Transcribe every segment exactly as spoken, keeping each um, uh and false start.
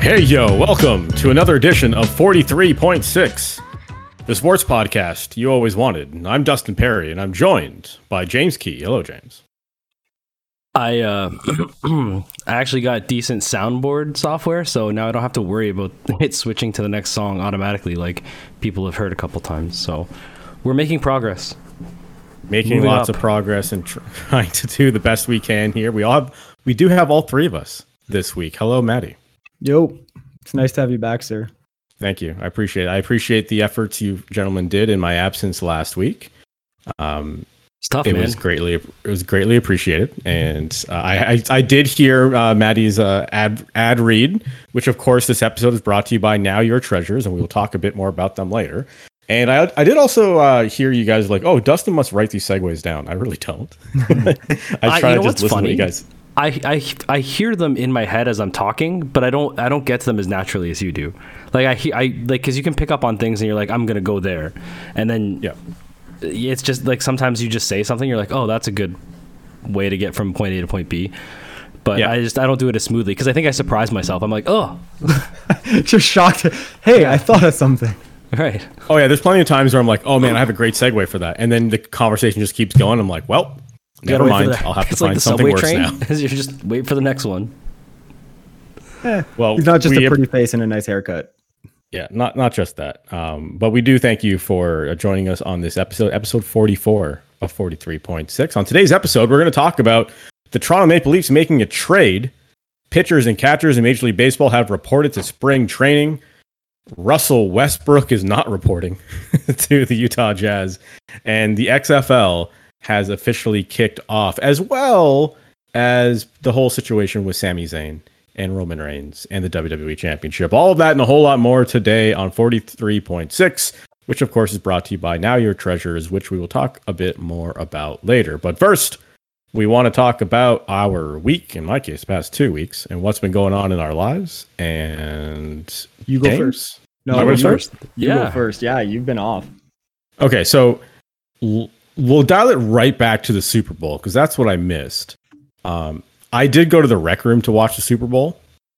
Hey yo, welcome to another edition of forty-three point six, the sports podcast you always wanted. I'm Dustin Perry, and I'm joined by James Key. Hello, James. I uh, I actually got decent soundboard software, so now I don't have to worry about it switching to the next song automatically, like people have heard a couple times. So we're making progress. Making Moving lots up. of progress and trying to do the best we can here. We all have, we do have all three of us this week. Hello, Maddie. Yo, it's nice to have you back, sir. Thank you. I appreciate it. I appreciate the efforts you gentlemen did in my absence last week. Um, It's tough, it man. was greatly it was greatly appreciated, and uh, I, I I did hear uh, Maddie's uh, ad ad read, which of course this episode is brought to you by Now Your Treasures, and we will talk a bit more about them later. And I I did also uh, hear you guys like, oh, Dustin must write these segues down. I really don't. I I- try you to know just what's listen funny? to you guys. I, I I hear them in my head as I'm talking, but I don't I don't get to them as naturally as you do. Like I he- I like because you can pick up on things and you're like, I'm gonna go there, and then Yeah. it's just like sometimes you just say something, you're like, oh, that's a good way to get from point A to point B. But Yeah. I just I don't do it as smoothly because I think I surprise myself. I'm like, oh, Just shocked. Hey, I thought of something. right. Oh yeah, there's plenty of times where I'm like, oh man, I have a great segue for that, and then the conversation just keeps going. I'm like, well, You never gotta wait for mind. the- I'll have to it's like find the something subway worse train. now. You just wait for the next one. Eh, Well, he's not just we a pretty face and a nice haircut. Yeah, not not just that. Um, but we do thank you for uh, joining us on this episode, episode forty-four of forty-three point six. On today's episode, we're going to talk about the Toronto Maple Leafs making a trade. Pitchers and catchers in Major League Baseball have reported to spring training. Russell Westbrook is not reporting to the Utah Jazz. And the X F L has officially kicked off, as well as the whole situation with Sami Zayn and Roman Reigns and the W W E Championship. All of that and a whole lot more today on forty-three point six, which of course is brought to you by Now Your Treasures, which we will talk a bit more about later. But first, we want to talk about our week, in my case, past two weeks, and what's been going on in our lives. And You go James? first. No, Am I you, going first? you Yeah. go first. Yeah, you've been off. Okay, so l- we'll dial it right back to the Super Bowl because that's what I missed. Um, I did go to the rec room to watch the Super Bowl,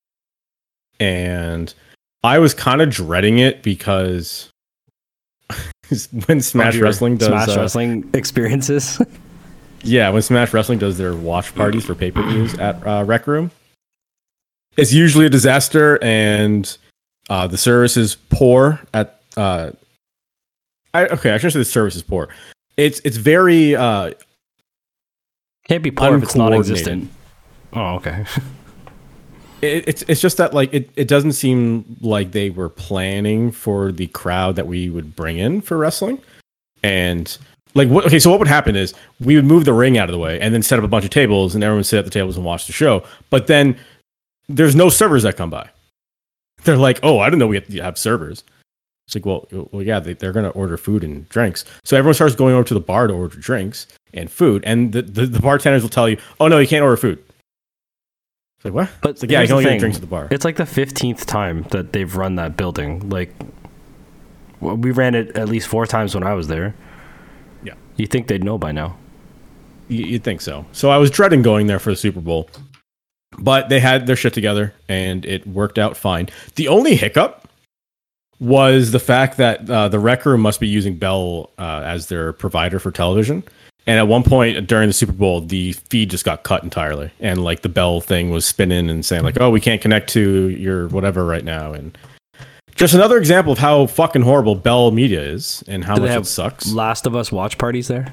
and I was kind of dreading it because when Smash Your Wrestling does Smash uh, Wrestling experiences. yeah, when Smash Wrestling does their watch parties for pay-per-views at uh, Rec Room, it's usually a disaster, and uh, the service is poor. At uh, I, okay, I shouldn't say the service is poor. It's it's very uh, Can't be poor if it's uncoordinated. non-existent. Oh, okay. it, it's it's just that like it, it doesn't seem like they were planning for the crowd that we would bring in for wrestling, and like what okay so what would happen is we would move the ring out of the way and then set up a bunch of tables and everyone would sit at the tables and watch the show, but then there's no servers that come by. They're like, oh, I didn't know we have to have servers. It's like, well, well yeah, they, they're going to order food and drinks. So everyone starts going over to the bar to order drinks and food, and the, the, the bartenders will tell you, oh no, you can't order food. It's like, what? But It's like, yeah, you here's can the only get thing. drinks at the bar. It's like the fifteenth time that they've run that building. Like, well, we ran it at least four times when I was there. Yeah. You think they'd know by now? You- You'd think so. So I was dreading going there for the Super Bowl, but they had their shit together and it worked out fine. The only hiccup was the fact that uh, the rec room must be using Bell uh, as their provider for television. And at one point during the Super Bowl, the feed just got cut entirely. And like the Bell thing was spinning and saying like, oh, we can't connect to your whatever right now. And just another example of how fucking horrible Bell Media is and how Do they much have it sucks. Last of Us watch parties there?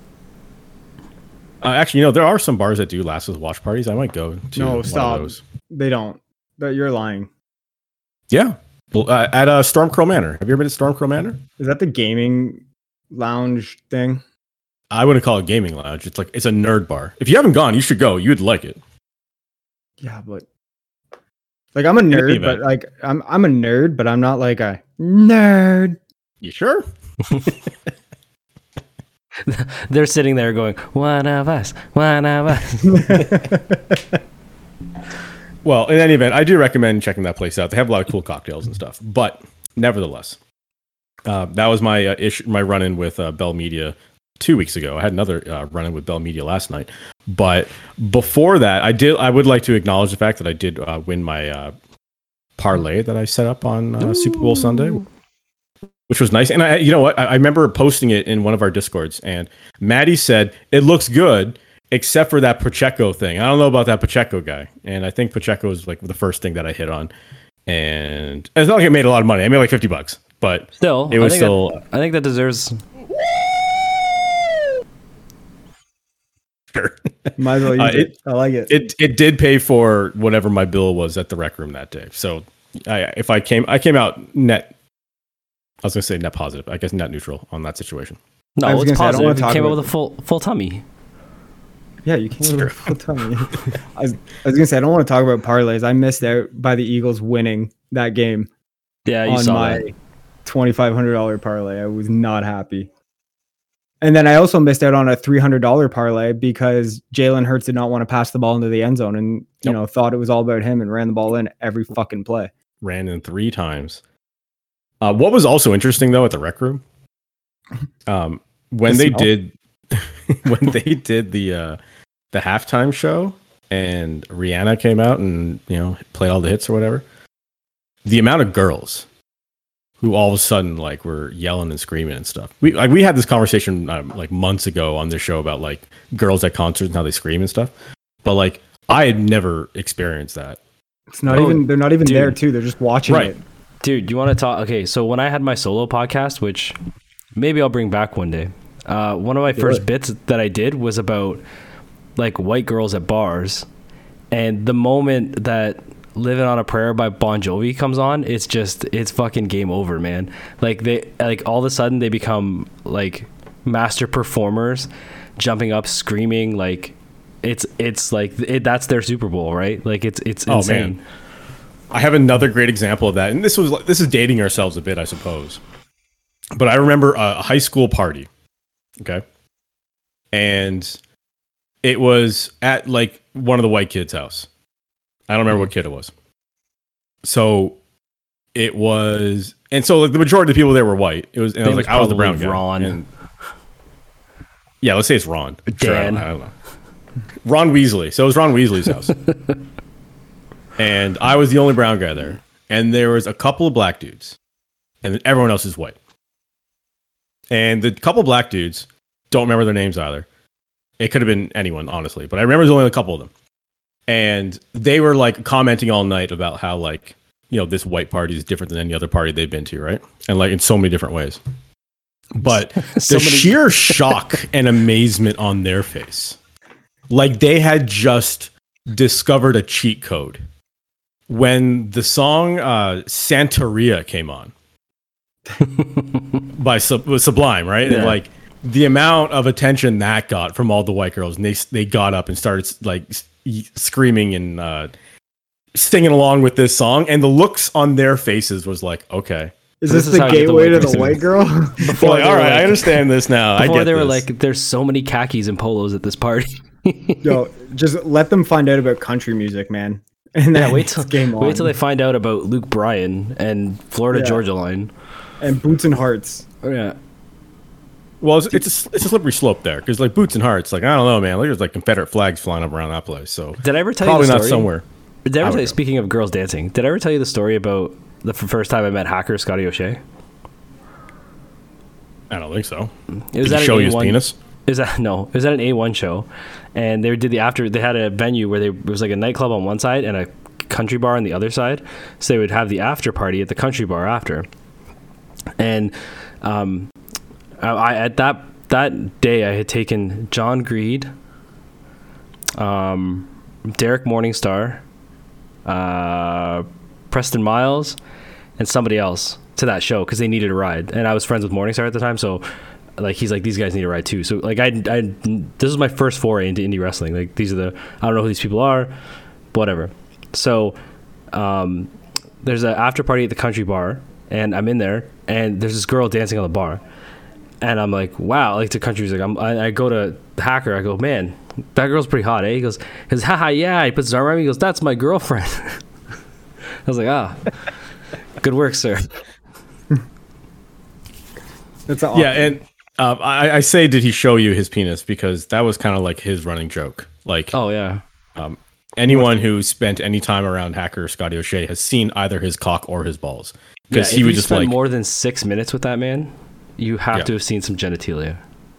Uh, actually, you know, there are some bars that do Last of Us watch parties. I might go to No, one stop. of those. They don't. But you're lying. Yeah. Well, uh, at uh, Stormcrow Manor. Have you ever been to Stormcrow Manor? Is that the gaming lounge thing? I wouldn't call it a gaming lounge. It's like it's a nerd bar. If you haven't gone, you should go. You'd like it. Yeah, but like I'm a any nerd, event. but like I'm I'm a nerd, but I'm not like a nerd. You sure? They're sitting there going, one of us, one of us. Well, in any event, I do recommend checking that place out. They have a lot of cool cocktails and stuff. But nevertheless, uh, that was my uh, issue, my run-in with uh, Bell Media two weeks ago. I had another uh, run-in with Bell Media last night. But before that, I did. I would like to acknowledge the fact that I did uh, win my uh, parlay that I set up on uh, Super Bowl Sunday, which was nice. And I, you know what? I, I remember posting it in one of our Discords, and Maddie said it looks good, except for that Pacheco thing. I don't know about that Pacheco guy, and I think Pacheco is like the first thing that I hit on. And it's not like I made a lot of money. I made like fifty bucks, but still, it was I think still. That, I think that deserves. Sure. Might as well use Uh, it. it- I like it. It it did pay for whatever my bill was at the rec room that day. So I, if I came, I came out net. I was gonna say net positive. I guess net neutral on that situation. No, I was it's gonna say, I don't wanna positive. You talk came out about with a full full tummy. Yeah, you can't really full tummy. I was, I was gonna say I don't want to talk about parlays. I missed out by the Eagles winning that game Yeah, you on saw my that. twenty five hundred dollar parlay. I was not happy. And then I also missed out on a three hundred dollar parlay because Jalen Hurts did not want to pass the ball into the end zone, and you Yep. know thought it was all about him and ran the ball in every fucking play. Ran in three times. Uh, what was also interesting though at the rec room, um, when The they smell? did, when they did the uh, the halftime show and Rihanna came out and you know played all the hits or whatever, the amount of girls who all of a sudden like were yelling and screaming and stuff. We like we had this conversation um, like months ago on this show about like girls at concerts and how they scream and stuff, but like I had never experienced that. It's not Oh, even they're not even dude. there too. They're just watching Right. it. Dude, you want to talk? Okay, so when I had my solo podcast, which maybe I'll bring back one day, uh, one of my first it. bits that I did was about like white girls at bars, and the moment that "Living on a Prayer" by Bon Jovi comes on, it's just it's fucking game over, man. Like they like all of a sudden they become like master performers, jumping up, screaming like it's it's like it, that's their Super Bowl, right? Like it's it's Oh, insane. man. I have another great example of that, and this was like- this is dating ourselves a bit, I suppose. But I remember a high school party, okay, and it was at like one of the white kids' house. I don't remember what kid it was. So it was, and so like the majority of the people there were white. It was, and I was It was like, I was the brown probably guy. Ron. And- yeah, let's say it's Ron. Sure, I, Dan. don't, I don't know. Ron Weasley. So it was Ron Weasley's house. And I was the only brown guy there. And there was a couple of black dudes. And then everyone else is white. And the couple of black dudes, don't remember their names either. It could have been anyone, honestly. But I remember there's only a couple of them. And they were like commenting all night about how like, you know, this white party is different than any other party they've been to, right? And like in so many different ways. But So the many- sheer shock and amazement on their face. Like they had just discovered a cheat code. When the song uh, Santeria came on by Sub- was Sublime, right? Yeah. And like the amount of attention that got from all the white girls, and they they got up and started like s- screaming and uh, singing along with this song, and the looks on their faces was like, okay, Is This this, is the how you get the gateway white to the person. white girl? Before like, they all were right, I like- understand this now. I Before get they were this. like, there's so many khakis and polos at this party. Yo, just let them find out about country music, man. And then Yeah, wait till game on. wait till they find out about Luke Bryan and Florida Yeah. Georgia line. and Boots and Hearts. Oh yeah, Well, it's it's a, it's a slippery slope there because like Boots and Hearts, like I don't know, man. Like, there's like Confederate flags flying up around that place. So did I ever tell probably you the not story? somewhere. Did I I ever would tell you? go. Speaking of girls dancing, did I ever tell you the story about the f- first time I met hacker Scotty O'Shea? I don't think so. It was Did at he an show you his A one penis? Is that no? It was at an A one show, and they did the after. They had a venue where they it was like a nightclub on one side and a country bar on the other side. So they would have the after party at the country bar after. And um, I, I at that that day I had taken John Greed, um, Derek Morningstar, uh, Preston Miles, and somebody else to that show because they needed a ride, and I was friends with Morningstar at the time, so like he's like, these guys need a ride too. So like I, I this is my first foray into indie wrestling. Like these are the I don't know who these people are, whatever. So um, there's an after party at the country bar, and I'm in there, and there's this girl dancing on the bar, and I'm like, wow, like the country's like, I'm, I, I go to the hacker, I go, man, that girl's pretty hot, eh? He goes, he goes, haha, yeah. He puts his arm around me, he goes, that's my girlfriend. I was like, ah, good work, sir. That's awesome. Yeah, and uh, I, I say, did he show you his penis? Because that was kind of like his running joke. Like, Oh yeah. um, anyone who spent any time around hacker Scotty O'Shea has seen either his cock or his balls. Because Yeah, he if would you just spend like more than six minutes with that man, you have Yeah. to have seen some genitalia.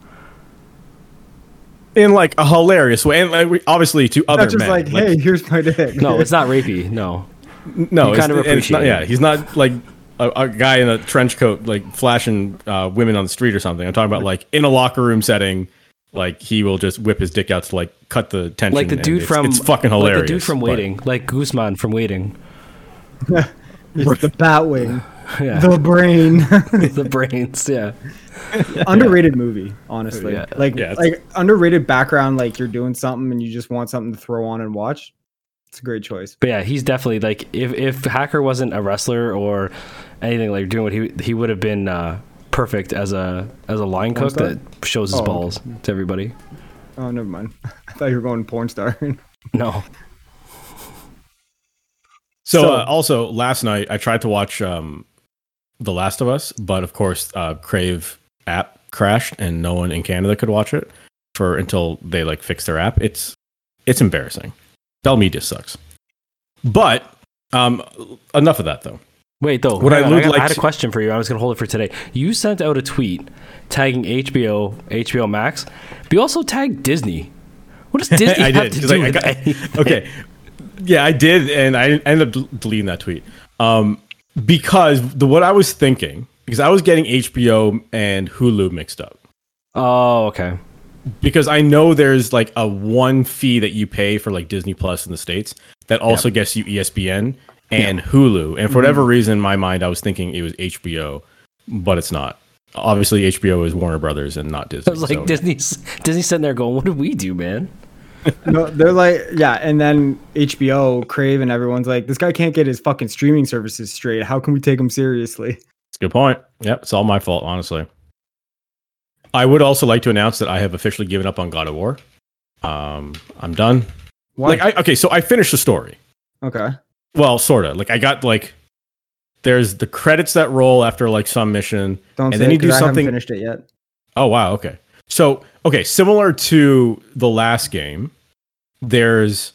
in like a hilarious way, and like, we- obviously to other Not just men. like, hey, here's my dick. No, it's not rapey. No. no, you it's, kind of and it's not. appreciate Yeah, it. he's not like a, a guy in a trench coat like flashing uh, women on the street or something. I'm talking about like in a locker room setting. Like he will just whip his dick out to like cut the tension. Like the and dude it's, from it's fucking hilarious. Like the dude from but- Waiting, like Guzman from Waiting. It's the Batwing, Yeah. the brain. The brains, yeah. Underrated movie, honestly. Yeah. Like Yeah, it's- like underrated background. Like you're doing something and you just want something to throw on and watch. It's a great choice. But yeah, he's definitely like if if Hacker wasn't a wrestler or anything like doing what he he would have been uh, perfect as a as a line cook star? that shows his Oh, okay. balls to everybody. Oh, never mind. I thought you were going porn star. No. So, So- uh, also last night I tried to watch um, The Last of Us, but of course uh, Crave app crashed and no one in Canada could watch it for until they like fix their app. It's it's embarrassing. Bell Media sucks. But um, enough of that though. Wait though, What hang I on, would got- like I had a to- question for you. I was gonna hold it for today. You sent out a tweet tagging H B O, H B O Max, but you also tagged Disney. What does Disney I have did, to 'cause do I- I with got- anything? Okay. Yeah, I did, and I ended up del- deleting that tweet. Um, because the what I was thinking, because I was getting H B O and Hulu mixed up. Oh, okay. Because I know there's like a one fee that you pay for like Disney Plus in the States that also gets you E S P N and Hulu. And for whatever reason, in my mind, I was thinking it was H B O, but it's not. Obviously, H B O is Warner Brothers and not Disney. I was like so- Disney's Disney's sitting there going, "What did we do, man?" No, they're like, yeah, and then H B O, Crave, and everyone's like, this guy can't get his fucking streaming services straight. How can we take him seriously? It's a good point. Yep, it's all my fault, honestly. I would also like to announce that I have officially given up on God of War. Um, I'm done. Why? Like, I, okay, so I finished the story. Okay. Well, sort of. Like, I got like, there's the credits that roll after like some mission, Don't and say then it you do 'cause I haven't something. finished it yet. Oh wow, okay. So okay, similar to the last game, there's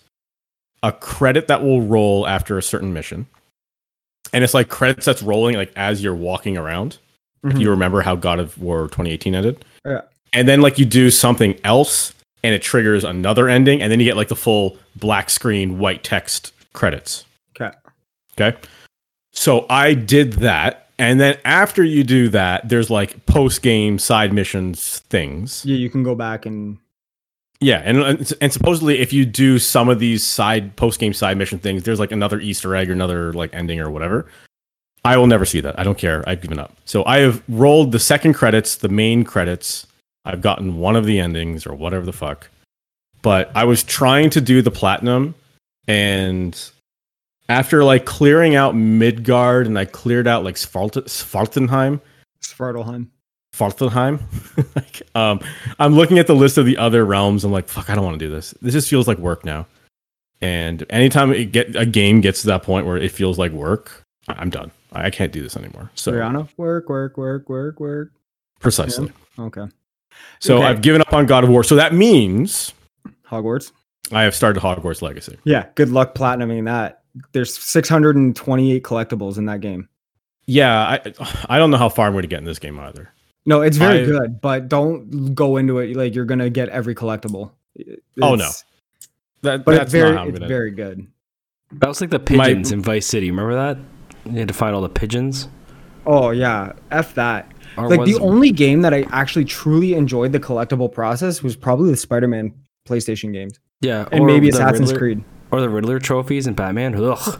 a credit that will roll after a certain mission. And it's like credits that's rolling like as you're walking around. If Mhm. you remember how God of War twenty eighteen ended. Yeah. And then like you do something else and it triggers another ending, and then you get like the full black screen white text credits. Okay. Okay. So I did that. And then after you do that, there's like post game side missions things. Yeah, you can go back and Yeah. And, and supposedly, if you do some of these side post game side mission things, there's like another Easter egg or another like ending or whatever. I will never see that. I don't care. I've given up. So I have rolled the second credits, the main credits. I've gotten one of the endings or whatever the fuck. But I was trying to do the platinum, and after like clearing out Midgard and I cleared out like Svart- Svartenheim, Svartalheim. Svartenheim, like, um, I'm looking at the list of the other realms. I'm like, fuck, I don't want to do this. This just feels like work now. And anytime it get a game gets to that point where it feels like work, I- I'm done. I I can't do this anymore. So Rihanna. Work, work, work, work, work. precisely. Okay. So Okay. I've given up on God of War. So that means Hogwarts. I have started Hogwarts Legacy. Yeah. Good luck platinuming that. There's six hundred twenty-eight collectibles in that game. Yeah, I I don't know how far I'm going to get in this game either. No, it's very I- good, but don't go into it like you're gonna get every collectible. Oh, no. It's- That, But that's it's very, not how I'm it's going to. very good. That was like the My- pigeons in Vice City. Remember that? You had to find all the pigeons. Oh yeah, f that. Or Like was- the only game that I actually truly enjoyed the collectible process was probably the Spider-Man PlayStation games, yeah, and or maybe the Assassin's Riddler- Creed. or the Riddler trophies in Batman. Ugh.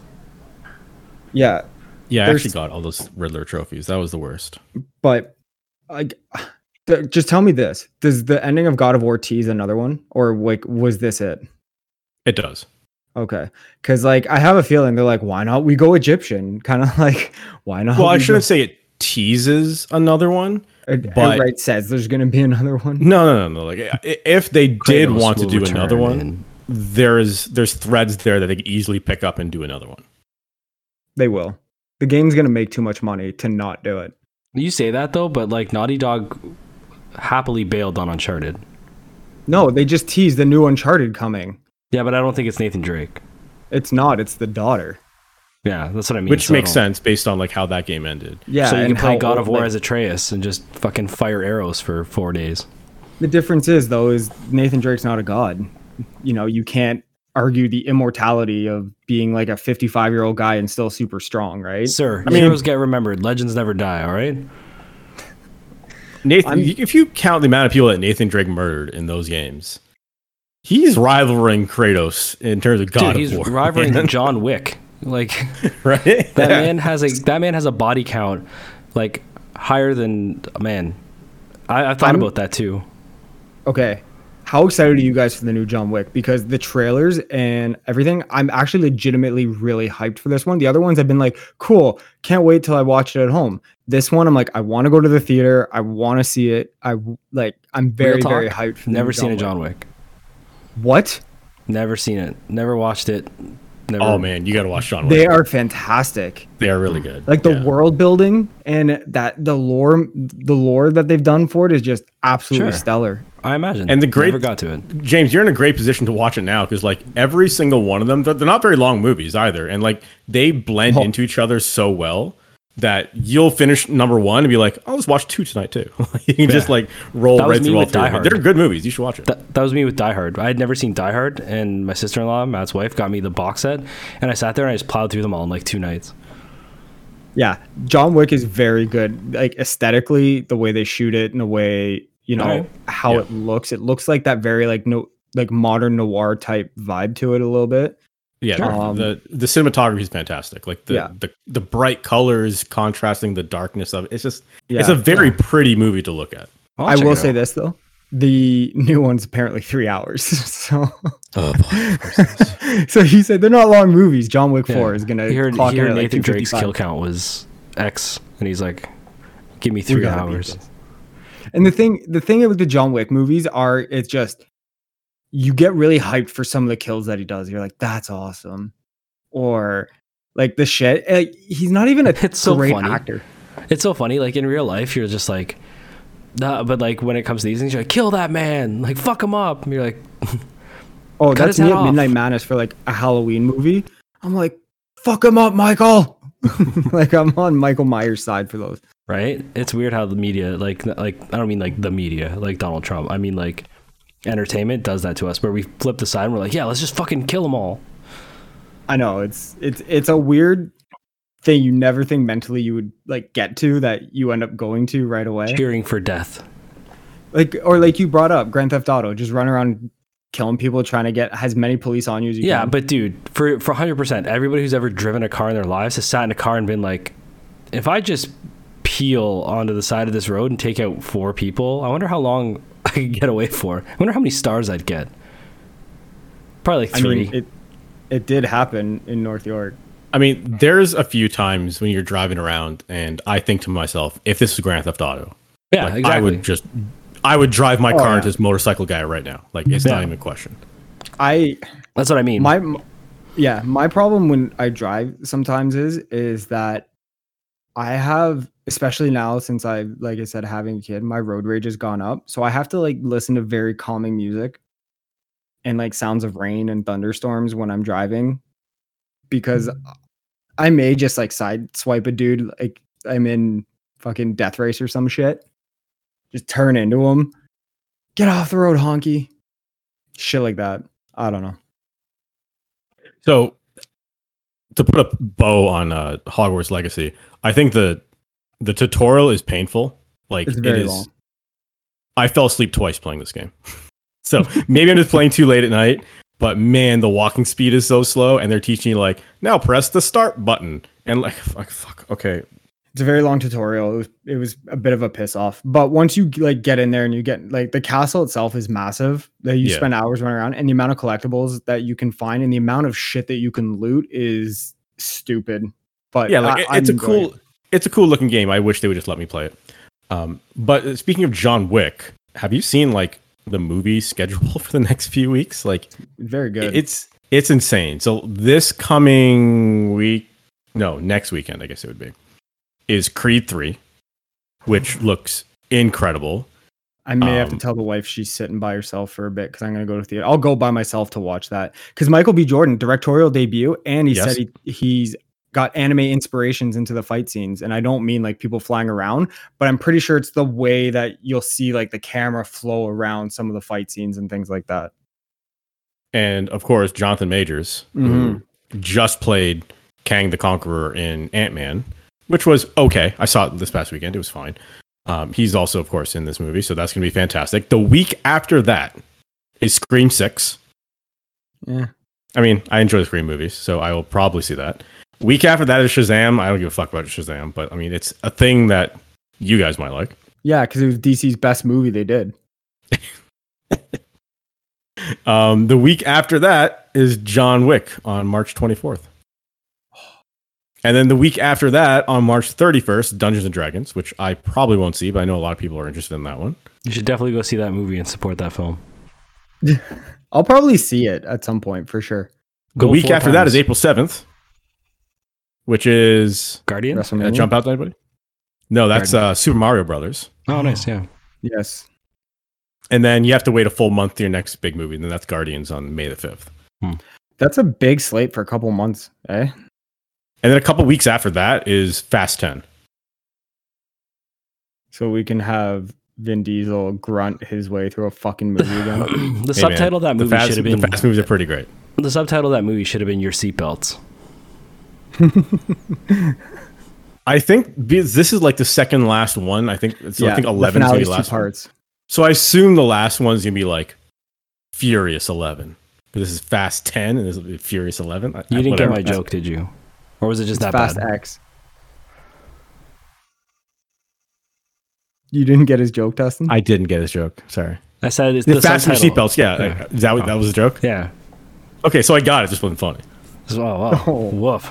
Yeah, Yeah, I There's- actually got all those Riddler trophies. That was the worst. but like, th- just tell me this: does the ending of God of War tease another one, or like was this it? It does. Okay, because like I have a feeling they're like, why not we go Egyptian? Kind of like, why not? Well, I we shouldn't go- say it teases another one. It but- outright says there's gonna be another one. No, no, no, no. Like i- if they did Kratos want to will do return another one, and- there's there's threads there that they could easily pick up and do another one. They will. The game's gonna make too much money to not do it. You say that though, but like Naughty Dog happily bailed on Uncharted. No, they just teased the new Uncharted coming. Yeah, but I don't think it's Nathan Drake. It's not. It's the daughter. Yeah, that's what I mean. Which so makes I don't- sense based on like how that game ended. Yeah, So you and can play how God old- of War like, as Atreus and just fucking fire arrows for four days. the difference is though is Nathan Drake's not a god. You know, you can't argue the immortality of being like a fifty-five year old guy and still super strong, right? Sir, I mean- heroes get remembered. Legends never die, all right? Nathan, I'm- if you count the amount of people that Nathan Drake murdered in those games, he's rivaling Kratos in terms of God Dude, he's of War. rivaling man. John Wick. Like right? that Yeah. man has a that man has a body count like higher than man. I, I thought I'm- about that too. Okay. How excited are you guys for the new John Wick? Because the trailers and everything, I'm actually legitimately really hyped for this one. The other ones I've been like, cool, can't wait till I watch it at home. This one, I'm like, I want to go to the theater. I want to see it. I like, I'm very, Real talk, very hyped for the Never new seen a Wick. John Wick. What? Never seen it. Never watched it. Never. Oh man, you got to watch John Wick. They are fantastic. They are really good. Like the Yeah. world building and that the lore, the lore that they've done for it is just absolutely Sure. stellar. I imagine. And the great- never got to it. James, you're in a great position to watch it now because like every single one of them, they're, they're not very long movies either, and like they blend Oh. into each other so well that you'll finish number one and be like, I'll just watch two tonight too. You can just Yeah. like roll That was right me through all with three. Die of them. Hard. They're good movies. You should watch it. That, that was me with Die Hard. I had never seen Die Hard, and my sister-in-law, Matt's wife, got me the box set, and I sat there and I just plowed through them all in like two nights. Yeah, John Wick is very good. Like aesthetically, the way they shoot it, and the way you know Alright. how Yeah. it looks. It looks like that very like no like modern noir type vibe to it a little bit. Yeah, Sure. the- Um, the the cinematography is fantastic. Like the, Yeah. the the bright colors contrasting the darkness of it. It's just Yeah, it's a very pretty movie to look at. I'll I check will it say out. this though, the new one's apparently three hours. So, Oh, boy. so he said they're not long movies. John Wick Yeah. Four is gonna He heard, clock he in heard at like Nathan Drake's kill two fifty-five. count was X, and he's like, "Give me We three gotta beat hours." this. And the thing, the thing with the John Wick movies are, it's just you get really hyped for some of the kills that he does. You're like, that's awesome, or like the shit. Like, he's not even a It's so great funny. actor. It's so funny. Like in real life, you're just like, nah, but like when it comes to these things, you're like, "Kill that man! Like fuck him up!" And you're like, Oh, Cut that's his me head at off. Midnight Madness for like a Halloween movie. I'm like, fuck him up, Michael. Like I'm on Michael Myers' side for those. right? It's weird how the media, like, like I don't mean like the media, like Donald Trump. I mean like entertainment does that to us, where we flip the side and we're like, "Yeah, let's just fucking kill them all." I know it's it's it's a weird thing you never think mentally you would like get to that you end up going to right away. Cheering for death. Like or like you brought up Grand Theft Auto, just run around killing people, trying to get as many police on you as you Yeah, can. but dude, for for one hundred percent, everybody who's ever driven a car in their lives has sat in a car and been like, if I just peel onto the side of this road and take out four people, I wonder how long I could get away for. I wonder how many stars I'd get. Probably like I three. mean it it did happen in North York. I mean, there's a few times when you're driving around and I think to myself, if this is Grand Theft Auto, yeah, like, exactly. I would just I would drive my Oh, car yeah. into this motorcycle guy right now. Like it's not Yeah. even a question. I That's what I mean. my m- yeah, my problem when I drive sometimes is is that I have, especially now since I like I said having a kid, my road rage has gone up. So I have to like listen to very calming music and like sounds of rain and thunderstorms when I'm driving because I may just like side swipe a dude like I'm in fucking Death Race or some shit. Just turn into him. Get off the road, honky. Shit like that. I don't know. So to put a bow on uh, Hogwarts Legacy, I think the the tutorial is painful. Like It's it very is. long. I fell asleep twice playing this game. So maybe I'm just playing too late at night. But man, the walking speed is so slow, and they're teaching you like now press the start button, and like fuck, fuck okay. It's a very long tutorial. It was it was a bit of a piss off. But once you like get in there and you get like the castle itself is massive. That you Yeah. spend hours running around, and the amount of collectibles that you can find and the amount of shit that you can loot is stupid. But Yeah, like I- it- I'm it's a enjoying cool, it's a cool looking game. I wish they would just let me play it. Um, but uh, speaking of John Wick, have you seen like the movie schedule for the next few weeks? Like it. Very good. it's it's insane. So this coming week, no, next weekend, I guess it would be, is Creed three, which looks incredible. I may have to Um, tell the wife she's sitting by herself for a bit because I'm going to go to theater. I'll go by myself to watch that because Michael B. Jordan directorial debut, and he Yes. said he he's got anime inspirations into the fight scenes, and I don't mean like people flying around, but I'm pretty sure it's the way that you'll see like the camera flow around some of the fight scenes and things like that. And of course, Jonathan Majors, who just played Kang the Conqueror in Ant-Man, which was okay. I saw it this past weekend. It was fine. Um, he's also, of course, in this movie, so that's going to be fantastic. The week after that is Scream six. Yeah. I mean, I enjoy the Scream movies, so I will probably see that. Week after that is Shazam. I don't give a fuck about Shazam, but I mean, it's a thing that you guys might like. Yeah, because it was D C's best movie they did. Um, the week after that is John Wick on March twenty-fourth. And then the week after that, on March thirty-first, Dungeons and Dragons, which I probably won't see, but I know a lot of people are interested in that one. You should definitely go see that movie and support that film. I'll probably see it at some point for sure. The Go week four after that times. is April seventh, which is... Guardian? Did that WrestleMania? jump out to anybody? No, that's uh, Super Mario Brothers. Oh, nice, yeah. Yes. And then you have to wait a full month to your next big movie, and then that's Guardians on May the fifth. That's a big slate for a couple months, eh? And then a couple weeks after that is Fast ten. So we can have Vin Diesel grunt his way through a fucking movie again. The Hey, subtitle of that man, movie the fast, should have been The Fast movies are pretty great. the subtitle of that movie should have been Your Seatbelts. I think because this is like the second last one. I think it's, I think the eleven is gonna be finale's the two last one. parts. So I assume the last one's gonna be like Furious eleven. But this is Fast ten, and this will be Furious eleven. I- You I- didn't whatever. get my joke, did you? Or was it just It's that Fast bad? X. You didn't get his joke, Dustin? I didn't get his joke. Sorry. I said it's The, the Fast your subtitle. seatbelts. Yeah, Yeah. is that what, that was the joke? Yeah. Okay, so I got it. Just wasn't funny. Oh, wow. Oh. Woof.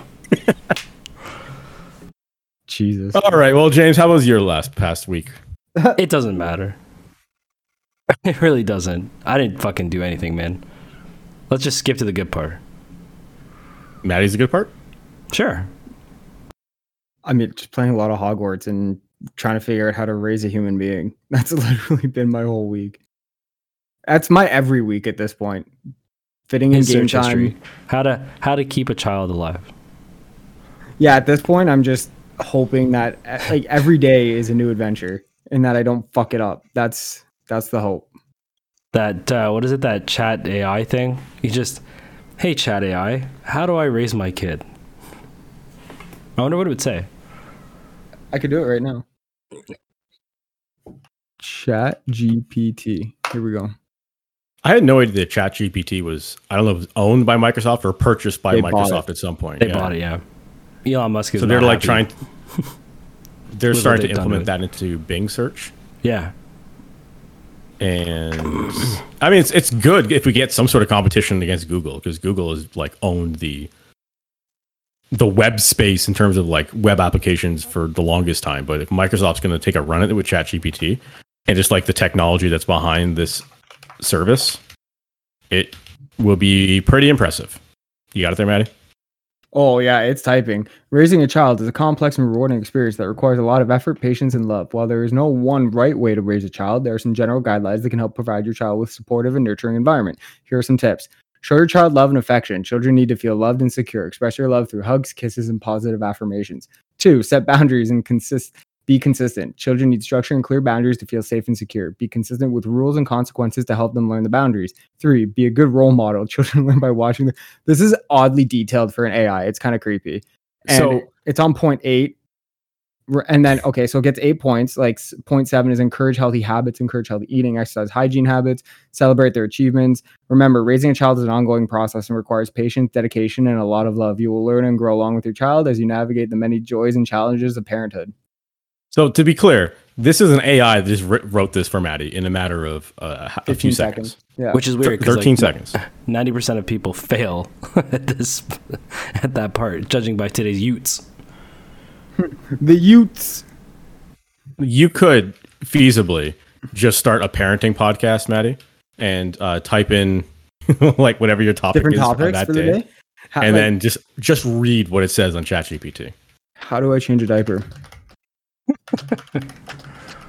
Jesus. All right. Well, James, how was your last past week? It doesn't matter. It really doesn't. I didn't fucking do anything, man. Let's just skip to the good part. Maddie's the good part. Sure. I mean, just playing a lot of Hogwarts and trying to figure out how to raise a human being. That's literally been my whole week. That's my every week at this point. Fitting in His game search time. history. How to how to keep a child alive. Yeah, at this point, I'm just hoping that uh, like every day is a new adventure and that I don't fuck it up. That's that's the hope. That uh, what is it? That chat A I thing? You just, hey chat A I, how do I raise my kid? I wonder what it would say. I could do it right now. Chat G P T. Here we go. I had no idea that ChatGPT was, I don't know if it was owned by Microsoft or purchased by They bought Microsoft it. at some point. They yeah. bought it, yeah. Elon Musk is So they're not like happy. trying, they're With what starting to they've done implement with that into Bing search. Yeah. And I mean, it's it's good if we get some sort of competition against Google, because Google has like owned the the web space in terms of like web applications for the longest time. But if Microsoft's going to take a run at it with ChatGPT and just like the technology that's behind this service, it will be pretty impressive. You got it there, Maddie? Oh, yeah, it's typing. Raising a child is a complex and rewarding experience that requires a lot of effort, patience, and love. While there is no one right way to raise a child, there are some general guidelines that can help provide your child with supportive and nurturing environment. Here are some tips. Show your child love and affection. Children need to feel loved and secure. Express your love through hugs, kisses, and positive affirmations. Two, set boundaries and consist. Be consistent. Children need structure and clear boundaries to feel safe and secure. Be consistent with rules and consequences to help them learn the boundaries. Three, be a good role model. Children learn by watching. The- this is oddly detailed for an A I. It's kind of creepy. And So- it's on point eight. R- And then, okay, so it gets eight points. Like s- point seven is encourage healthy habits, encourage healthy eating, exercise, hygiene habits, celebrate their achievements. Remember, raising a child is an ongoing process and requires patience, dedication, and a lot of love. You will learn and grow along with your child as you navigate the many joys and challenges of parenthood. So to be clear, this is an A I that just wr- wrote this for Maddie in a matter of uh, a few fifteen seconds. seconds. Yeah. Which is weird. 'cause, thirteen like, seconds. ninety percent of people fail at this at that part, judging by today's youths. The Utes. You could feasibly just start a parenting podcast, Maddie, and uh, type in like whatever your topic Different is on topics that for the day, day. How, and like, then just just read what it says on ChatGPT. how do I change a diaper?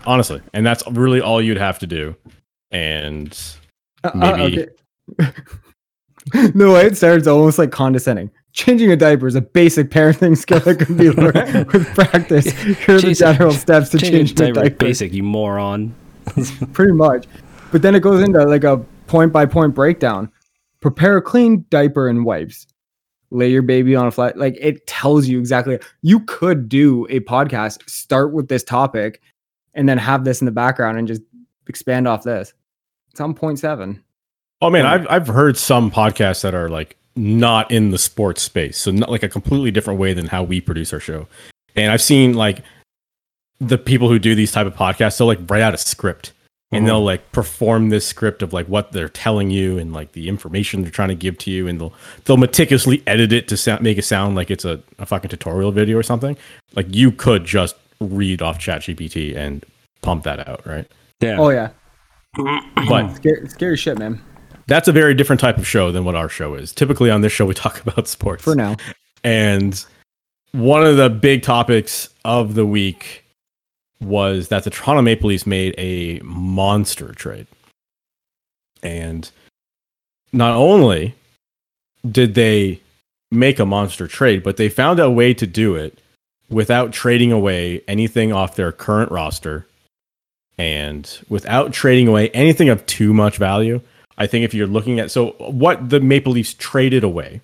honestly, and that's really all you'd have to do. And maybe uh, okay. The way it starts almost like condescending. Changing a diaper is a basic parenting skill that can be learned with practice. Here are the general steps to change a diaper. Basic, you moron. Pretty much. But then it goes into like a point by point breakdown. Prepare a clean diaper and wipes. Lay your baby on a flat. Like it tells you exactly. You could do a podcast, start with this topic, and then have this in the background and just expand off this. It's on point seven. Oh man, I've I've heard some podcasts that are like not in the sports space, so not like a completely different way than how we produce our show. And I've seen like the people who do these type of podcasts, they'll like write out a script and mm-hmm. they'll like perform this script of like what they're telling you and like the information they're trying to give to you, and they'll they'll meticulously edit it to sound, make it sound like it's a, a fucking tutorial video or something. Like you could just read off ChatGPT and pump that out, right? Yeah. Oh yeah. But scary, scary shit, man. That's a very different type of show than what our show is. Typically on this show, we talk about sports. For now. And one of the big topics of the week was that the Toronto Maple Leafs made a monster trade. And not only did they make a monster trade, but they found a way to do it without trading away anything off their current roster and without trading away anything of too much value. I think if you're looking at, so what the Maple Leafs traded away,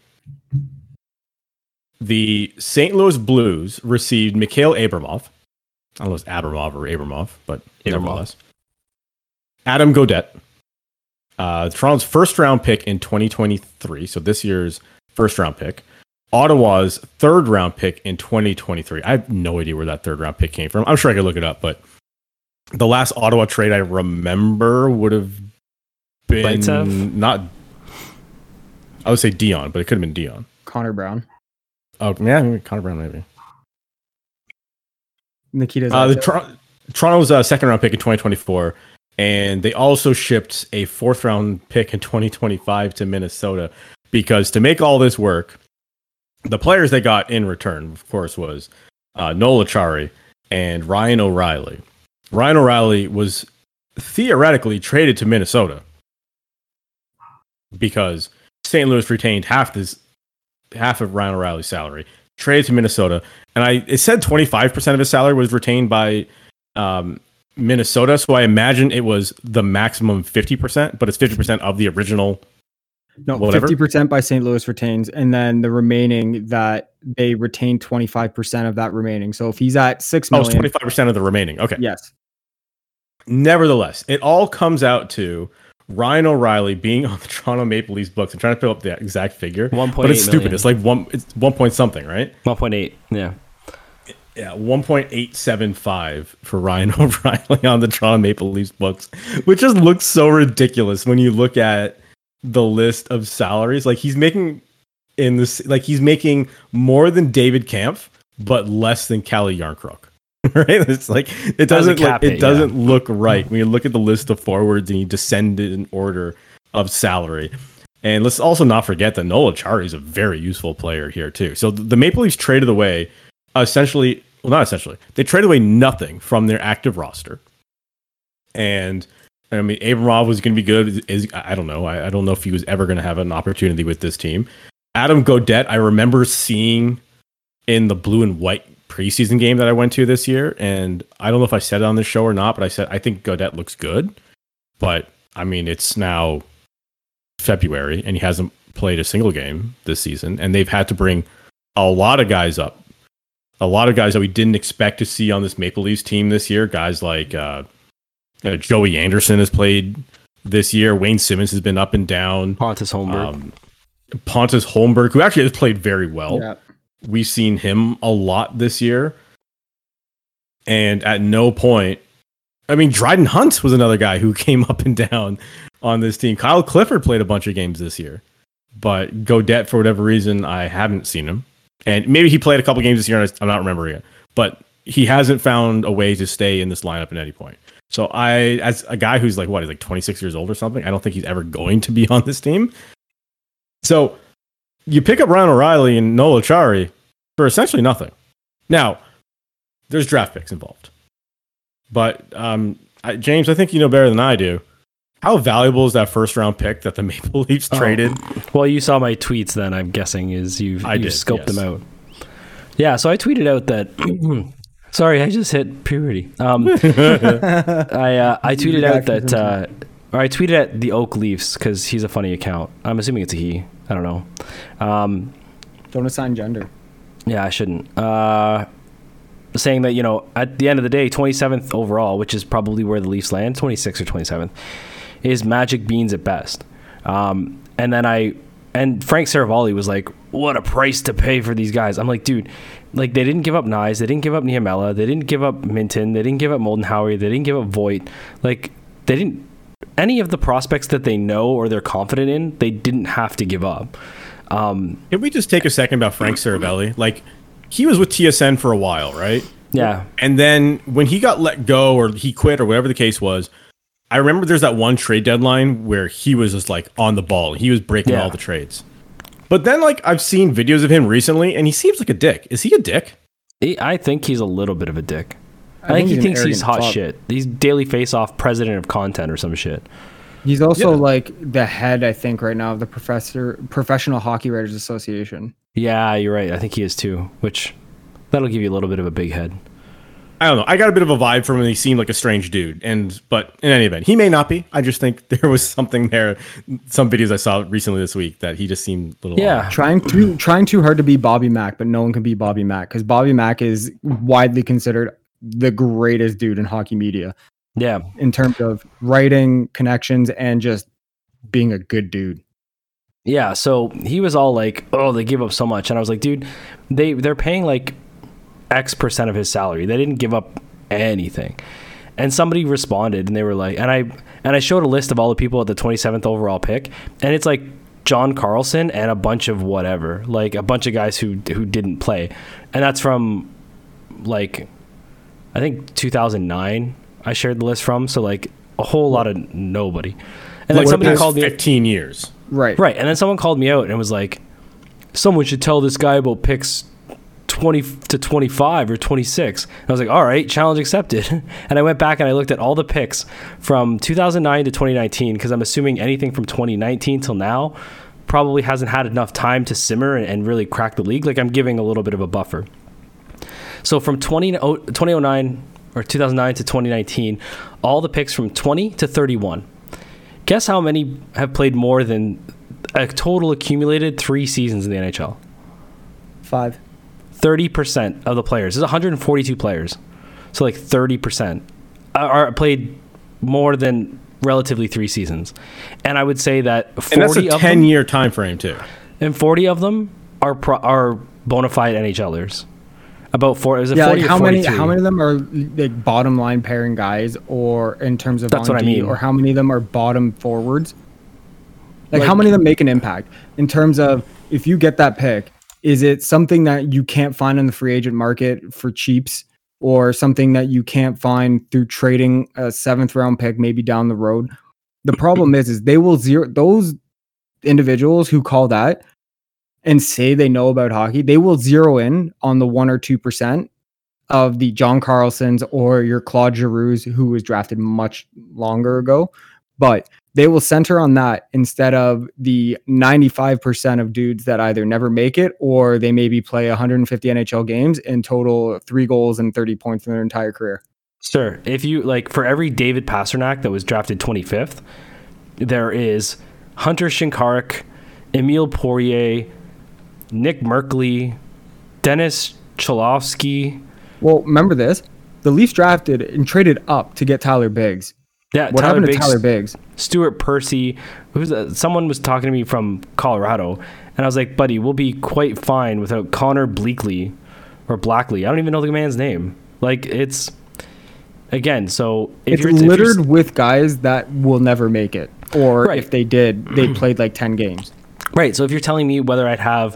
the Saint Louis Blues received Mikhail Abramov. I don't know if it's Abramov or Abramov, but Abramov. Nevertheless. Adam Gaudette, uh, Toronto's first round pick in twenty twenty-three. So this year's first round pick. Ottawa's third round pick in twenty twenty-three. I have no idea where that third round pick came from. I'm sure I could look it up, but the last Ottawa trade I remember would have been not. I would say Dion, but it could have been Dion. Connor Brown. Oh yeah, maybe Connor Brown maybe. Nikita's uh, the Tor- Toronto's uh, second round pick in twenty twenty-four, and they also shipped a fourth round pick in twenty twenty-five to Minnesota because to make all this work, the players they got in return, of course, was uh, Noel Acciari and Ryan O'Reilly. Ryan O'Reilly was theoretically traded to Minnesota because Saint Louis retained half this half of Ryan O'Reilly's salary, traded to Minnesota, and I it said twenty-five percent of his salary was retained by um, Minnesota, so I imagine it was the maximum fifty percent, but it's fifty percent of the original. No, whatever. fifty percent by Saint Louis retains, and then the remaining that they retain twenty-five percent of that remaining. So if he's at six million, oh, twenty-five percent of the remaining. Okay. Yes. Nevertheless, it all comes out to Ryan O'Reilly being on the Toronto Maple Leafs books. I'm trying to pull up the exact figure, one point eight but it's stupid. million. It's like one, it's one point something, right? one point eight. Yeah. Yeah, one point eight seven five for Ryan O'Reilly on the Toronto Maple Leafs books, which just looks so ridiculous when you look at the list of salaries. Like he's making in this, like he's making more than David Kampf, but less than Calle Yarncroc. Right? It's like it doesn't like, it, it doesn't yeah. look right when you look at the list of forwards and you descend it in order of salary. And let's also not forget that Noel Acciari is a very useful player here too. So the Maple Leafs traded away essentially, well not essentially, they traded away nothing from their active roster. And I mean, Abramov was going to be good. Is I don't know. I, I don't know if he was ever going to have an opportunity with this team. Adam Gaudette, I remember seeing in the blue and white preseason game that I went to this year, and I don't know if I said it on this show or not, but I said I think Gaudette looks good. But I mean, it's now February, and he hasn't played a single game this season, and they've had to bring a lot of guys up, a lot of guys that we didn't expect to see on this Maple Leafs team this year. Guys like uh, uh, Joey Anderson has played this year. Wayne Simmons has been up and down. Pontus Holmberg. Um, Pontus Holmberg, who actually has played very well. Yeah. We've seen him a lot this year. And at no point, I mean, Dryden Hunt was another guy who came up and down on this team. Kyle Clifford played a bunch of games this year. But Gaudette, for whatever reason, I haven't seen him. And maybe he played a couple games this year, and I'm not remembering it. But he hasn't found a way to stay in this lineup at any point. So I, as a guy who's like, what, he's like twenty-six years old or something, I don't think he's ever going to be on this team. So you pick up Ryan O'Reilly and Noel Acciari for essentially nothing. Now, there's draft picks involved. but um, I, James, I think you know better than I do. How valuable is that first round pick that the Maple Leafs Oh. traded? Well, you saw my tweets then, I'm guessing, is you've, I you've did, scoped yes. them out. Yeah, so I tweeted out that... sorry, I just hit puberty. Um, I uh, I tweeted out that... Uh, or I tweeted at the Oak Leafs because he's a funny account. I'm assuming it's a he. I don't know. Um, Don't assign gender. yeah, I shouldn't. Uh, saying that, you know, at the end of the day, twenty-seventh overall, which is probably where the Leafs land, twenty-sixth or twenty-seventh, is magic beans at best. Um, and then I, and Frank Saravalli was like, what a price to pay for these guys. I'm like, dude, like they didn't give up Nyes, they didn't give up Niemela, they didn't give up Minton, they didn't give up Moldenhauer, they didn't give up Voigt. Like they didn't, any of the prospects that they know or they're confident in, they didn't have to give up. Um, Can we just take a second about Frank Saravalli? Like, he was with T S N for a while, right? yeah. And then when he got let go or he quit or whatever the case was, I remember there's that one trade deadline where he was just like on the ball. He was breaking Yeah. all the trades. But then like I've seen videos of him recently and he seems like a dick. Is he a dick? He, I think he's a little bit of a dick. I, I think, think he he's an thinks he's arrogant hot fuck. shit. He's Daily Face-Off president of content or some shit. He's also Yeah. like the head, I think, right now of the professor Professional Hockey Writers Association. Yeah, you're right. I think he is too, which that'll give you a little bit of a big head. I don't know. I got a bit of a vibe from him. He seemed like a strange dude. And but in any event, he may not be. I just think there was something there. Some videos I saw recently this week that he just seemed a little Yeah. odd. Trying too trying too hard to be Bobby Mack, but no one can be Bobby Mack because Bobby Mack is widely considered the greatest dude in hockey media Yeah. in terms of writing, connections, and just being a good dude. Yeah, so he was all like, "Oh, they give up so much," and I was like, "Dude, they they're paying like X percent of his salary. They didn't give up anything." And somebody responded, and they were like, and I and I showed a list of all the people at the twenty-seventh overall pick, and it's like John Carlson and a bunch of whatever, like a bunch of guys who who didn't play, and that's from like I think two thousand nine. I shared the list from, so like a whole lot of nobody. And Like then somebody past called me. fifteen years. Right. Right, and then someone called me out and was like, someone should tell this guy about picks twenty to twenty-five or twenty-six. And I was like, all right, challenge accepted. And I went back and I looked at all the picks from two thousand nine to twenty nineteen, because I'm assuming anything from twenty nineteen till now probably hasn't had enough time to simmer and, and really crack the league. Like I'm giving a little bit of a buffer. So from twenty oh nine or two thousand nine to twenty nineteen, all the picks from twenty to thirty-one. Guess how many have played more than a total accumulated three seasons in the N H L? Five. thirty percent of the players. There's one hundred forty-two players. So like thirty percent are, are played more than relatively three seasons. And I would say that And that's forty a of them, ten-year time frame, too. and forty of them are pro, are bona fide NHLers. About four, is it Yeah, forty like or how many forty-three? how many of them are like bottom line pairing guys, or in terms of That's on what I D, mean. or how many of them are bottom forwards? Like, Like- how many of them make an impact in terms of if you get that pick, is it something that you can't find in the free agent market for cheaps, or something that you can't find through trading a seventh round pick maybe down the road? The problem is, is they will zero those individuals who call that and say they know about hockey, they will zero in on the one or two percent of the John Carlsons or your Claude Giroux's, who was drafted much longer ago. But they will center on that instead of the ninety-five percent of dudes that either never make it or they maybe play one hundred fifty N H L games and total three goals and thirty points in their entire career. Sure. If you like, for every David Pasternak that was drafted twenty-fifth, there is Hunter Shinkarik, Emile Poirier, Nick Merkley, Dennis Cholowski. Well, remember this. The Leafs drafted and traded up to get Tyler Biggs. Yeah, What Tyler happened to Biggs, Tyler Biggs? Stuart Percy. Who's that? Someone was talking to me from Colorado, and I was like, buddy, we'll be quite fine without Connor Bleakley or Blackley. I don't even know the man's name. Like, it's again. So if It's you're if you're- littered with guys that will never make it, or Right. if they did, they played like ten games. Right. So if you're telling me whether I'd have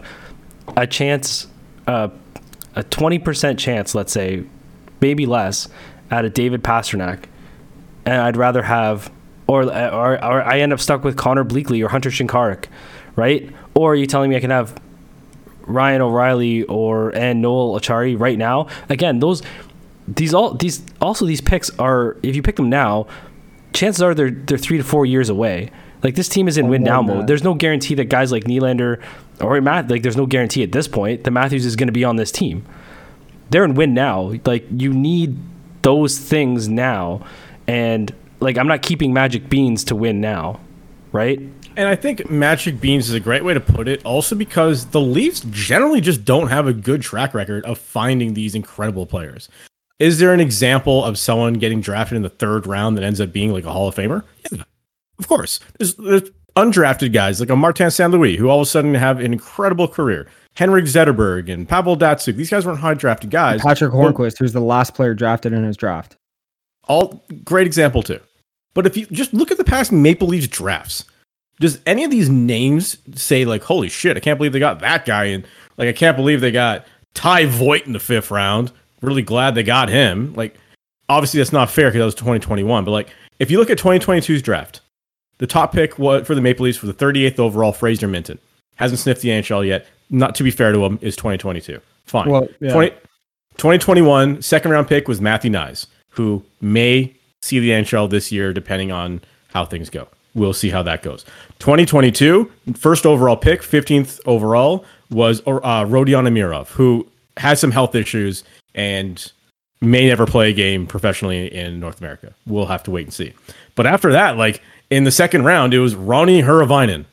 a chance, uh, a twenty percent chance, let's say, maybe less, at a David Pasternak, and I'd rather have, or or, or I end up stuck with Connor Bleakley or Hunter Shinkarik, right? Or are you telling me I can have Ryan O'Reilly or and Noel Achari right now? Again, those these all these also these picks are, if you pick them now, chances are they're they're three to four years away. Like, this team is in Oh, win now more than mode. that. There's no guarantee that guys like Nylander or Matt, like there's no guarantee at this point that Matthews is going to be on this team. They're in win now. Like, you need those things now, and like, I'm not keeping Magic Beans to win now, right? And I think Magic Beans is a great way to put it, also because the Leafs generally just don't have a good track record of finding these incredible players. Is there an example of someone getting drafted in the third round that ends up being like a Hall of Famer? Yeah, of course. There's, there's undrafted guys like a Martin Saint Louis who all of a sudden have an incredible career. Henrik Zetterberg and Pavel Datsyuk. These guys weren't high drafted guys. Patrick Hornquist, who's the last player drafted in his draft. All great example too. But if you just look at the past Maple Leafs drafts, does any of these names say like, holy shit, I can't believe they got that guy, and like, I can't believe they got Ty Voigt in the fifth round. Really glad they got him. Like, obviously that's not fair because that was twenty twenty-one, but like, if you look at twenty twenty-two's draft, the top pick was for the Maple Leafs for the thirty-eighth overall, Fraser Minton. Hasn't sniffed the N H L yet. Not to be fair to him, is twenty twenty-two. Fine. Well, yeah. twenty, twenty twenty-one, second round pick was Matthew Nyes, who may see the N H L this year depending on how things go. We'll see how that goes. twenty twenty-two, first overall pick, fifteenth overall, was uh, Rodion Amirov, who has some health issues and may never play a game professionally in North America. We'll have to wait and see. But after that, like, in the second round, it was Ronnie Huravainen.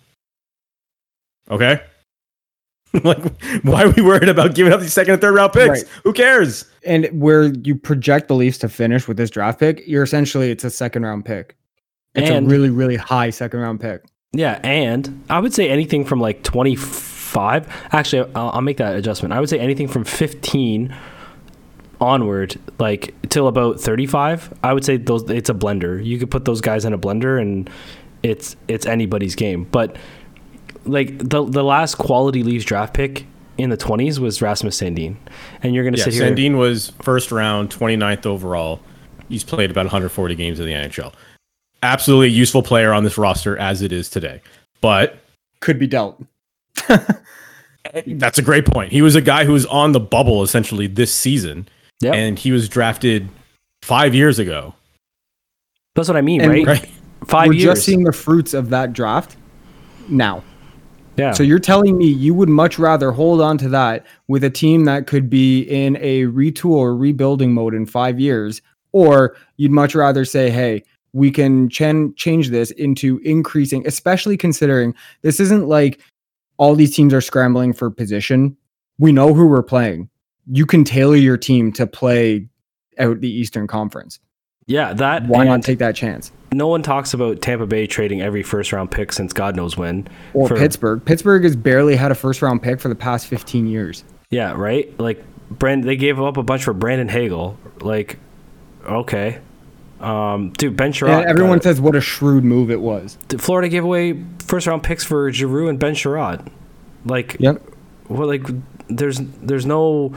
Okay? Like, why are we worried about giving up these second and third round picks? Right. Who cares? And where you project the Leafs to finish with this draft pick, you're essentially, it's a second round pick. It's And- a really, really high second round pick. Yeah, and I would say anything from like twenty-five. Actually, I'll, I'll make that adjustment. I would say anything from fifteen onward, like till about thirty-five. I would say those. It's a blender. You could put those guys in a blender, and it's it's anybody's game. But like the the last quality Leafs draft pick in the twenties was Rasmus Sandin, and you're gonna Yeah, sit here. Sandin was first round, twenty-ninth overall. He's played about one hundred forty games in the N H L. Absolutely useful player on this roster as it is today. But Could be dealt. that's a great point. He was a guy who was on the bubble essentially this season, Yep. and he was drafted five years ago. That's what I mean, And- right? Right? Five We're years. just seeing the fruits of that draft now. yeah. So you're telling me you would much rather hold on to that with a team that could be in a retool or rebuilding mode in five years, or you'd much rather say, hey, we can ch- change this into increasing, especially considering this isn't like all these teams are scrambling for position. We know who we're playing. You can tailor your team to play out the Eastern Conference. yeah. That. Why not and take that chance? No one talks about Tampa Bay trading every first round pick since God knows when. Or for- Pittsburgh. Pittsburgh has barely had a first round pick for the past fifteen years. Yeah, right. Like Brand, they gave up a bunch for Brandon Hagel. Like, okay, um, dude, Ben Sherratt. And everyone got says what a shrewd move it was. it. Florida gave away first round picks for Giroux and Ben Sherratt. Like, Yep. well, like there's there's no.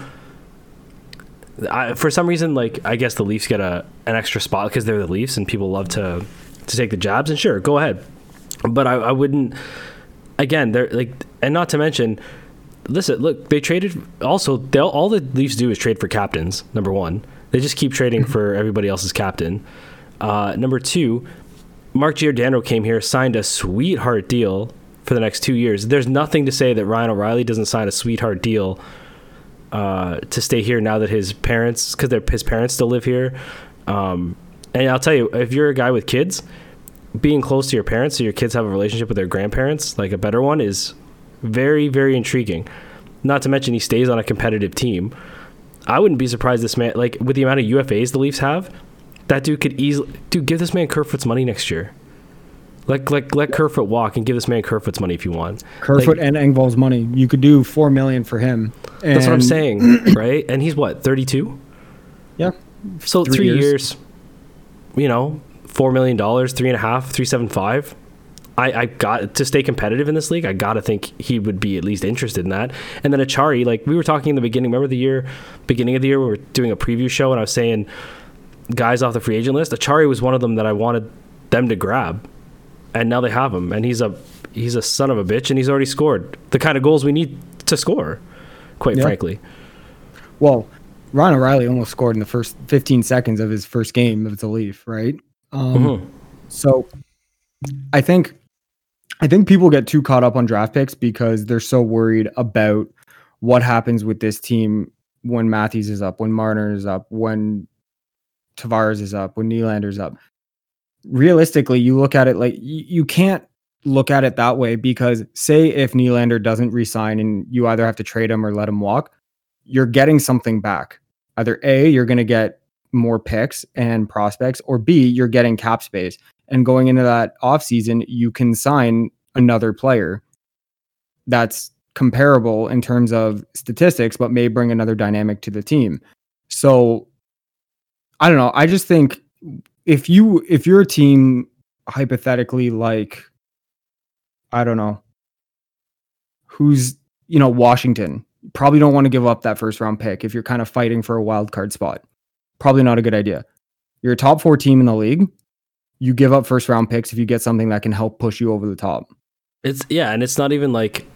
I, for some reason, like I guess the Leafs get a an extra spot because they're the Leafs and people love to to take the jabs. And sure, go ahead, but I, I wouldn't. Again, they're like, and not to mention. Listen, look, they traded. Also, they'll, all the Leafs do is trade for captains. Number one, they just keep trading for everybody else's captain. Uh, number two, Mark Giordano came here, signed a sweetheart deal for the next two years. There's nothing to say that Ryan O'Reilly doesn't sign a sweetheart deal uh, to stay here now that his parents, because his parents still live here. Um, and I'll tell you, if you're a guy with kids, being close to your parents, so your kids have a relationship with their grandparents, like a better one, is very, very intriguing. Not to mention he stays on a competitive team. I wouldn't be surprised this man, like with the amount of U F As the Leafs have, that dude could easily, dude, give this man Kerfoot's money next year. Like, like let Kerfoot walk and give this man Kerfoot's money if you want. Kerfoot Like, and Engvall's money. You could do four million for him. that's what I'm And- saying, right? And he's what, thirty-two? Yeah. So Three three, years. years. you know, four million dollars, three and a half, three seven five. I, I got to stay competitive in this league. I got to think he would be at least interested in that. And then Achari, like we were talking in the beginning, remember the year, beginning of the year, we were doing a preview show and I was saying guys off the free agent list. Achari was one of them that I wanted them to grab, and now they have him. And he's a he's a son of a bitch, and he's already scored the kind of goals we need to score. Quite Yeah. frankly, Well, Ryan O'Reilly almost scored in the first fifteen seconds of his first game of the Leaf, right? Um, Mm-hmm. So I think I think people get too caught up on draft picks because they're so worried about what happens with this team when Matthews is up, when Marner is up, when Tavares is up, when Nylander's up. Realistically, you look at it like you, you can't look at it that way because say if Nylander doesn't resign and you either have to trade him or let him walk, you're getting something back. Either A, you're going to get more picks and prospects, or B, you're getting cap space. And going into that offseason, you can sign another player that's comparable in terms of statistics, but may bring another dynamic to the team. So I don't know. I just think if you if you're a team hypothetically like, I don't know, who's, you know, Washington, probably don't want to give up that first round pick if you're kind of fighting for a wild card spot. Probably not a good idea. You're a top four team in the league. You give up first round picks if you get something that can help push you over the top. It's yeah, and it's not even like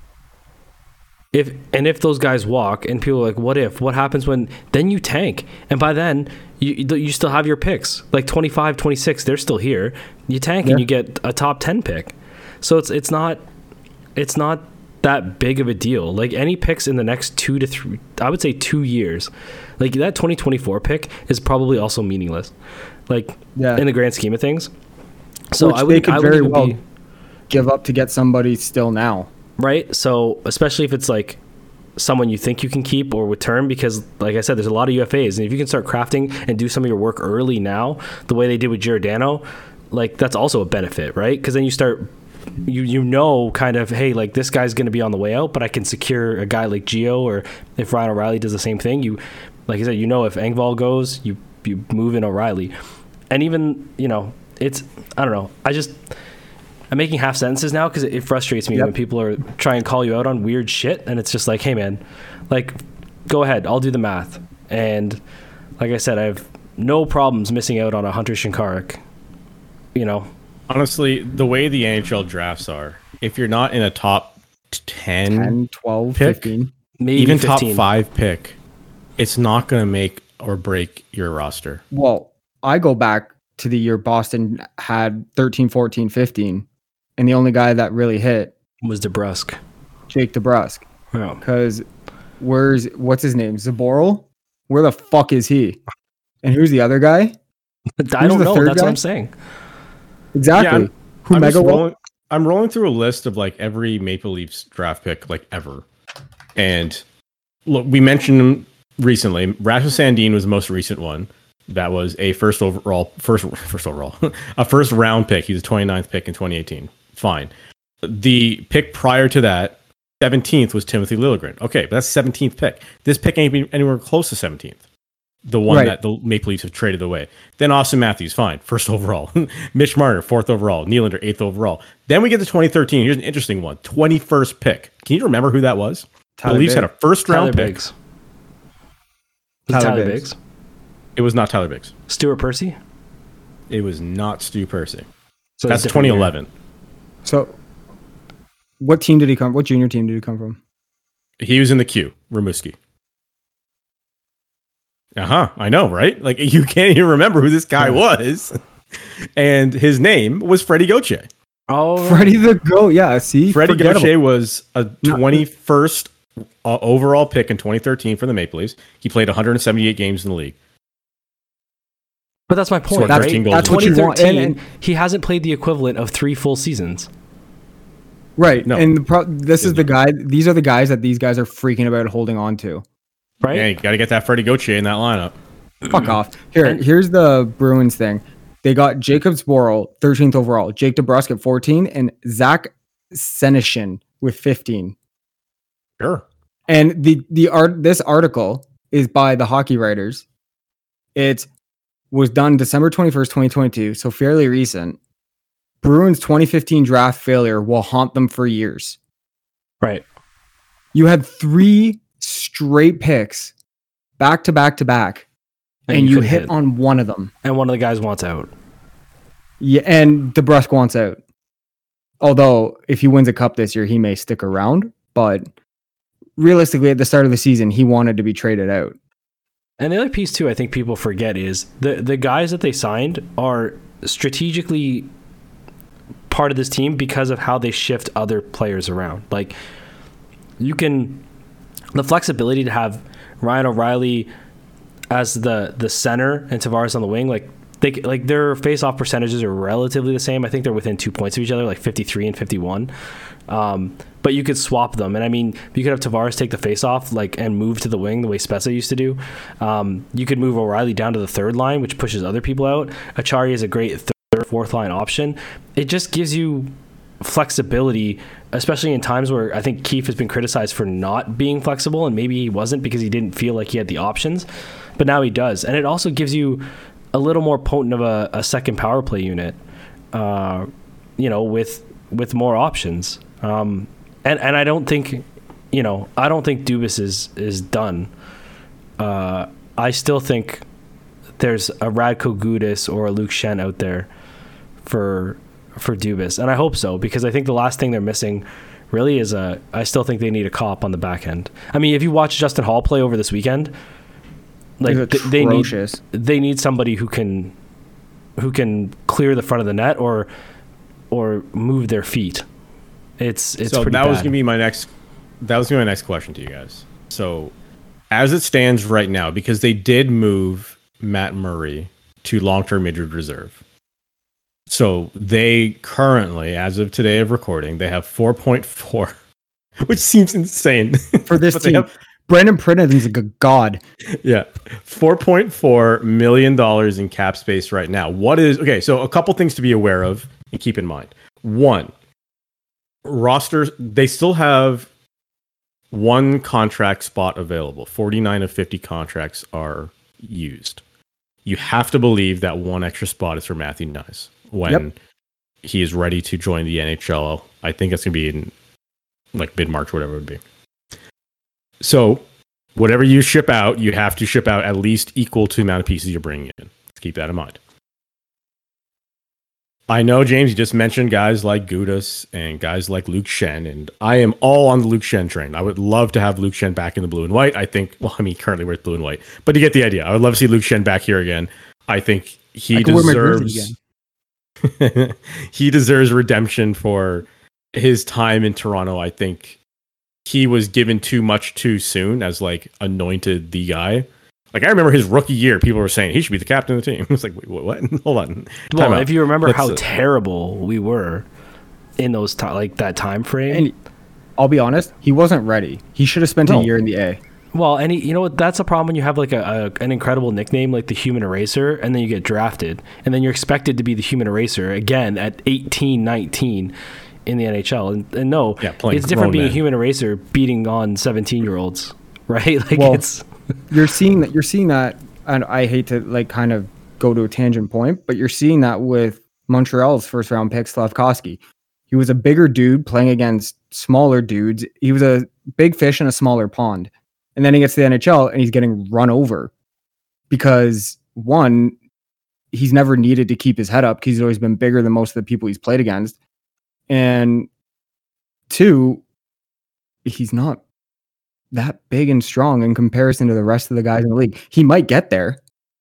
if and if those guys walk and people are like, what if? What happens when then you tank? And by then you you still have your picks. Like twenty-five, twenty-six, they're still here. You tank yeah. and you get a top ten pick. So it's it's not it's not that big of a deal. Like any picks in the next two to three, I would say two years, like that twenty twenty-four pick is probably also meaningless. Like yeah. in the grand scheme of things. So Which I would they could I very would well be, give up to get somebody still now. Right. So especially if it's like someone you think you can keep or with term, because like I said, there's a lot of U F As, and if you can start crafting and do some of your work early now, the way they did with Giordano, like that's also a benefit, right? Because then you start. You you know kind of, hey, like this guy's going to be on the way out, but I can secure a guy like Gio, or if Ryan O'Reilly does the same thing, you, like I said, you know if Engvall goes, you you move in O'Reilly. And even, you know, it's, I don't know, I just, I'm making half sentences now because it, it frustrates me yep. when people are trying to call you out on weird shit, and it's just like, hey man, like, go ahead, I'll do the math. And like I said, I have no problems missing out on a Hunter Shinkarik, you know. Honestly, the way the N H L drafts are, if you're not in a top ten, ten twelve, pick, fifteen, maybe even fifteen. top five pick, it's not going to make or break your roster. Well, I go back to the year Boston had thirteen, fourteen, fifteen, and the only guy that really hit was DeBrusk. Jake DeBrusk. Yeah. Because where's, what's his name? Zaboral? Where the fuck is he? And who's the other guy? I don't know. That's guy? what I'm saying. Exactly. Yeah, I'm, Who I'm, mega rolling, I'm rolling through a list of like every Maple Leafs draft pick like ever. And look, we mentioned him recently. Rasmus Sandin was the most recent one. That was a first overall, first first overall, a first round pick. He was a twenty-ninth pick in twenty eighteen. Fine. The pick prior to that, seventeenth, was Timothy Liljegren. Okay, but that's seventeenth pick. This pick ain't been anywhere close to seventeenth. The one right. that the Maple Leafs have traded away. Then Austin Matthews, fine, first overall. Mitch Marner, fourth overall. Nylander, eighth overall. Then we get to twenty thirteen. Here's an interesting one. twenty-first pick. Can you remember who that was? Tyler the Leafs Biggs. had a first round Tyler pick. Biggs. Tyler, Tyler Biggs. Biggs. It was not Tyler Biggs. Stuart Percy? It was not Stu Percy. So that's twenty eleven. Year. So what team did he come? What junior team did he come from? He was in the queue. Rimouski. Uh-huh. I know, right? Like, you can't even remember who this guy was. And his name was Freddie Gauthier. Oh, Freddie the Goat. Yeah, see? Freddie Gauthier was a twenty-first uh, overall pick in twenty thirteen for the Maple Leafs. He played one hundred seventy-eight games in the league. But that's my point, that's, right? That's what you want. And, and he hasn't played the equivalent of three full seasons. Right. No. And the pro- this is the guy, these are the guys that these guys are freaking about holding on to. Right? Yeah, you got to get that Freddie Gauthier in that lineup. Fuck off. Here, here's the Bruins thing. They got Jacob Zboril, thirteenth overall, Jake DeBrusk at fourteen, and Zach Senyshyn with fifteen. Sure. And the the art this article is by the Hockey Writers. It was done December twenty-first, twenty twenty-two, so fairly recent. Bruins twenty fifteen draft failure will haunt them for years. Right. You had three straight picks back to back to back, and, and you, you hit, hit on one of them. And one of the guys wants out. Yeah, and DeBrusk wants out. Although, if he wins a cup this year, he may stick around. But realistically, at the start of the season, he wanted to be traded out. And the other piece too, I think people forget is the the guys that they signed are strategically part of this team because of how they shift other players around. Like you can, the flexibility to have Ryan O'Reilly as the the center and Tavares on the wing, like they like their face-off percentages are relatively the same. I think they're within two points of each other, like fifty-three and fifty-one. Um, but you could swap them, and I mean, you could have Tavares take the face-off, like, and move to the wing the way Spezza used to do. Um, you could move O'Reilly down to the third line, which pushes other people out. Acciari is a great third, fourth line option. It just gives you flexibility, especially in times where I think Keefe has been criticized for not being flexible, and maybe he wasn't because he didn't feel like he had the options, but now he does. And it also gives you a little more potent of a, a second power play unit, uh, you know, with with more options. Um, and, and I don't think, you know, I don't think Dubas is, is done. Uh, I still think there's a Radko Gudas or a Luke Schenn out there for for Dubas. And I hope so, because I think the last thing they're missing really is a, I still think they need a cop on the back end. I mean, if you watch Justin Hall play over this weekend, like th- they need they need somebody who can who can clear the front of the net or or move their feet. It's it's so pretty that bad. was gonna be my next that was gonna be my next question to you guys. So as it stands right now, because they did move Matt Murray to long-term injured reserve, so they currently, as of today of recording, they have four point four, which seems insane for this team. Have, Brandon Pridden's a good god. Yeah, four point four million dollars in cap space right now. What is okay? So a couple things to be aware of and keep in mind. One, rosters, they still have one contract spot available. forty-nine of fifty contracts are used. You have to believe that one extra spot is for Matthew Knies when yep. he is ready to join the N H L. I think it's going to be in like mid-March, whatever it would be. So whatever you ship out, you have to ship out at least equal to the amount of pieces you're bringing in. Let's keep that in mind. I know, James, you just mentioned guys like Gudas and guys like Luke Schenn, and I am all on the Luke Schenn train. I would love to have Luke Schenn back in the blue and white. I think, well, I mean, currently we're blue and white, but you get the idea. I would love to see Luke Schenn back here again. I think he I deserves he deserves redemption for his time in Toronto. I think he was given too much too soon as like anointed the guy. Like, I remember his rookie year, people were saying he should be the captain of the team. It's like, wait, what? Hold on. Well, if you remember Let's, how uh, terrible we were in those t- like that time frame. And I'll be honest, he wasn't ready. He should have spent no. a year in the A. Well, and he, you know what? That's a problem when you have like a, a an incredible nickname like the Human Eraser, and then you get drafted, and then you're expected to be the Human Eraser again at eighteen, nineteen in the N H L. And, and no, yeah, it's different being man. a Human Eraser beating on seventeen-year-olds, right? Like well, it's. You're seeing that. You're seeing that, and I hate to like kind of go to a tangent point, but you're seeing that with Montreal's first round pick, Slafkovsky. He was a bigger dude playing against smaller dudes. He was a big fish in a smaller pond, and then he gets to the N H L and he's getting run over because one, he's never needed to keep his head up because he's always been bigger than most of the people he's played against, and two, he's not that big and strong in comparison to the rest of the guys in the league. He might get there,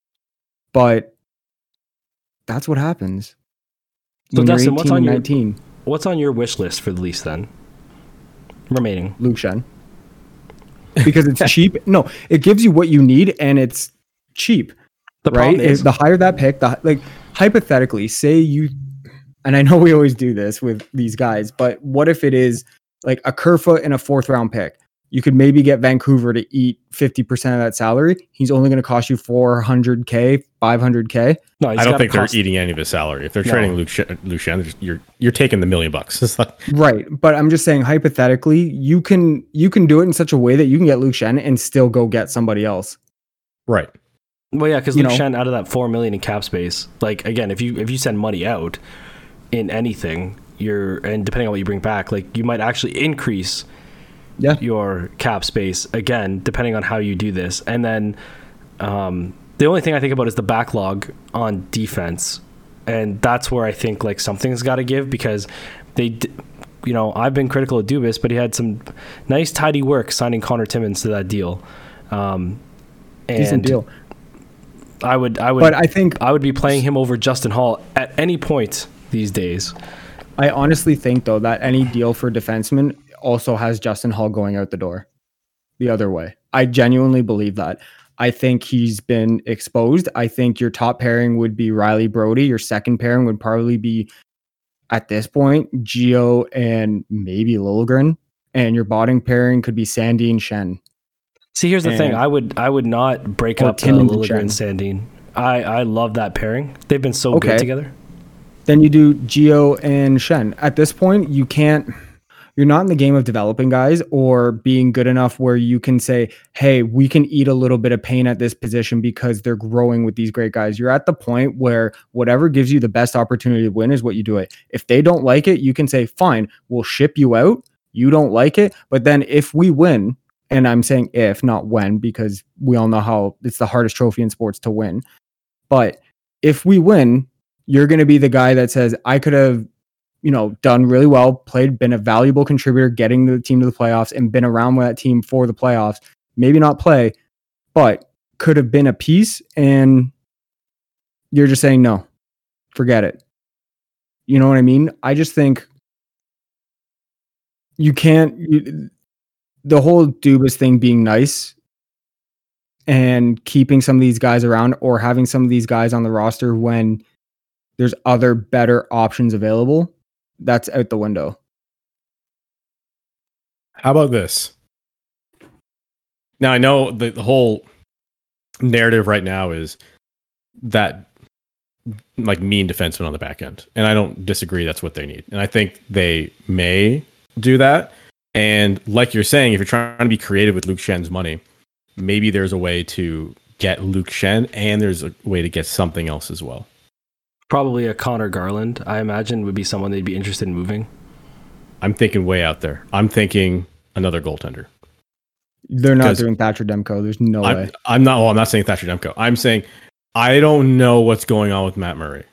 but that's what happens. So Dustin, what's on your nineteen? What's on your wish list for the Leafs then? Remaining Luke Schenn, because it's cheap. No, it gives you what you need, and it's cheap. The right? Is- the higher that pick, the like hypothetically, say you, and I know we always do this with these guys, but what if it is like a Kerfoot and a fourth round pick? You could maybe get Vancouver to eat fifty percent of that salary. He's only going to cost you four hundred K, five hundred K. No, I don't think cost- they're eating any of his salary. If they're no. trading Luke Schenn, you're you're taking the million bucks. Right, but I'm just saying hypothetically, you can you can do it in such a way that you can get Luke Schenn and still go get somebody else. Right. Well, yeah, because Luke know, Schenn out of that four million in cap space, like again, if you if you send money out in anything, you're and depending on what you bring back, like you might actually increase. Yeah, your cap space again, depending on how you do this. And then um, the only thing I think about is the backlog on defense, and that's where I think like something's got to give because they, you know, I've been critical of Dubas, but he had some nice tidy work signing Connor Timmins to that deal. Um, Decent And deal. I would, I would, But I think I would be playing him over Justin Hall at any point these days. I honestly think though that any deal for defenseman also has Justin Hall going out the door the other way. I genuinely believe that. I think he's been exposed. I think your top pairing would be Riley Brody. Your second pairing would probably be, at this point, Gio and maybe Liljegren. And your bottom pairing could be Sandin Shen. See, here's the And- thing. I would, I would not break Or up uh, Tim Liljegren and Chen. Sandin. I, I love that pairing. They've been so Okay. good together. Then you do Gio and Shen. At this point, you can't, you're not in the game of developing guys or being good enough where you can say, hey, we can eat a little bit of pain at this position because they're growing with these great guys. You're at the point where whatever gives you the best opportunity to win is what you do it. If they don't like it, you can say, fine, we'll ship you out. You don't like it. But then if we win, and I'm saying if, not when, because we all know how it's the hardest trophy in sports to win. But if we win, you're going to be the guy that says, I could have, you know, done really well, played, been a valuable contributor, getting the team to the playoffs and been around with that team for the playoffs. Maybe not play, but could have been a piece. And you're just saying, no, forget it. You know what I mean? I just think you can't, you, the whole Dubas thing being nice and keeping some of these guys around or having some of these guys on the roster when there's other better options available, that's out the window. How about this? Now, I know the, the whole narrative right now is that like mean defenseman on the back end. And I don't disagree. That's what they need. And I think they may do that. And like you're saying, if you're trying to be creative with Luke Shen's money, maybe there's a way to get Luke Shen and there's a way to get something else as well. Probably a Connor Garland, I imagine, would be someone they'd be interested in moving. I'm thinking way out there. I'm thinking another goaltender. They're not 'Cause doing Thatcher Demko. There's no I'm, way. I'm not. Well, I'm not saying Thatcher Demko. I'm saying I don't know what's going on with Matt Murray.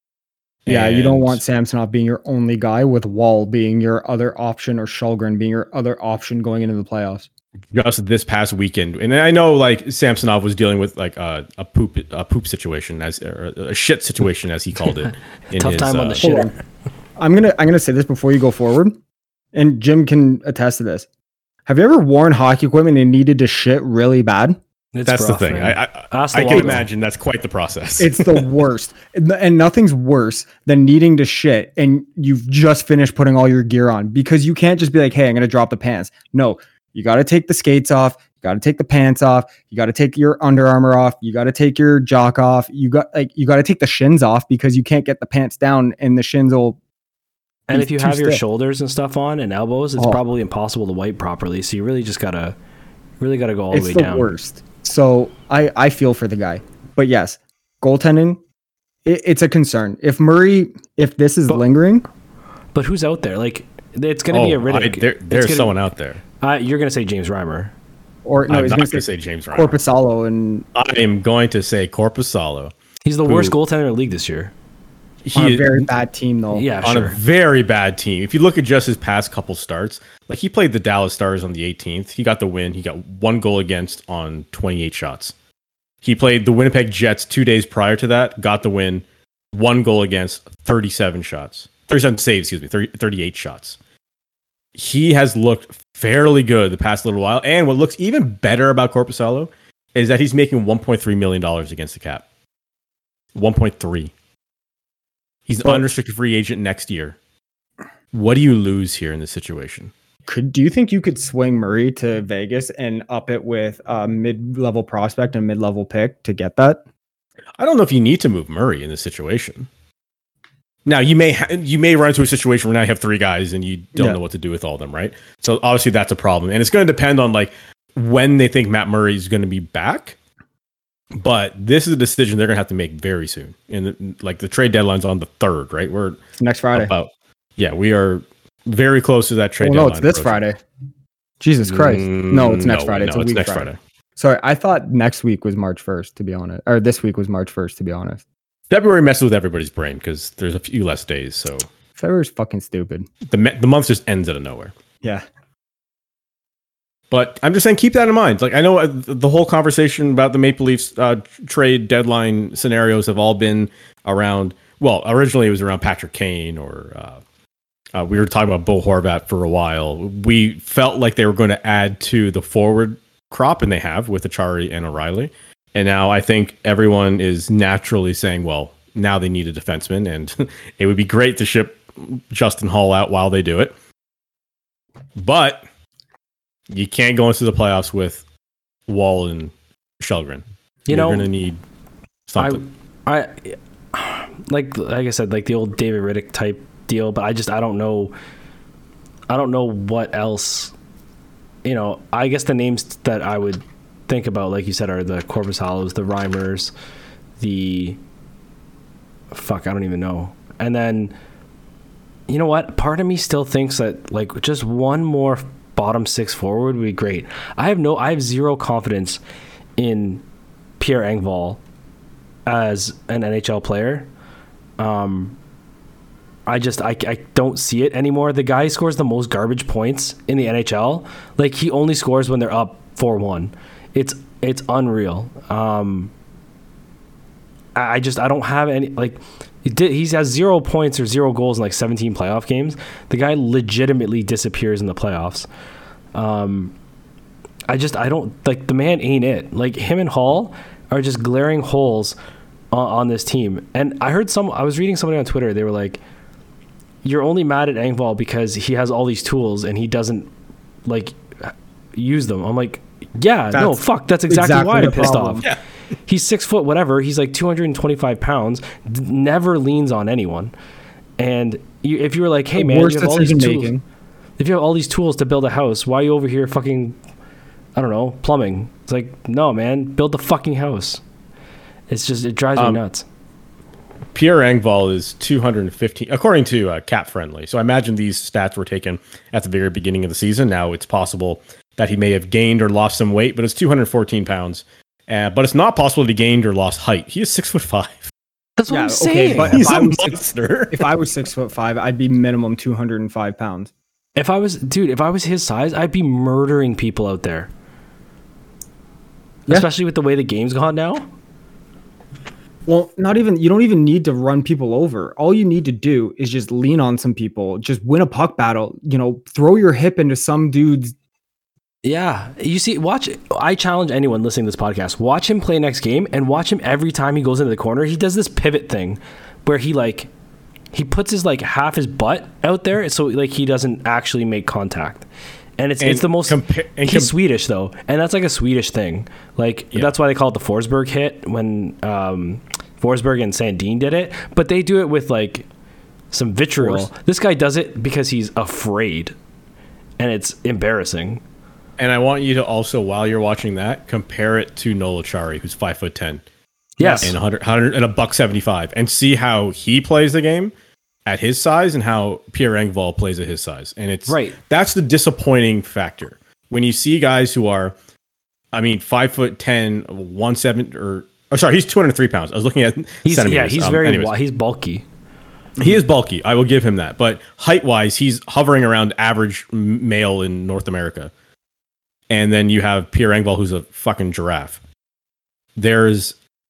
Yeah, you don't And want Samsonov being your only guy with Wall being your other option or Shulgren being your other option going into the playoffs. just this past weekend, and I know like Samsonov was dealing with like a, a poop a poop situation as or a shit situation as he called it. In Tough his, time on uh, the shitter. I'm gonna I'm gonna say this before you go forward, and Jim can attest to this. Have you ever worn hockey equipment and needed to shit really bad? It's That's rough, the thing. man. I I, Ask the I can Waldo. imagine that's quite the process. It's the worst. And and nothing's worse than needing to shit and you've just finished putting all your gear on because you can't just be like, hey, I'm going to drop the pants. No, you got to take the skates off. You got to take the pants off. You got to take your Under Armour off. You got to take your jock off. You got like, you got to take the shins off because you can't get the pants down and the shins will. And be if you too have your stiff. shoulders and stuff on and elbows, it's Oh. probably impossible to wipe properly. So you really just gotta, really gotta go all It's the way the down. worst. So I, I feel for the guy. But yes, goaltending, it, it's a concern. If Murray, if this is But- lingering, But who's out there? Like, it's gonna oh, be a I, Riddick. there, It's there's gonna- someone out there. Uh, you're gonna say James Reimer. or no, I'm he's not going going to to say say James Ryan. Corpusalo and I am going to say Corpusalo. He's the Who- worst goaltender in the league this year. He on a is- very bad team though. Yeah, on sure. a very bad team. If you look at just his past couple starts, like he played the Dallas Stars on the eighteenth. He got the win. He got one goal against on twenty-eight shots. He played the Winnipeg Jets two days prior to that, got the win, one goal against thirty-seven shots. thirty-seven saves, excuse me, thirty, thirty-eight shots. He has looked fairly good the past little while. And what looks even better about Corpusalo is that he's making one point three million dollars against the cap. one point three. He's an But- unrestricted free agent next year. What do you lose here in this situation? Could do you think you could swing Murray to Vegas and up it with a mid-level prospect and mid-level pick to get that? I don't know if you need to move Murray in this situation. Now you may ha- you may run into a situation where now you have three guys and you don't Yeah. know what to do with all of them, right? So obviously that's a problem, and it's going to depend on like when they think Matt Murray is going to be back. But this is a decision they're going to have to make very soon, and the, like the trade deadline's on the third, right? We're It's next Friday. about yeah, we are very close to that trade Well, no, deadline. it's this approaching. Friday. Jesus Christ. No, it's Mm, next no, Friday. no, It's a it's week next Friday. Friday. Sorry, I thought next week was March first, to be honest. Or this week was March first, to be honest. February messes with everybody's brain because there's a few less days, so February's fucking stupid. the me- the month just ends out of nowhere. Yeah. But I'm just saying, keep that in mind. Like I know uh, the whole conversation about the Maple Leafs uh, trade deadline scenarios have all been around. Well, originally it was around Patrick Kane, or uh, uh, we were talking about Bo Horvat for a while. We felt like they were going to add to the forward crop, and they have with Achari and O'Reilly. And now I think everyone is naturally saying, well, now they need a defenseman, and it would be great to ship Justin Hall out while they do it. But you can't go into the playoffs with Wall and Shelgren. You You're know, going to need something. I, I, like, like I said, like the old David Riddick type deal. But I just, I don't know, I don't know what else. You know, I guess the names that I would think about, like you said, are the Korpisalo, the Reimers, the fuck, I don't even know. And then, you know what? Part of me still thinks that like just one more bottom six forward would be great. I have no, I have zero confidence in Pierre Engvall as an N H L player. Um, I just, I, I don't see it anymore. The guy scores the most garbage points in the N H L. Like he only scores when they're up four one. It's, it's unreal. Um, I, I just, I don't have any, like, He did, he has zero points or zero goals in like seventeen playoff games. The guy legitimately disappears in the playoffs. Um, I just, I don't, like, the man ain't it. Like, him and Hall are just glaring holes on, on this team. And I heard some, I was reading somebody on Twitter, they were like, you're only mad at Engvall because he has all these tools and he doesn't, like, use them. I'm like, yeah, that's no, fuck, that's exactly, exactly why I'm pissed problem. off. Yeah. He's six foot whatever. He's like two hundred twenty-five pounds. D- never leans on anyone. And you, if you were like, hey the man, you have all these tools. Making. If you have all these tools to build a house, why are you over here fucking, I don't know, plumbing? It's like, no, man, build the fucking house. It's just, it drives um, me nuts. Pierre Engvall is two hundred fifteen, according to uh, Cap Friendly. So I imagine these stats were taken at the very beginning of the season. Now it's possible that he may have gained or lost some weight, but it's two hundred fourteen pounds. Uh, but it's not possible to gained or lost height. He is six foot five. That's what yeah, I'm saying. Okay, but He's if, a I was monster. Six, if I was six foot five, I'd be minimum two hundred and five pounds. If I was, dude, if I was his size, I'd be murdering people out there. Yeah. Especially with the way the game's gone now. Well, not even, you don't even need to run people over. All you need to do is just lean on some people, just win a puck battle, you know, throw your hip into some dude's. Yeah, you see, watch, I challenge anyone listening to this podcast, watch him play next game and watch him every time he goes into the corner. He does this pivot thing where he like, he puts his like half his butt out there so like he doesn't actually make contact. And it's and it's the most, compa- and he's com- Swedish though. And that's like a Swedish thing. Like yeah. That's why they call it the Forsberg hit when um, Forsberg and Sandin did it. But they do it with like some vitriol. Force. This guy does it because he's afraid. And it's embarrassing. And I want you to also, while you're watching that, compare it to Noel Acciari, who's five foot ten. Yes. And one hundred, one hundred and a buck seventy-five. And see how he plays the game at his size and how Pierre Engvall plays at his size. And it's right. That's the disappointing factor. When you see guys who are, I mean, five foot ten, one seven, or oh, sorry, he's two hundred three pounds. I was looking at he's, centimeters. Yeah, he's um, very anyways. he's bulky. He is bulky. I will give him that. But height wise, he's hovering around average male in North America. And then you have Pierre Engvall, who's a fucking giraffe. There's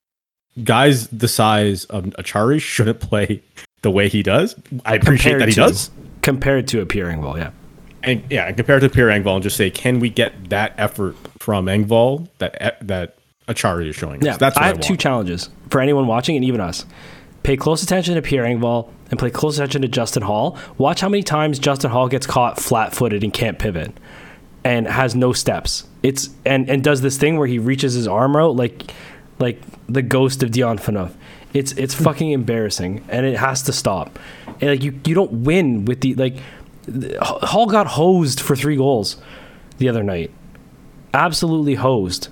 guys the size of Acciari shouldn't play the way he does. I appreciate compared that he to, does. Compared to a Pierre Engvall, yeah. And yeah, and compared to Pierre Engvall, and just say, can we get that effort from Engvall that that Acciari is showing us? Yeah, That's what I I have want. two challenges for anyone watching and even us. Pay close attention to Pierre Engvall and pay close attention to Justin Hall. Watch how many times Justin Hall gets caught flat-footed and can't pivot. And has no steps. It's and, and does this thing where he reaches his arm out like like the ghost of Dion Phaneuf. It's it's fucking embarrassing, and it has to stop. And like you, you don't win with the like. Hall got hosed for three goals the other night, absolutely hosed,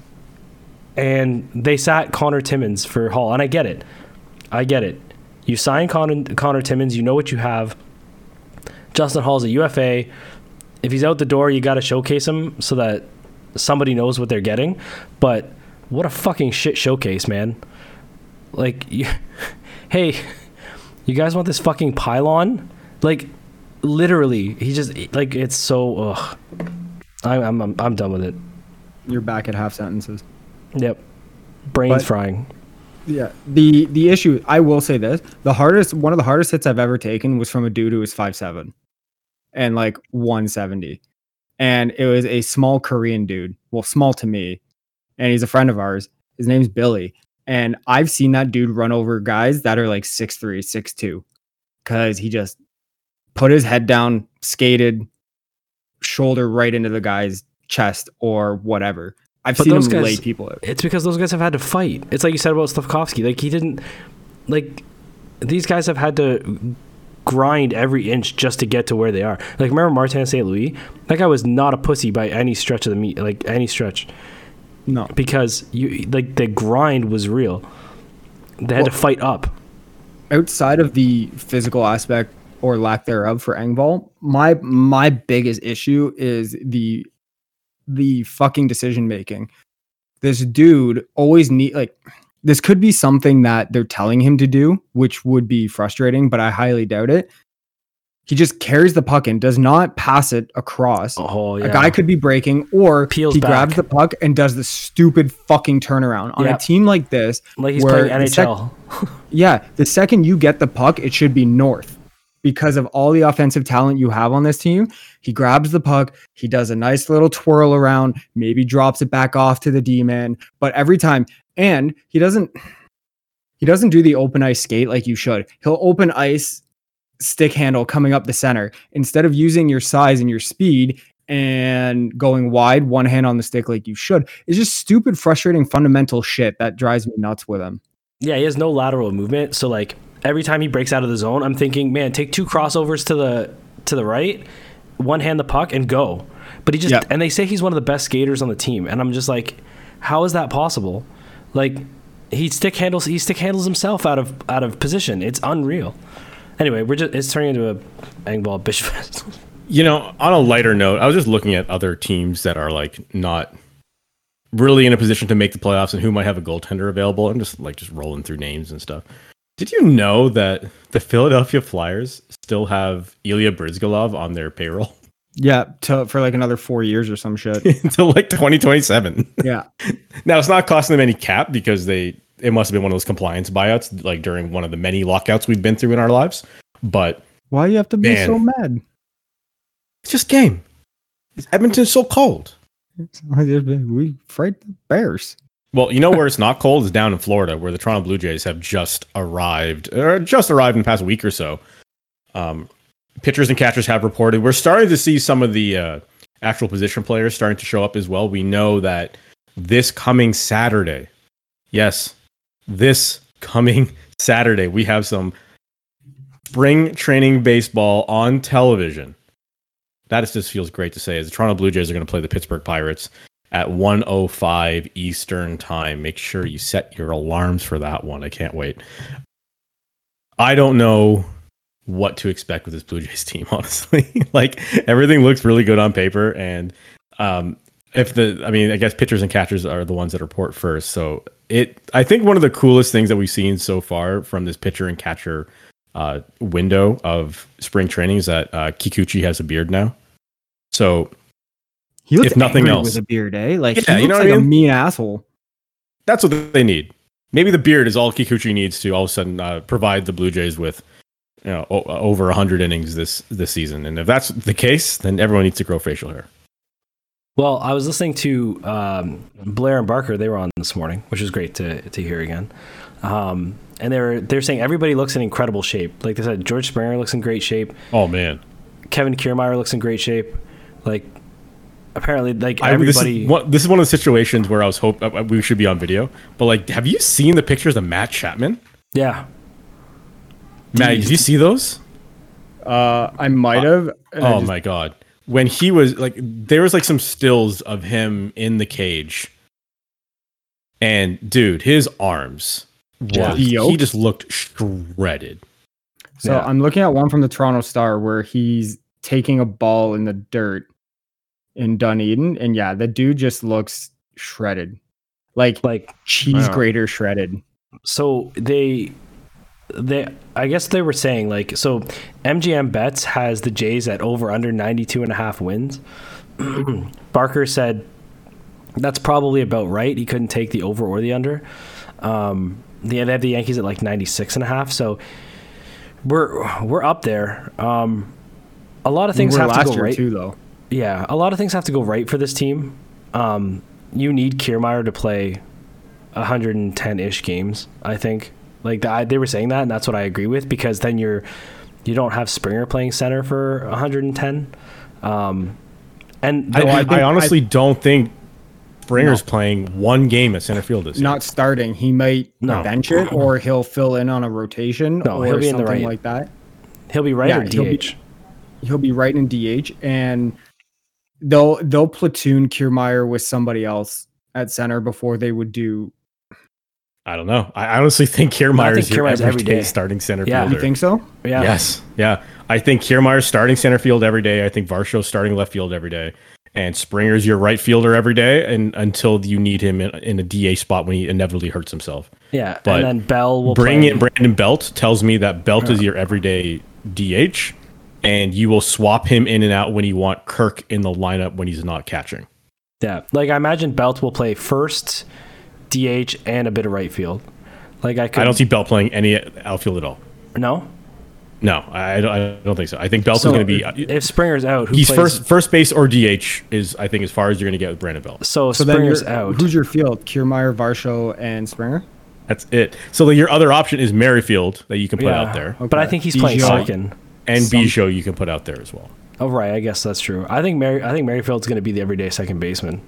and they sat Connor Timmins for Hall. And I get it, I get it. You sign Connor, Connor Timmins, you know what you have. Justin Hall's a U F A. If he's out the door, you got to showcase him so that somebody knows what they're getting. But what a fucking shit showcase, man. Like, you, hey, you guys want this fucking pylon? Like, literally, he just, like, it's so, ugh. I, I'm, I'm I'm done with it. You're back at half sentences. Yep, brains But- frying. Yeah. The the issue, I will say this, the hardest one of the hardest hits I've ever taken was from a dude who was five seven and like one seventy. And it was a small Korean dude. Well, small to me. And he's a friend of ours. His name's Billy. And I've seen that dude run over guys that are like six three, six two. Cause he just put his head down, skated, shoulder right into the guy's chest or whatever. I've But seen him those guys- lay people out. It's because those guys have had to fight. It's like you said about Slavkovsky. Like he didn't, like these guys have had to grind every inch just to get to where they are. Like remember Martin Saint Louis? That guy was not a pussy by any stretch of the meat, like any stretch, No. because you like the grind was real. They had Well- to fight up. Outside of the physical aspect or lack thereof for Engvall, my my biggest issue is the the fucking decision making. This dude always need like this could be something that they're telling him to do, which would be frustrating, but I highly doubt it. He just carries the puck and does not pass it across. Oh yeah. A guy could be breaking, or Peels he back. grabs the puck and does the stupid fucking turnaround on Yeah. a team like this. like he's where playing the N H sec- L. Yeah, the second you get the puck, it should be north because of all the offensive talent you have on this team. He grabs the puck, he does a nice little twirl around, maybe drops it back off to the D-man, but every time, and he doesn't he doesn't do the open ice skate like you should. He'll open ice stick handle coming up the center instead of using your size and your speed and going wide, one hand on the stick like you should. It's just stupid, frustrating, fundamental shit that drives me nuts with him. Yeah, he has no lateral movement. So like every time he breaks out of the zone, I'm thinking, man, take two crossovers to the to the right, one hand the puck and go. But he just Yep. and they say he's one of the best skaters on the team, and I'm just like, how is that possible? Like he stick handles he stick handles himself out of out of position. It's unreal. Anyway, we're just it's turning into a Engvall bitch fest. You know, on a lighter note, I was just looking at other teams that are like not really in a position to make the playoffs and who might have a goaltender available. I'm just like just rolling through names and stuff. Did you know that the Philadelphia Flyers still have Ilya Bryzgalov on their payroll Yeah, to, for like another four years or some shit. until like twenty twenty-seven? Yeah. Now it's not costing them any cap because they it must have been one of those compliance buyouts like during one of the many lockouts we've been through in our lives. But Why you have to be Man. so mad? it's just game. Edmonton's so cold. We fight the Bears. Well, you know where it's not cold is down in Florida, where the Toronto Blue Jays have just arrived, or just arrived in the past week or so. Um, pitchers and catchers have reported. We're starting to see some of the uh, actual position players starting to show up as well. We know that this coming Saturday, yes, this coming Saturday, we have some spring training baseball on television. That is, just feels great to say, as the Toronto Blue Jays are going to play the Pittsburgh Pirates at one oh five Eastern time. Make sure you set your alarms for that one. I can't wait. I don't know what to expect with this Blue Jays team, honestly. Like, everything looks really good on paper, and um, if the, I mean, I guess pitchers and catchers are the ones that report first. So it, I think one of the coolest things that we've seen so far from this pitcher and catcher uh, window of spring training is that uh, Kikuchi has a beard now. So He looks If nothing angry else. with a beard, eh? Like Yeah, he you looks know what like I a mean? mean asshole. that's what they need. Maybe the beard is all Kikuchi needs to all of a sudden uh, provide the Blue Jays with, you know, o- over one hundred innings this this season. And if that's the case, then everyone needs to grow facial hair. Well, I was listening to um, Blair and Barker. They were on this morning, which was great to to hear again. Um, and they were they're saying everybody looks in incredible shape. Like they said, George Springer looks in great shape. Oh man, Kevin Kiermaier looks in great shape. Like apparently, like I, this, everybody. is one, this is one of the situations where I was hope uh, we should be on video. But like, have you seen the pictures of Matt Chapman? Yeah. Matt, did you see those? Uh, I might have. and I Oh just- my god, when he was like, there was like some stills of him in the cage, and dude, his arms. Yeah. Was, he Yoked? just looked shredded. So Yeah. I'm looking at one from the Toronto Star where he's taking a ball in the dirt in Dunedin, and yeah, the dude just looks shredded, like Like cheese Wow. grater shredded. so they they I guess they were saying like so M G M Bets has the Jays at over under ninety-two and a half wins, Barker said that's probably about right. He couldn't take the over or the under. Um, they have the Yankees at like ninety-six and a half. So we're we're up there. Um, a lot of things We're have last to go year right. too, though. Yeah, a lot of things have to go right for this team. Um, you need Kiermaier to play one hundred ten-ish games, I think. Like the, they were saying that, and that's what I agree with, because then you're you don't have Springer playing center for one hundred ten. Um, and I, the- I, I think- I honestly I- don't think Springer's No. playing one game at center field this year. Not starting. He might No. bench it, or he'll fill in on a rotation, No, or he'll be in the something right. like that. he'll be right Yeah, or he'll D be- H. He'll be right in D H, and they'll they'll platoon Kiermaier with somebody else at center before they would do. I don't know. I honestly think Kiermaier is your Kiermaier's every everyday day. starting center Yeah. fielder. You think so? Yeah. Yes. Yeah. I think Kiermaier's starting center field every day. I think Varsho's starting left field every day. And Springer's your right fielder every day, and until you need him in, in a D H spot when he inevitably hurts himself. Yeah, But and then Bell will Bring play. in Brandon Belt tells me that Belt is your everyday D H, and you will swap him in and out when you want Kirk in the lineup when he's not catching. Yeah, like I imagine Belt will play first, D H, and a bit of right field. Like I could. I don't see Belt playing any outfield at all. No. No, I, I don't- I don't think so. I think Belt So is going to be. if Springer's out, who He's plays? first first base or D H is I think as far as you're going to get with Brandon Belt. So, So then Springer's you're, out. who's your field? Kiermaier, Varsho, and Springer. That's it. So like, your other option is Merrifield that you can put yeah, out there, but I Okay. think he's playing Biggio. second. and Some- Bijou you can put out there as well. Oh right, I guess that's true. I think Mary. I think Merrifield's going to be the everyday second baseman.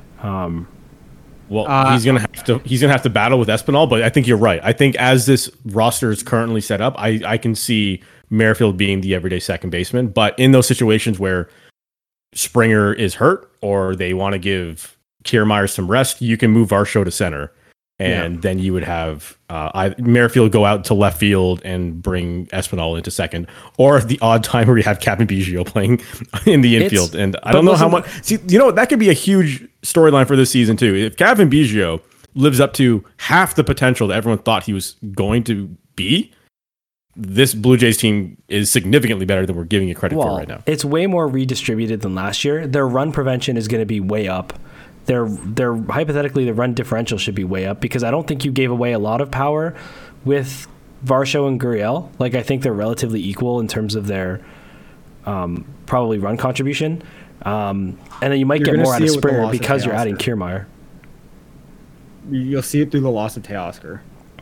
Well, Uh, he's gonna have to he's gonna have to battle with Espinal, but I think you're right. I think as this roster is currently set up, I, I can see Merrifield being the everyday second baseman. But in those situations where Springer is hurt or they want to give Kiermaier some rest, you can move Varsho to center, and then you would have uh, I, Merrifield go out to left field and bring Espinal into second, or the odd time where you have Captain Biggio playing in the It's- infield. And I but don't know how listen- much. See, you know what? That could be a huge storyline for this season too. If Captain Biggio lives up to half the potential that everyone thought he was going to be, this Blue Jays team is significantly better than we're giving it credit Well, for right now. it's way more redistributed than last year. Their run prevention is going to be way up. Their their hypothetically the run differential should be way up, because I don't think you gave away a lot of power with Varsho and Gurriel. Like I think they're relatively equal in terms of their um, probably run contribution. Um, and then you might You're get gonna more out see of it with the Springer loss of because you're adding Teoscar. Kiermaier. You'll see it through the loss of Teoscar.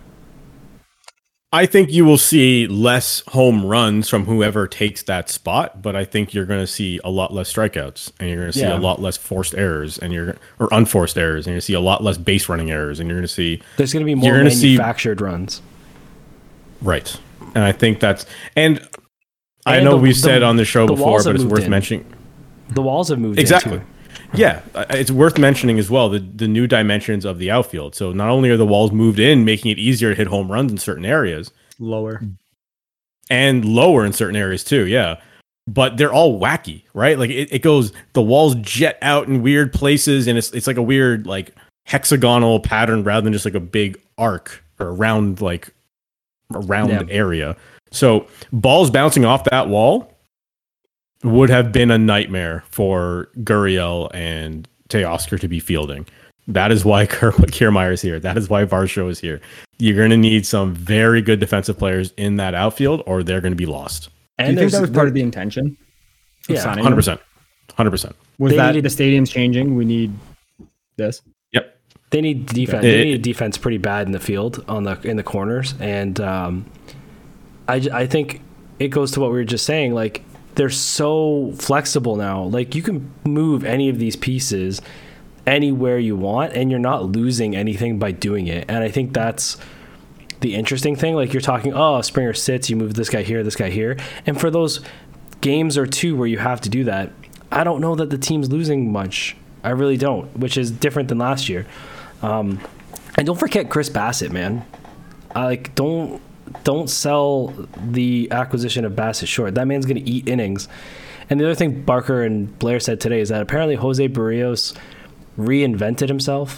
I think you will see less home runs from whoever takes that spot, but I think you're going to see a lot less strikeouts, and you're going to see Yeah. a lot less forced errors, and you're or unforced errors, and you're going to see a lot less base running errors, and you're going to see There's going to be more You're gonna see- manufactured runs. right. And I think that's and I And know the- we've the- said on the show the before, walls but have it's moved worth in. mentioning. The walls have moved in, Exactly. too. Yeah, uh, it's worth mentioning as well the the new dimensions of the outfield. So not only are the walls moved in, making it easier to hit home runs in certain areas, Lower. and lower in certain areas too. Yeah, but they're all wacky, right? Like it, it goes, the walls jet out in weird places, and it's it's like a weird like hexagonal pattern rather than just like a big arc or a round like a round Yeah. area. So balls bouncing off that wall would have been a nightmare for Gurriel and Teoscar to be fielding. That is why Kier- Kiermaier is here. That is why Varsho is here. You're going to need some very good defensive players in that outfield, or they're going to be lost. Do And you think there's- that was part of the intention? Of Yeah, signing one hundred him? percent. one hundred percent. Was They that needed- the stadium's changing? We need this. Yep. They need defense. It- They need defense pretty bad in the field on the in the corners, and um, I j- I think it goes to what we were just saying. Like they're so flexible now. Like you can move any of these pieces anywhere you want, and you're not losing anything by doing it. And I think that's the interesting thing. Like you're talking, oh, Springer sits, you move this guy here, this guy here, and for those games or two where you have to do that, I don't know that the team's losing much. I really don't, which is different than last year. Um, and don't forget Chris Bassett, man. I like don't don't sell the acquisition of Bassett short. That man's going to eat innings. And the other thing Barker and Blair said today is that apparently Jose Barrios reinvented himself.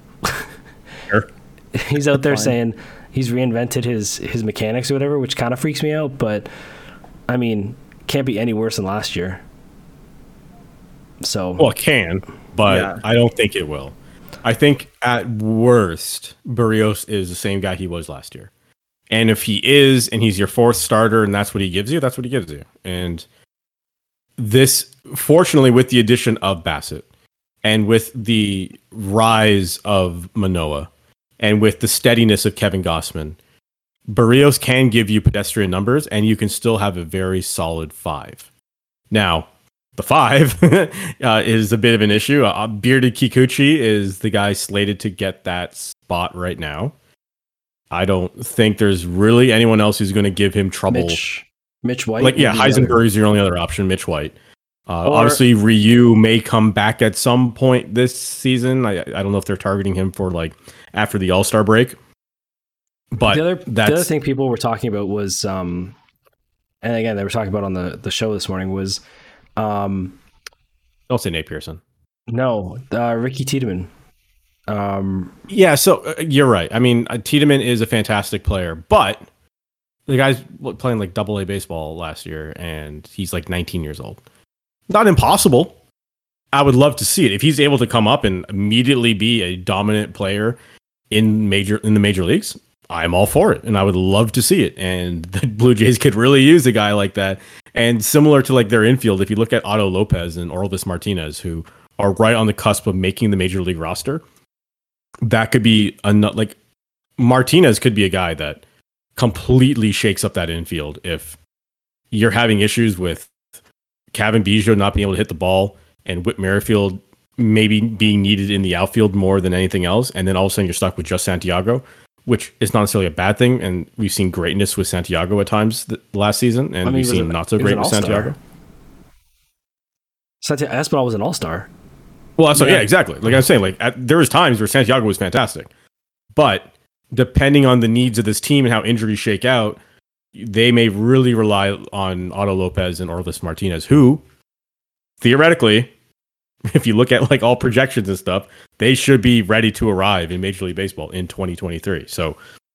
Sure. He's out there Fine. saying he's reinvented his his mechanics or whatever, which kind of freaks me out. But I mean, can't be any worse than last year. So Well, it can, but Yeah. I don't think it will. I think at worst, Barrios is the same guy he was last year. And if he is, and he's your fourth starter, and that's what he gives you, that's what he gives you. And this, fortunately, with the addition of Bassett, and with the rise of Manoah, and with the steadiness of Kevin Gossman, Barrios can give you pedestrian numbers, and you can still have a very solid five. Now, the five uh, is a bit of an issue. Uh, Bearded Kikuchi is the guy slated to get that spot right now. I don't think there's really anyone else who's going to give him trouble. Mitch, Mitch White. Like, yeah, would be the other. Heisenberg is your only other option. Mitch White. Uh, Or- obviously, Ryu may come back at some point this season. I I don't know if they're targeting him for like after the All Star break. But the other, that's the other thing people were talking about was, um, and again, they were talking about on the, the show this morning was, um, don't say Nate Pearson. no, uh, Ricky Tiedemann. Um, Yeah, so uh, you're right. I mean, uh, Tiedemann is a fantastic player, but the guy's what, playing like double A baseball last year, and he's like nineteen years old. Not impossible. I would love to see it if he's able to come up and immediately be a dominant player in major in the major leagues. I'm all for it, and I would love to see it. And the Blue Jays could really use a guy like that. And similar to like their infield, if you look at Otto Lopez and Orelvis Martinez, who are right on the cusp of making the major league roster, that could be a like Martinez could be a guy that completely shakes up that infield if you're having issues with Kevin Biggio not being able to hit the ball and Whit Merrifield maybe being needed in the outfield more than anything else, and then all of a sudden you're stuck with just Santiago, which is not necessarily a bad thing. And we've seen greatness with Santiago at times th- last season, and I mean, we've he was seen an- not so he was great an with all-star. Santiago. Santiago Espinal was an all-star. Well, that's what, Yeah. yeah, exactly. Like I'm saying, like at, there was times where Santiago was fantastic, but depending on the needs of this team and how injuries shake out, they may really rely on Otto Lopez and Orelvis Martinez, who theoretically, if you look at like all projections and stuff, they should be ready to arrive in Major League Baseball in twenty twenty-three. So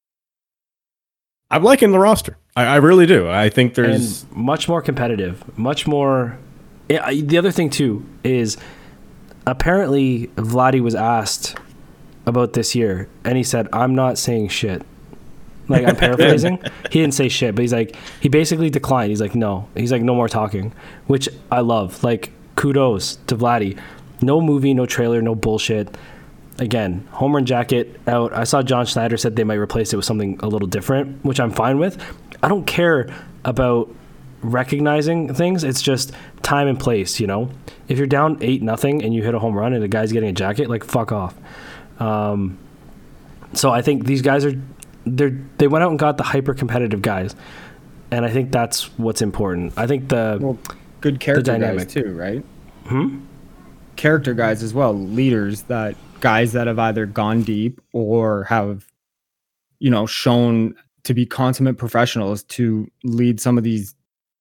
I'm liking the roster. I, I really do. I think there's And much more competitive, much more. Yeah, I- the other thing too is apparently Vladdy was asked about this year, and he said, "I'm not saying shit." Like I'm paraphrasing. He didn't say shit, but he's like he basically declined. He's like, no. He's like, no more talking, which I love. Like kudos to Vladdy. No movie, no trailer, no bullshit. Again, home run jacket out. I saw John Schneider said they might replace it with something a little different, which I'm fine with. I don't care about recognizing things. It's just time and place, you know? If you're down eight nothing and you hit a home run and the guy's getting a jacket, like fuck off. Um, so I think these guys are they they went out and got the hyper competitive guys. And I think that's what's important. I think the Well, good character dynamic. guys too, right? hmm? Character guys as well, leaders, that guys that have either gone deep or have, you know, shown to be consummate professionals to lead some of these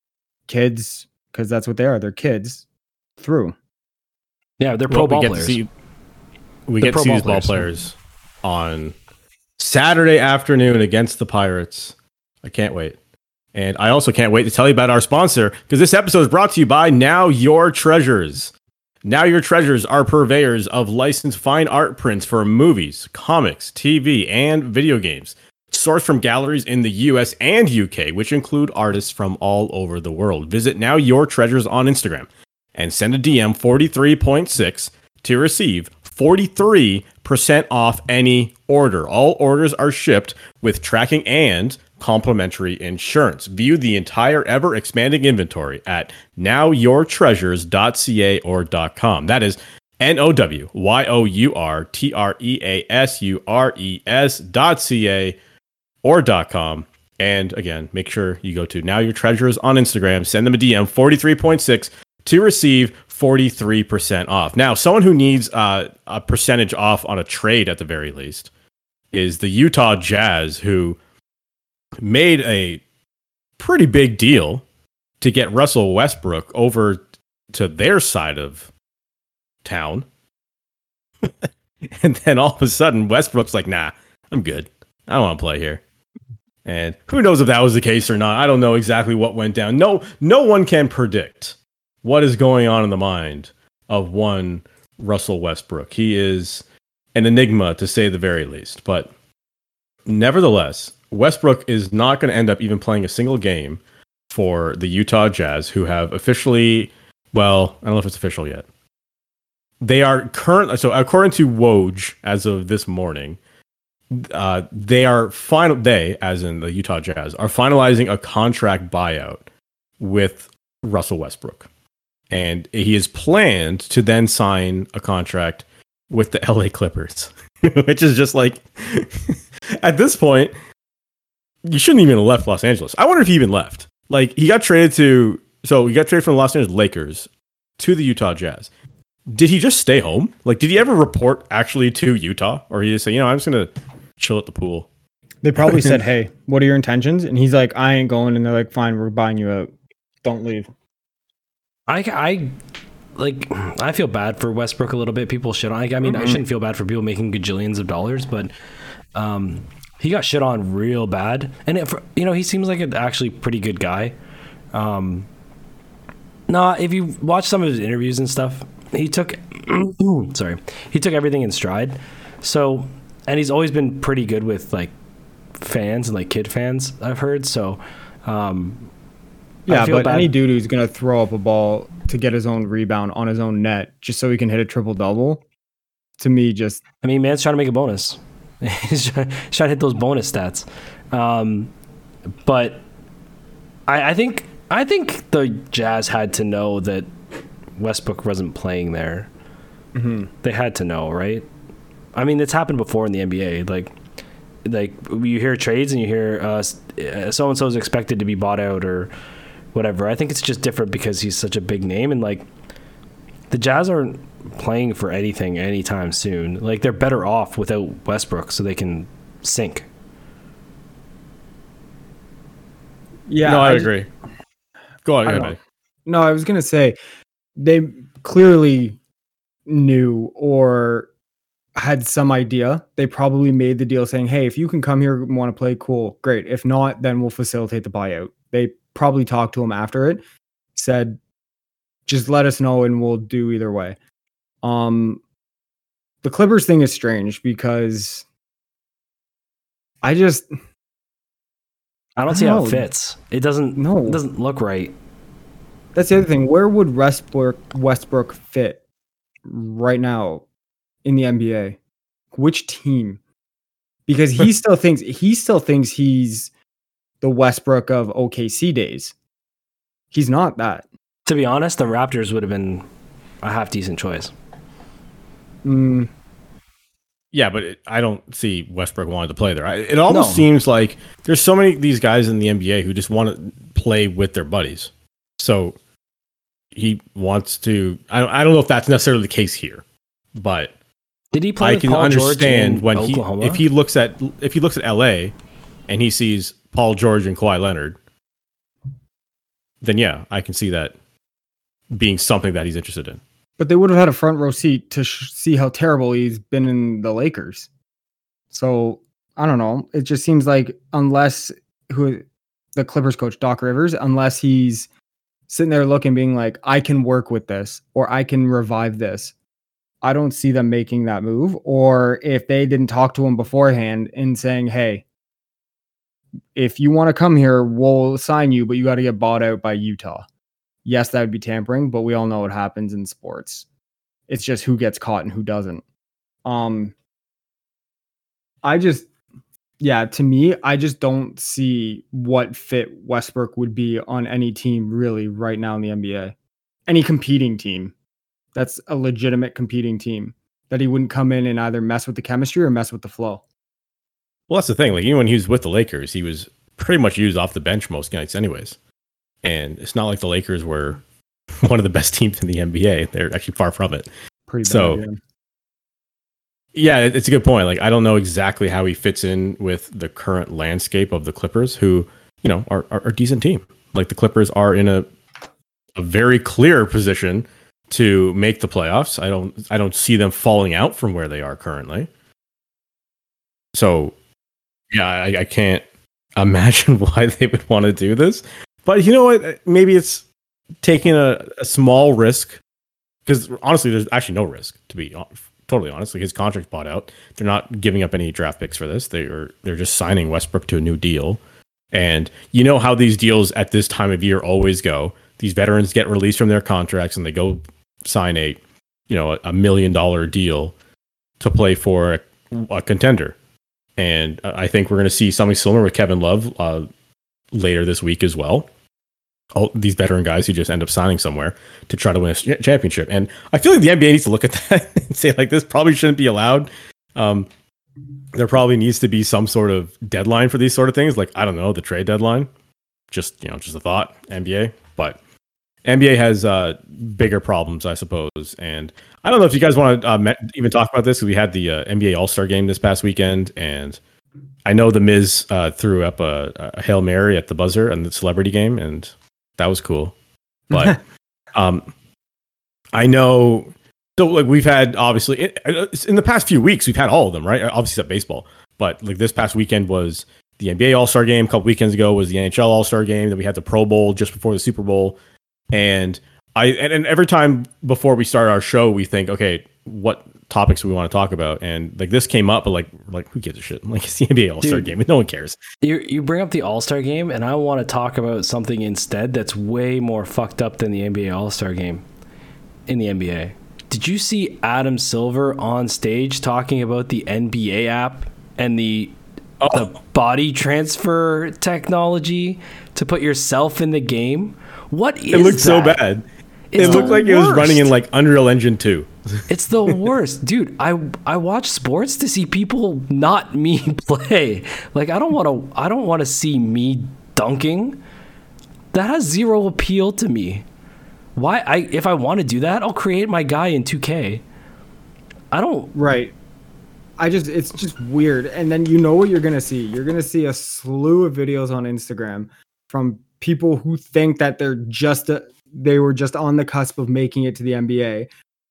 kids, because that's what they are, they're kids, through. Yeah, they're pro well, we ball get players. to see we They're get pro to see ball these ball players. players on Saturday afternoon against the Pirates. I can't wait. And I also can't wait to tell you about our sponsor, because this episode is brought to you by Now Your Treasures. Now Your Treasures are purveyors of licensed fine art prints for movies, comics, T V, and video games. Sourced from galleries in the U S and U K, which include artists from all over the world. Visit Now Your Treasures on Instagram and send a D M forty-three point six to receive forty-three percent off any order. All orders are shipped with tracking and complimentary insurance. View the entire ever expanding inventory at now your treasures dot c a or .com. That is N O W Y O U R T R E A S U R E S dot C A or .com. And again, make sure you go to Now Your Treasures on Instagram, send them a D M forty-three point six to receive forty-three percent off. Now, someone who needs uh, a percentage off on a trade at the very least is the Utah Jazz, who made a pretty big deal to get Russell Westbrook over to their side of town. And then all of a sudden, Westbrook's like, nah, I'm good. I don't want to play here. And who knows if that was the case or not. I don't know exactly what went down. No, no one can predict what is going on in the mind of one Russell Westbrook. He is an enigma, to say the very least. But nevertheless, Westbrook is not going to end up even playing a single game for the Utah Jazz, who have officially, well, I don't know if it's official yet. They are current, so according to Woj, as of this morning, uh, they are final. They, as in the Utah Jazz, are finalizing a contract buyout with Russell Westbrook, and he is planned to then sign a contract with the L A Clippers, which is just like, at this point, you shouldn't even have left Los Angeles. I wonder if he even left. Like, he got traded to, so he got traded from the Los Angeles Lakers to the Utah Jazz. Did he just stay home? Like, did he ever report actually to Utah? Or he just say, you know, I'm just going to chill at the pool? They probably said, hey, what are your intentions? And he's like, I ain't going. And they're like, fine, we're buying you out. Don't leave. I, I like, I feel bad for Westbrook a little bit. People shit on, I mean, mm-hmm. I shouldn't feel bad for people making gajillions of dollars, but um, he got shit on real bad. And, it, you know, he seems like an actually pretty good guy. Um, no, if you watch some of his interviews and stuff, he took, sorry, he took everything in stride. So, and he's always been pretty good with like fans and like kid fans, I've heard. So, um, yeah, but bad. Any dude who's going to throw up a ball to get his own rebound on his own net just so he can hit a triple double, to me, just. I mean, man's trying to make a bonus. He's trying, he's trying to hit those bonus stats. Um, but I, I think, I think the Jazz had to know that Westbrook wasn't playing there. Mm-hmm. They had to know, right? I mean, it's happened before in the N B A. Like, like you hear trades and you hear uh, so and so is expected to be bought out or whatever. I think it's just different because he's such a big name, and like the Jazz aren't playing for anything anytime soon. Like, they're better off without Westbrook, so they can sink. Yeah, no, I, I agree. Go on, go ahead. No, I was gonna say they clearly knew or had some idea. They probably made the deal saying, hey, if you can come here and want to play, cool, great. If not, then we'll facilitate the buyout. They probably talked to him after it, said, just let us know and we'll do either way. Um, the Clippers thing is strange because I just I don't I see don't how know. it fits. It doesn't no. It doesn't look right. That's the other thing. Where would Westbrook Westbrook fit right now in the N B A? Which team? Because he still thinks he still thinks he's the Westbrook of O K C days. He's not that. To be honest, the Raptors would have been a half decent choice. Mm. Yeah, but it, I don't see Westbrook wanting to play there. I, it almost no. seems like there's so many of these guys in the N B A who just want to play with their buddies. So he wants to. I don't, I don't know if that's necessarily the case here, but did he play I with can Paul understand George when in he Oklahoma? if he looks at if he looks at L A and he sees Paul George and Kawhi Leonard, then yeah, I can see that being something that he's interested in. But they would have had a front row seat to sh- see how terrible he's been in the Lakers. So I don't know. It just seems like unless who the Clippers coach Doc Rivers, unless he's sitting there looking, being like, I can work with this or I can revive this, I don't see them making that move. Or if they didn't talk to him beforehand and saying, hey, if you want to come here, we'll sign you, but you got to get bought out by Utah. Yes, that would be tampering, but we all know what happens in sports. It's just who gets caught and who doesn't. Um, I just, yeah, to me, I just don't see what fit Westbrook would be on any team really right now in the N B A. Any competing team that's a legitimate competing team that he wouldn't come in and either mess with the chemistry or mess with the flow. Well, that's the thing. Like, even when he was with the Lakers, he was pretty much used off the bench most nights anyways. And it's not like the Lakers were one of the best teams in the N B A. They're actually far from it. Pretty bad, so, yeah. yeah, it's a good point. Like, I don't know exactly how he fits in with the current landscape of the Clippers, who, you know, are, are, are a decent team. Like, the Clippers are in a a very clear position to make the playoffs. I don't I don't see them falling out from where they are currently. So, yeah, I, I can't imagine why they would want to do this. But you know what? Maybe it's taking a, a small risk because honestly, there's actually no risk, to be totally honest. Like his contract's bought out. They're not giving up any draft picks for this. They are they're just signing Westbrook to a new deal. And you know how these deals at this time of year always go. These veterans get released from their contracts and they go sign a, you know, a million dollar deal to play for a, a contender. And I think we're going to see something similar with Kevin Love uh, later this week as well. All these veteran guys who just end up signing somewhere to try to win a championship. And I feel like the N B A needs to look at that and say, like, this probably shouldn't be allowed. Um, there probably needs to be some sort of deadline for these sort of things. Like, I don't know, the trade deadline. Just, you know, just a thought, N B A. But N B A has uh, bigger problems, I suppose. And I don't know if you guys want to uh, me- even talk about this. We had the uh, N B A All-Star game this past weekend, and I know the Miz uh, threw up a, a Hail Mary at the buzzer in the celebrity game, and that was cool. But um, I know, so like we've had obviously in, in the past few weeks, we've had all of them, right? Obviously, at baseball, but like this past weekend was the N B A All-Star game. A couple weekends ago was the N H L All-Star game. Then we had the Pro Bowl just before the Super Bowl. And I and, and every time before we start our show, we think, okay, what topics do we want to talk about? And like this came up, but like like who gives a shit? Like it's the N B A All-Star game, no one cares. You you bring up the All-Star game, and I want to talk about something instead that's way more fucked up than the N B A All-Star game in the N B A. Did you see Adam Silver on stage talking about the N B A app and the oh. the body transfer technology to put yourself in the game? What is it looked that? so bad. It's it looked like worst. It was running in like Unreal Engine two. It's the worst, dude. I I watch sports to see people, not me, play. Like I don't want to. I don't want to see me dunking. That has zero appeal to me. Why? I if I want to do that, I'll create my guy in two K. I don't. Right. I just it's just weird. And then you know what you're gonna see. You're gonna see a slew of videos on Instagram from people who think that they're just a, they were just on the cusp of making it to the N B A.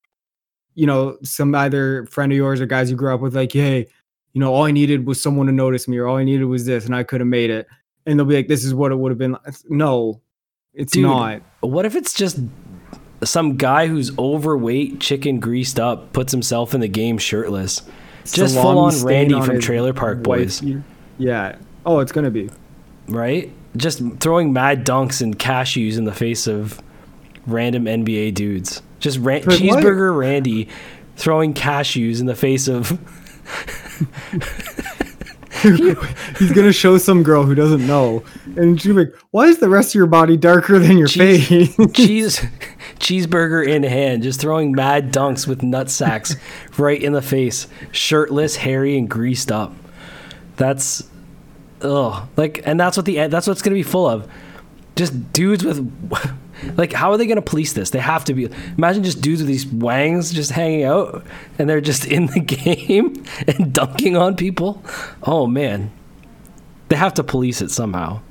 You know, some either friend of yours or guys you grew up with, like, hey, you know, all I needed was someone to notice me, or all I needed was this, and I could have made it. And they'll be like, this is what it would have been. No, it's Dude, not. What if it's just some guy who's overweight, chicken greased up, puts himself in the game shirtless? Just full on Randy on from Trailer Park Boys. Wife. Yeah. Oh, it's going to be. Right? Just throwing mad dunks and cashews in the face of random N B A dudes. Just ra- cheeseburger what? Randy throwing cashews in the face of. He's gonna show some girl who doesn't know, and she's like, "Why is the rest of your body darker than your cheese, face?" cheese, cheeseburger in hand, just throwing mad dunks with nut sacks right in the face, shirtless, hairy, and greased up. That's, ugh, like, and that's what the that's what it's gonna be full of, just dudes with. Like, how are they going to police this? They have to be. Imagine just dudes with these wangs just hanging out, and they're just in the game and dunking on people. Oh, man. They have to police it somehow.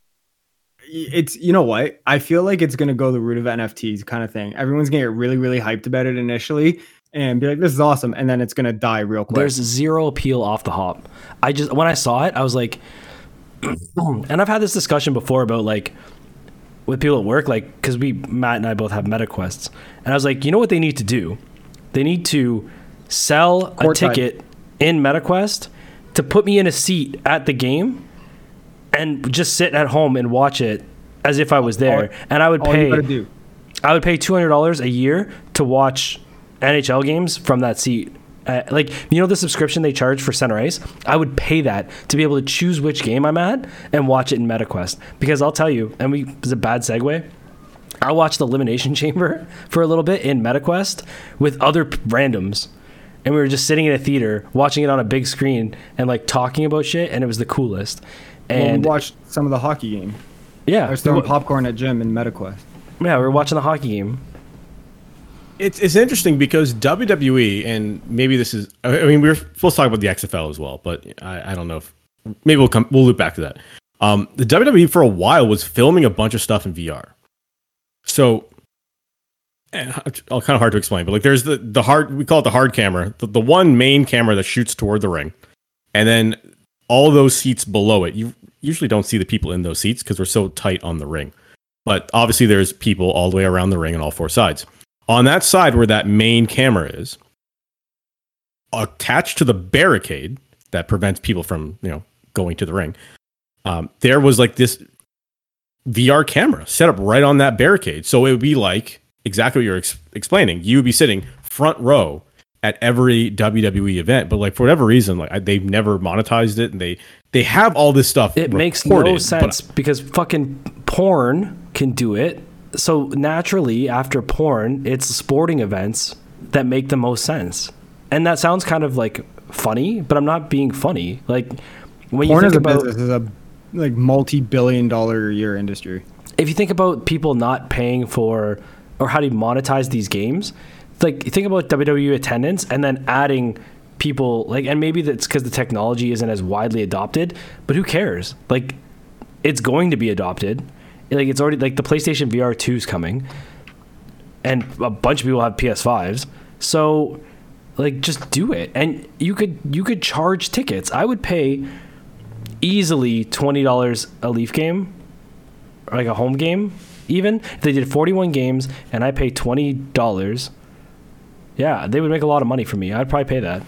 It's, you know what? I feel like it's going to go the route of N F Ts kind of thing. Everyone's going to get really, really hyped about it initially and be like, this is awesome. And then it's going to die real quick. There's zero appeal off the hop. I just, when I saw it, I was like, and I've had this discussion before about, like, with people at work, like, because we Matt and I both have MetaQuests, and I was like, you know what they need to do? They need to sell Court a ticket time. in MetaQuest to put me in a seat at the game and just sit at home and watch it as if I was there. All, and I would pay I would pay two hundred dollars a year to watch N H L games from that seat. Uh, like, you know the subscription they charge for Center Ice? I would pay that to be able to choose which game I'm at and watch it in MetaQuest. Because I'll tell you, and we it's a bad segue, I watched the Elimination Chamber for a little bit in MetaQuest with other p- randoms. And we were just sitting in a theater, watching it on a big screen and, like, talking about shit, and it was the coolest. And well, we watched some of the hockey game. Yeah. I was throwing popcorn at Jim in MetaQuest. Yeah, we were watching the hockey game. It's it's interesting because W W E, and maybe this is, I mean, we were supposed to talk about the X F L as well, but I, I don't know if, maybe we'll come, we'll loop back to that. Um, the W W E for a while was filming a bunch of stuff in V R. So, all kind of hard to explain, but like there's the, the hard, we call it the hard camera, the, the one main camera that shoots toward the ring. And then all those seats below it, you usually don't see the people in those seats because we're so tight on the ring. But obviously there's people all the way around the ring on all four sides. On that side where that main camera is, attached to the barricade that prevents people from, you know, going to the ring, um, there was like this V R camera set up right on that barricade. So it would be like exactly what you're ex- explaining. You would be sitting front row at every W W E event, but like for whatever reason, like I, they've never monetized it, and they they have all this stuff. It makes no sense because fucking porn can do it. So naturally, after porn, it's sporting events that make the most sense. And that sounds kind of like funny, but I'm not being funny. Like when porn you think as a about business is a like multi-billion dollar a year industry. If you think about people not paying for or how to monetize these games, like think about W W E attendance and then adding people like, and maybe that's because the technology isn't as widely adopted, but who cares? Like it's going to be adopted. Like it's already like the PlayStation V R two is coming and a bunch of people have P S fives. So like just do it. And you could, you could charge tickets. I would pay easily twenty dollars a Leaf game, or like a home game. Even if they did forty-one games and I pay twenty dollars, yeah, they would make a lot of money for me. I'd probably pay that.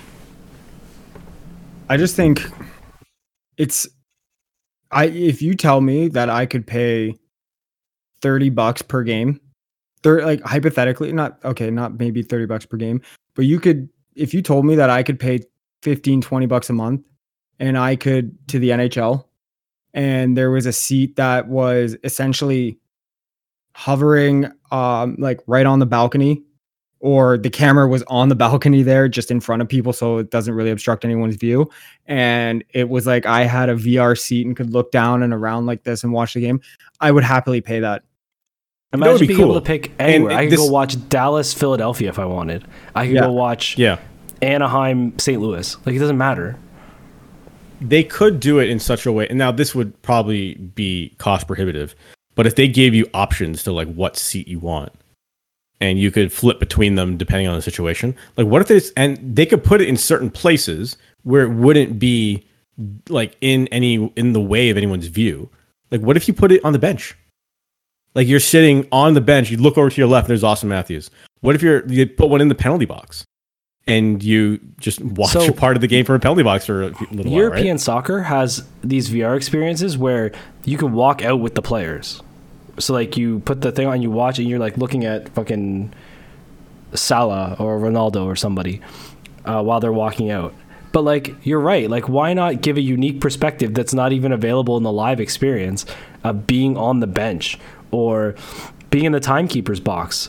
I just think it's, I if you tell me that I could pay thirty bucks per game, thir- like hypothetically, not okay, not maybe thirty bucks per game, but you could, if you told me that I could pay fifteen, twenty bucks a month and I could to the N H L, and there was a seat that was essentially hovering um like right on the balcony, or the camera was on the balcony there just in front of people so it doesn't really obstruct anyone's view, and it was like I had a V R seat and could look down and around like this and watch the game, I would happily pay that. Imagine that would be being cool. able to pick anywhere. And I could this, go watch Dallas, Philadelphia if I wanted. I could yeah. go watch yeah. Anaheim, Saint Louis. Like it doesn't matter. They could do it in such a way, and now this would probably be cost prohibitive, but if they gave you options to like what seat you want, and you could flip between them depending on the situation, like what if it's, and they could put it in certain places where it wouldn't be like in any in the way of anyone's view. Like what if you put it on the bench? Like you're sitting on the bench, you look over to your left, there's Austin Matthews. What if you're you put one in the penalty box? And you just watch So, a part of the game from a penalty box for a little European while, right? soccer has these V R experiences where you can walk out with the players. So like you put the thing on, you watch it, and you're like looking at fucking Salah or Ronaldo or somebody uh, while they're walking out. But like you're right, like why not give a unique perspective that's not even available in the live experience of being on the bench or being in the timekeeper's box,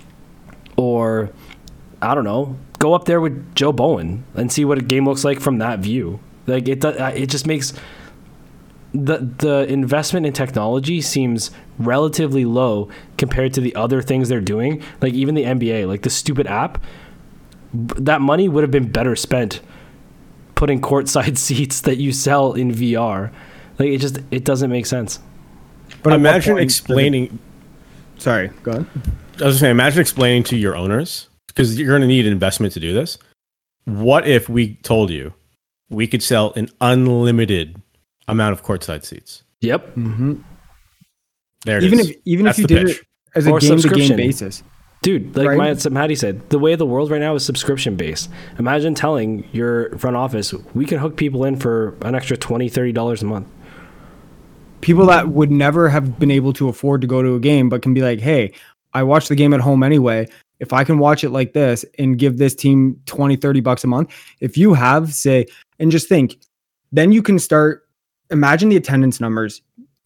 or I don't know, go up there with Joe Bowen and see what a game looks like from that view. Like it, it just makes the the investment in technology seems relatively low compared to the other things they're doing. Like even the N B A, like the stupid app, that money would have been better spent putting courtside seats that you sell in V R. Like it just it doesn't make sense. But imagine explaining. Sorry, go ahead. I was just saying, imagine explaining to your owners, because you're going to need an investment to do this. What if we told you we could sell an unlimited amount of courtside seats? Yep. Mm-hmm. There it even is. if even That's if you the did pitch. it as a Or game to subscription. game basis. Dude, like Right? my Maddie said, the way of the world right now is subscription based. Imagine telling your front office, we can hook people in for an extra twenty dollars, thirty dollars a month. People that would never have been able to afford to go to a game, but can be like, hey, I watch the game at home anyway. If I can watch it like this and give this team twenty, thirty bucks a month, if you have, say, and just think, then you can start, imagine the attendance numbers.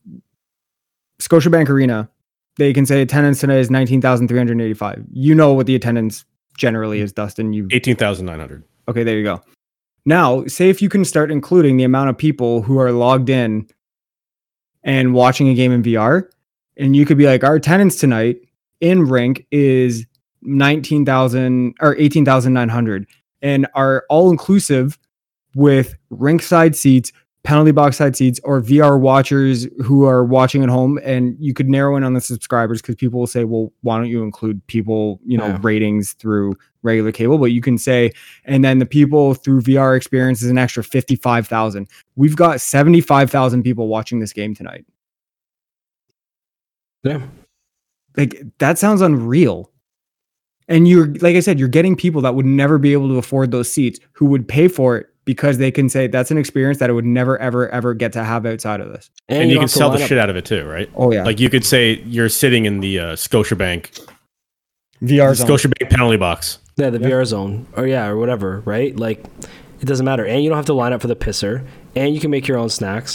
Scotiabank Arena, they can say attendance today is nineteen thousand three hundred eighty-five. You know what the attendance generally is, Dustin. You eighteen thousand nine hundred. Okay, there you go. Now, say if you can start including the amount of people who are logged in and watching a game in V R, and you could be like, our attendance tonight in rink is nineteen thousand or eighteen thousand nine hundred, and are all inclusive with rink side seats, penalty box side seats, or V R watchers who are watching at home. And you could narrow in on the subscribers, because people will say, well, why don't you include people, you know, Yeah. ratings through regular cable? But you can say, and then the people through V R experience is an extra fifty-five thousand. We've got seventy-five thousand people watching this game tonight. Yeah. Like, that sounds unreal. And you're, like I said, you're getting people that would never be able to afford those seats who would pay for it because they can say that's an experience that I would never, ever, ever get to have outside of this. And, and you, you can sell the up. shit out of it too, right? Oh, yeah. Like you could say you're sitting in the uh, Scotiabank V R zone. Scotiabank penalty box. Yeah, the yeah. V R zone. Or yeah, or whatever, right? Like, it doesn't matter. And you don't have to line up for the pisser. And you can make your own snacks.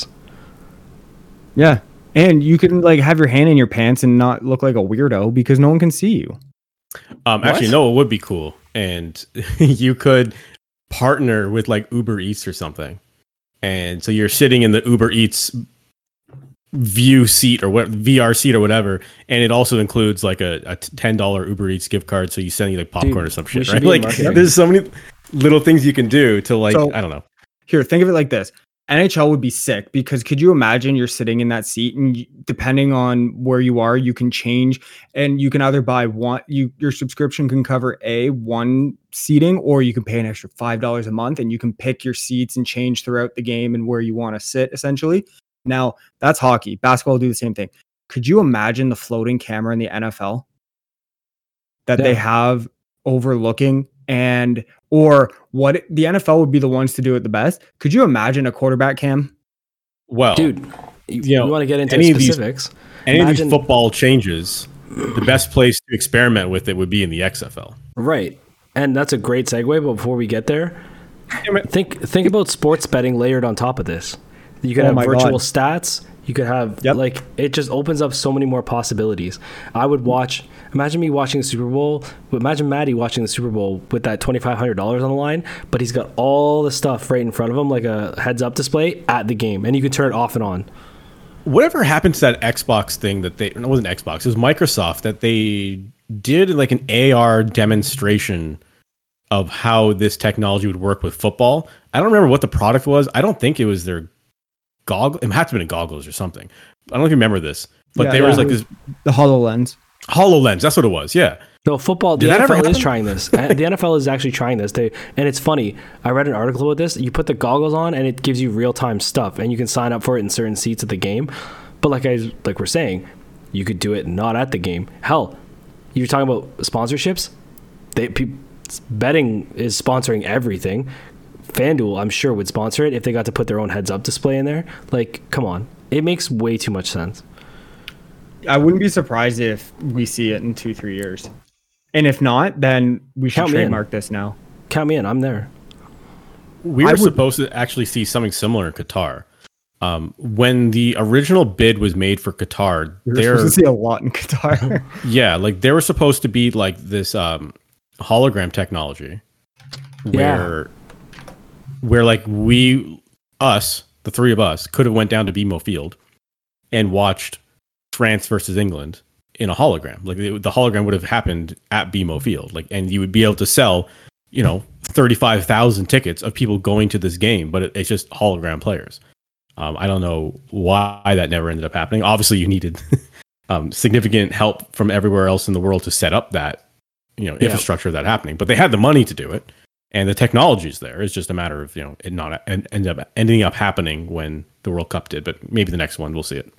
Yeah. And you can like have your hand in your pants and not look like a weirdo because no one can see you. Um, actually, no, it would be cool. And you could partner with like Uber Eats or something. And so you're sitting in the Uber Eats view seat or what V R seat or whatever. And it also includes like a, a ten dollars Uber Eats gift card. So you send you like popcorn Dude, or some shit, right? Like there's so many little things you can do to like, so, I don't know. Here, think of it like this. N H L would be sick because could you imagine you're sitting in that seat and you, depending on where you are, you can change and you can either buy one, you your subscription can cover a one seating or you can pay an extra five dollars a month and you can pick your seats and change throughout the game and where you want to sit essentially. Now that's hockey. Basketball will do the same thing. Could you imagine the floating camera in the N F L that yeah. they have overlooking and or what the N F L would be the ones to do it the best. Could you imagine a quarterback cam? Well, dude, you, you, know, you want to get into any specifics. Of these, any imagine, of these football changes, the best place to experiment with it would be in the X F L. Right. And that's a great segue. But before we get there, think think about sports betting layered on top of this. You could oh have virtual God. stats. You could have yep. like it just opens up so many more possibilities. I would watch. Imagine me watching the Super Bowl. Imagine Maddie watching the Super Bowl with that twenty-five hundred dollars on the line, but he's got all the stuff right in front of him, like a heads-up display at the game, and you can turn it off and on. Whatever happened to that Xbox thing that they? It wasn't Xbox. It was Microsoft that they did like an A R demonstration of how this technology would work with football. I don't remember what the product was. I don't think it was their goggles. It had to have been goggles or something. I don't know if you remember this, but yeah, there yeah, was like this the HoloLens. HoloLens, that's what it was. Yeah. No, football. The N F L is trying this. The N F L is actually trying this. They and it's funny. I read an article about this. You put the goggles on, and it gives you real time stuff, and you can sign up for it in certain seats at the game. But like I like we're saying, you could do it not at the game. Hell, you're talking about sponsorships. They pe- betting is sponsoring everything. FanDuel, I'm sure, would sponsor it if they got to put their own heads up display in there. Like, come on, it makes way too much sense. I wouldn't be surprised if we see it in two, three years. And if not, then we should Count trademark this now. Count me in. I'm there. We were would, supposed to actually see something similar in Qatar. Um, when the original bid was made for Qatar, we were supposed to see a lot in Qatar. Yeah, like they were supposed to be like this um, hologram technology, where, yeah. where like we, us, the three of us, could have went down to B M O Field and watched France versus England in a hologram. Like the, the hologram would have happened at B M O Field, like, and you would be able to sell, you know, thirty-five thousand tickets of people going to this game, but it, it's just hologram players. Um, I don't know why that never ended up happening. Obviously, you needed um, significant help from everywhere else in the world to set up that, you know, infrastructure yeah. of that happening. But they had the money to do it, and the technology's there. It's just a matter of, you know, it not end, end up ending up happening when the World Cup did. But maybe the next one we'll see it.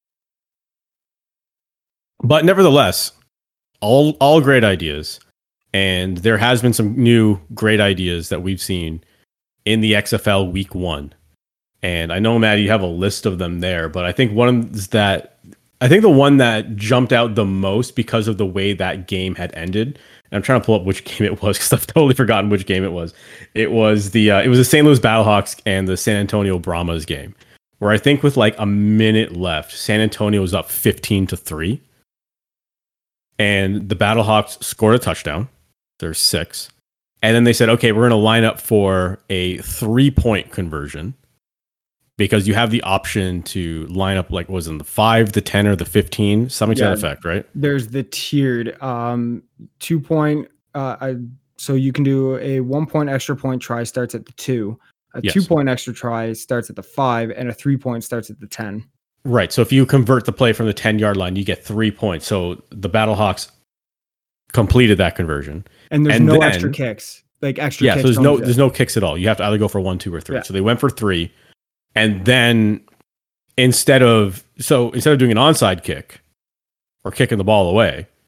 But nevertheless, all all great ideas, and there has been some new great ideas that we've seen in the X F L Week One. And I know, Matt, you have a list of them there, but I think one is that I think the one that jumped out the most because of the way that game had ended. And I'm trying to pull up which game it was because I've totally forgotten which game it was. It was the uh, it was the Saint Louis Battlehawks and the San Antonio Brahmas game, where I think with like a minute left, San Antonio was up fifteen to three. And the Battlehawks scored a touchdown. There's six. And then they said, okay, we're going to line up for a three-point conversion because you have the option to line up, like, was it the five, the ten, or the fifteen? Something yeah, to that effect, right? There's the tiered um, two-point. Uh, I, so you can do a one-point extra point try starts at the two. A yes. two-point extra try starts at the five. And a three-point starts at the ten. Right. So if you convert the play from the ten-yard line, you get three points. So the Battlehawks completed that conversion. And there's and no then, extra kicks. Like extra yeah, kicks. Yeah, so there's no there's no kicks at all. You have to either go for one, two, or three. Yeah. So they went for three. And then instead of so instead of doing an onside kick or kicking the ball away,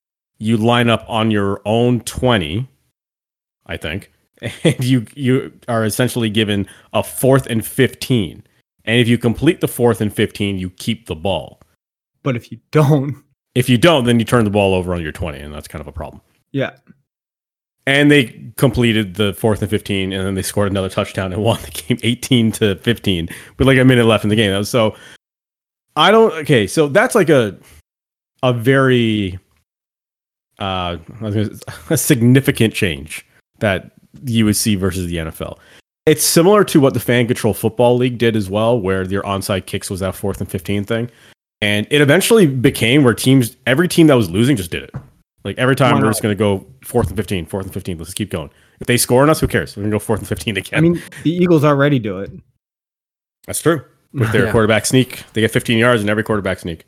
you line up on your own twenty, I think, and you you are essentially given a fourth and fifteen. And if you complete the fourth and fifteen, you keep the ball. But if you don't, if you don't, then you turn the ball over on your twenty, and that's kind of a problem. Yeah. And they completed the fourth and fifteen, and then they scored another touchdown and won the game eighteen to fifteen with like a minute left in the game. So I don't. Okay, so that's like a a very uh, a significant change that you would see versus the N F L. It's similar to what the Fan Control Football League did as well, where your onside kicks was that fourth and fifteen thing. And it eventually became where teams, every team that was losing just did it. Like every time we're just going to go fourth and fifteen, fourth and fifteen. Let's keep going. If they score on us, who cares? We're going to go fourth and fifteen again. I mean, the Eagles already do it. That's true. With their yeah. quarterback sneak, they get fifteen yards in every quarterback sneak.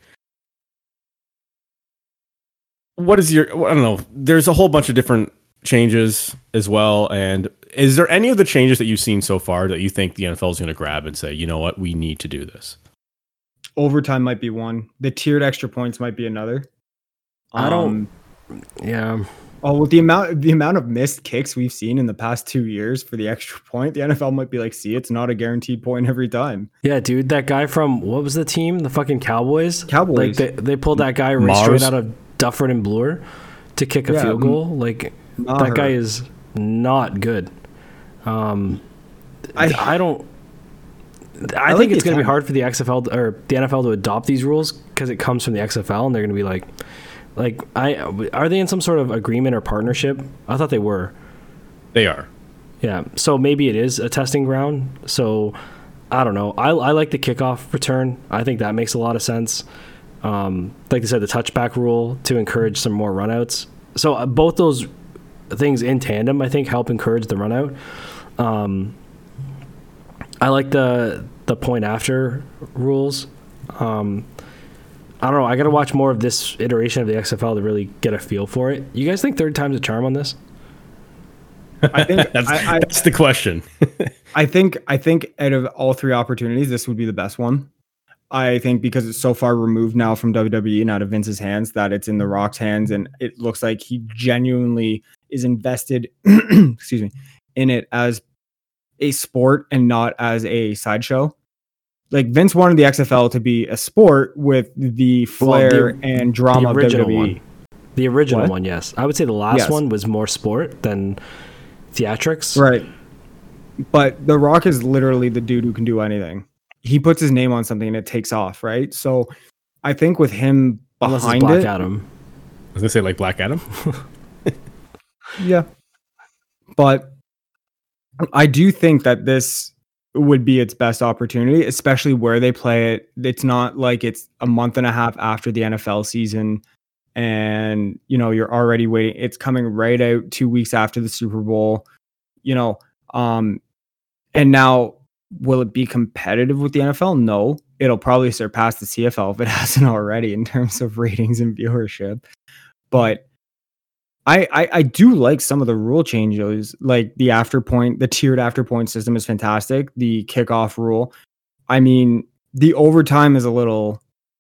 What is your, I don't know. There's a whole bunch of different changes as well. And is there any of the changes that you've seen so far that you think the N F L is going to grab and say, you know what, we need to do this? Overtime might be one. The tiered extra points might be another. I don't. Um, yeah. Oh, with the amount the amount of missed kicks we've seen in the past two years for the extra point, the N F L might be like, see, it's not a guaranteed point every time. Yeah, dude, that guy from what was the team? The fucking Cowboys. Cowboys. Like they, they pulled that guy right straight out of Dufford and Bloor to kick a yeah, field goal. Like that her. guy is not good. Um, I I don't. I, I think like it's going to be hard for the X F L to, or the N F L to adopt these rules because it comes from the X F L, and they're going to be like, like, I are they in some sort of agreement or partnership? I thought they were. They are. Yeah. So maybe it is a testing ground. So I don't know. I I like the kickoff return. I think that makes a lot of sense. Um, like they said, the touchback rule to encourage some more runouts. So uh, both those things in tandem, I think, help encourage the runout. Um, I like the the point after rules. Um, I don't know. I got to watch more of this iteration of the X F L to really get a feel for it. You guys think third time's a charm on this? I think that's, I, I, that's the question. I think I think out of all three opportunities, this would be the best one. I think because it's so far removed now from W W E and out of Vince's hands that it's in The Rock's hands, and it looks like he genuinely is invested. excuse me, in it as a sport and not as a sideshow. Like Vince wanted the X F L to be a sport with the flair well, the, and drama the original of W W E. One. The original what? one, yes. I would say the last yes. one was more sport than theatrics. Right. But The Rock is literally the dude who can do anything. He puts his name on something and it takes off, right? So I think with him behind Black it, Adam. I was gonna say like Black Adam. yeah. But I do think that this would be its best opportunity, especially where they play it. It's not like it's a month and a half after the N F L season and, you know, you're already waiting. It's coming right out two weeks after the Super Bowl, you know. Um, and now, will it be competitive with the N F L? No. It'll probably surpass the C F L if it hasn't already in terms of ratings and viewership. But I, I, I do like some of the rule changes, like the after point, the tiered after point system is fantastic. The kickoff rule. I mean, the overtime is a little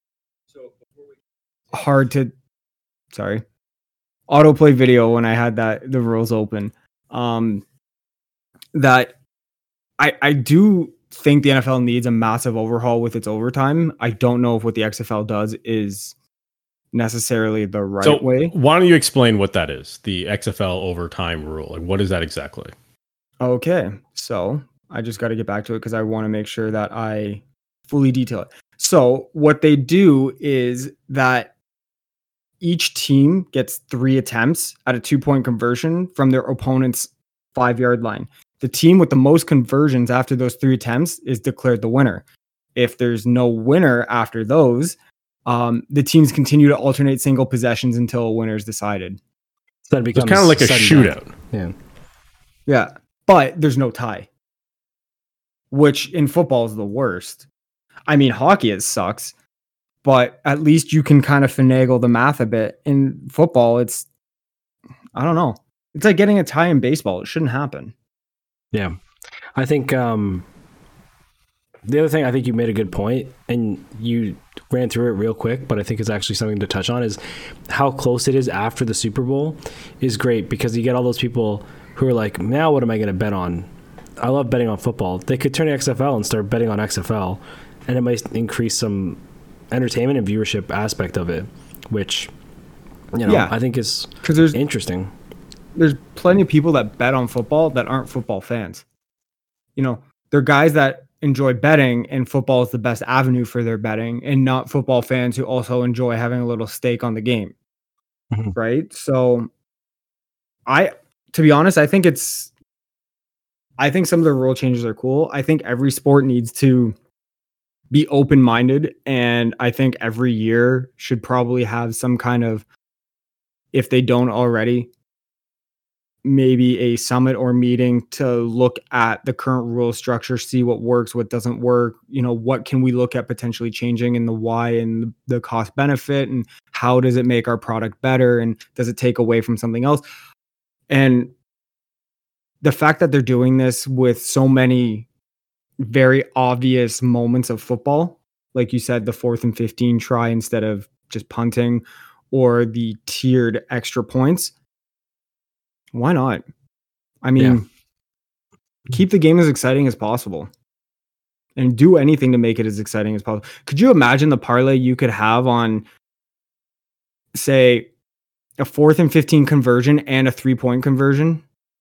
hard to, sorry, autoplay video when I had that, the rules open. Um, that I, I do think the N F L needs a massive overhaul with its overtime. I don't know if what the X F L does is necessarily the right so way. Why don't you explain what that is? The X F L overtime rule. Like, what is that exactly? Okay. So I just got to get back to it because I want to make sure that I fully detail it. So what they do is that each team gets three attempts at a two point conversion from their opponent's five yard line. The team with the most conversions after those three attempts is declared the winner. If there's no winner after those, um, the teams continue to alternate single possessions until a winner is decided. So it becomes it's kind of like a shootout. Down. Yeah. Yeah. But there's no tie, which in football is the worst. I mean, hockey, it sucks, but at least you can kind of finagle the math a bit. In football, it's, I don't know. It's like getting a tie in baseball. It shouldn't happen. Yeah. I think, um, the other thing, I think you made a good point, and you ran through it real quick, but I think it's actually something to touch on, is how close it is after the Super Bowl is great, because you get all those people who are like, now what am I going to bet on? I love betting on football. They could turn to X F L and start betting on X F L, and it might increase some entertainment and viewership aspect of it, which, you know, Yeah. I think is Because there's interesting. there's plenty of people that bet on football that aren't football fans. You know, they're guys that enjoy betting, and football is the best avenue for their betting, and not football fans who also enjoy having a little stake on the game. Mhm. Right? So I to be honest, I think it's I think some of the rule changes are cool. I think every sport needs to be open-minded, and I think every year should probably have some kind of, if they don't already, maybe a summit or meeting to look at the current rule structure, see what works, what doesn't work, you know, what can we look at potentially changing, and the why, and the cost benefit, and how does it make our product better, and does it take away from something else? And the fact that they're doing this with so many very obvious moments of football, like you said, the fourth and fifteen try instead of just punting, or the tiered extra points, why not? I mean, Yeah. keep the game as exciting as possible, and do anything to make it as exciting as possible. Could you imagine the parlay you could have on, say, a fourth and fifteen conversion and a three point conversion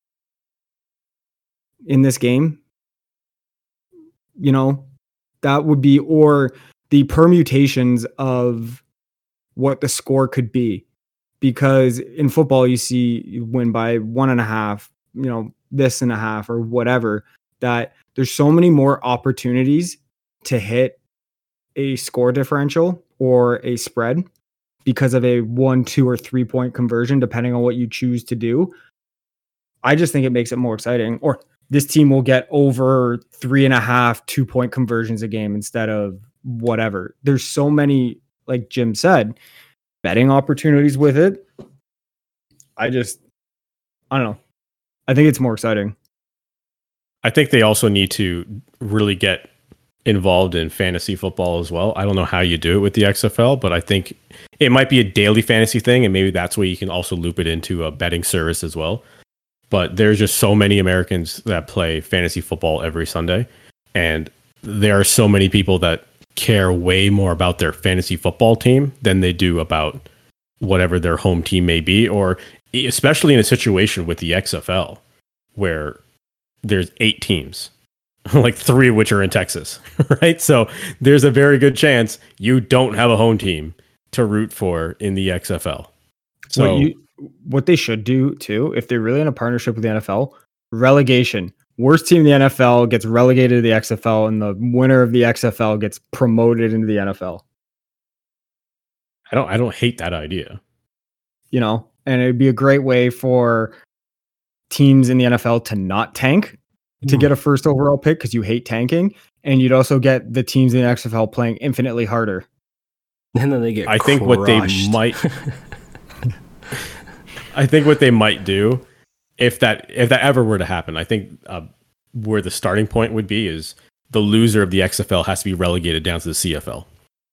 in this game? You know, that would be, or the permutations of what the score could be. Because in football, you see you win by one and a half, you know, this and a half, or whatever, that there's so many more opportunities to hit a score differential or a spread because of a one, two, or three point conversion, depending on what you choose to do. I just think it makes it more exciting. Or this team will get over three and a half, two point conversions a game instead of whatever. There's so many, like Jim said, betting opportunities with it. I just, I don't know. I think it's more exciting. I think they also need to really get involved in fantasy football as well. I don't know how you do it with the X F L, but I think it might be a daily fantasy thing, and maybe that's where you can also loop it into a betting service as well. But there's just so many Americans that play fantasy football every Sunday, and there are so many people that care way more about their fantasy football team than they do about whatever their home team may be, or especially in a situation with the X F L where there's eight teams, like three of which are in Texas, right? So there's a very good chance you don't have a home team to root for in the X F L. So what, you, what they should do too, if they're really in a partnership with the N F L, relegation. Worst team in the N F L gets relegated to the X F L, and the winner of the X F L gets promoted into the N F L. I don't I don't hate that idea. You know, and it'd be a great way for teams in the N F L to not tank to get a first overall pick, because you hate tanking, and you'd also get the teams in the X F L playing infinitely harder. And then they get I think crushed. what they might I think what they might do, if that if that ever were to happen, I think uh, where the starting point would be is the loser of the X F L has to be relegated down to the C F L.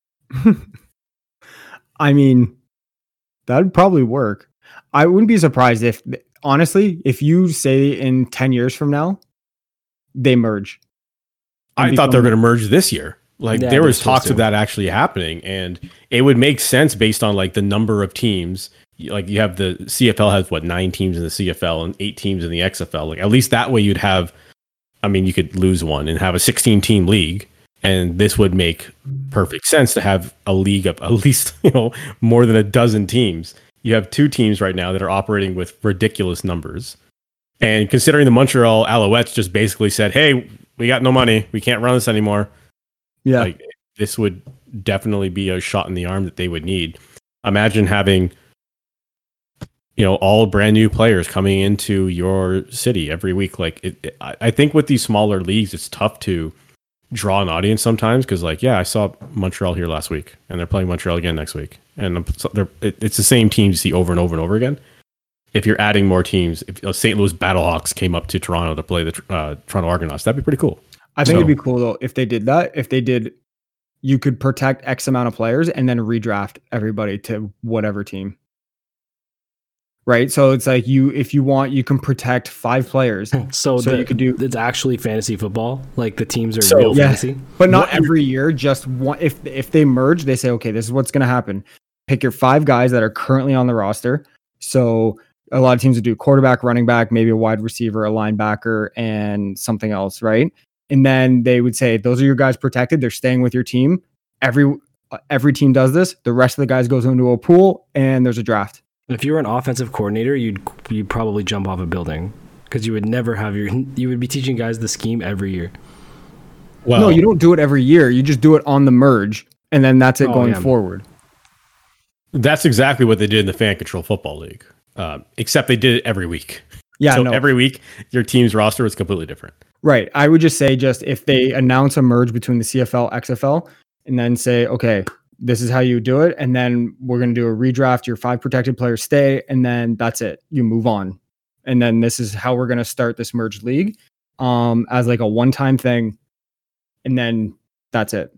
I mean, that'd probably work. I wouldn't be surprised if, honestly, if you say in ten years from now, they merge. I thought they were going to merge this year. Like Yeah, there they're was supposed talks to. of that actually happening, and it would make sense based on like the number of teams. Like you have the C F L has what nine teams in the C F L and eight teams in the X F L. Like at least that way you'd have. I mean, you could lose one and have a sixteen team league, and this would make perfect sense to have a league of at least you know more than a dozen teams. You have two teams right now that are operating with ridiculous numbers, and considering the Montreal Alouettes just basically said, "Hey, we got no money, we can't run this anymore." Yeah. Like this would definitely be a shot in the arm that they would need. Imagine having, you know, all brand new players coming into your city every week. Like it, it, I I think with these smaller leagues, it's tough to draw an audience sometimes because, like, yeah, I saw Montreal here last week, and they're playing Montreal again next week, and they're, it, it's the same teams you see over and over and over again. If you're adding more teams, if you know, Saint Louis Battlehawks came up to Toronto to play the uh, Toronto Argonauts, that'd be pretty cool. I think So- it'd be cool though if they did that. If they did, you could protect X amount of players and then redraft everybody to whatever team. Right. So it's like you, if you want, you can protect five players, So, So the, you could do- it's actually fantasy football. Like the teams are So- real Yeah. fantasy. but not What- every year. Just one. If if they merge, they say, okay, this is what's going to happen. Pick your five guys that are currently on the roster. So a lot of teams would do quarterback, running back, maybe a wide receiver, a linebacker, and something else, right? And then they would say, those are your guys protected. They're staying with your team. Every uh, every team does this. The rest of the guys goes into a pool, and there's a draft. If you were an offensive coordinator, you'd you'd probably jump off a building because you would never have your. You would be teaching guys the scheme every year. Well, no, you don't do it every year. You just do it on the merge, and then that's it Oh, going yeah. forward. that's exactly what they did in the Fan Control Football League, um, except they did it every week. Yeah, so no, every week, your team's roster was completely different. right. I would just say, just if they announce a merge between the C F L, X F L, and then say, okay, this is how you do it, and then we're going to do a redraft. Your five protected players stay, and then that's it. You move on, and then this is how we're going to start this merged league, um, as like a one-time thing, and then that's it.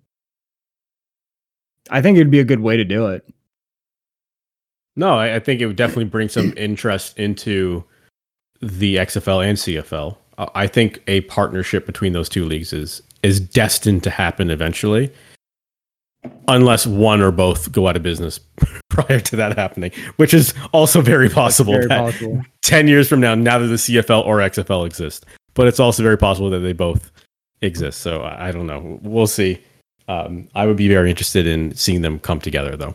I think it'd be a good way to do it. No, I, I think it would definitely bring some interest into the X F L and C F L. Uh, I think a partnership between those two leagues is is destined to happen eventually, unless one or both go out of business prior to that happening, which is also very possible. Very that possible. ten years from now, neither the C F L or X F L exist, but it's also very possible that they both exist. So I, I don't know. We'll see. Um, I would be very interested in seeing them come together, though.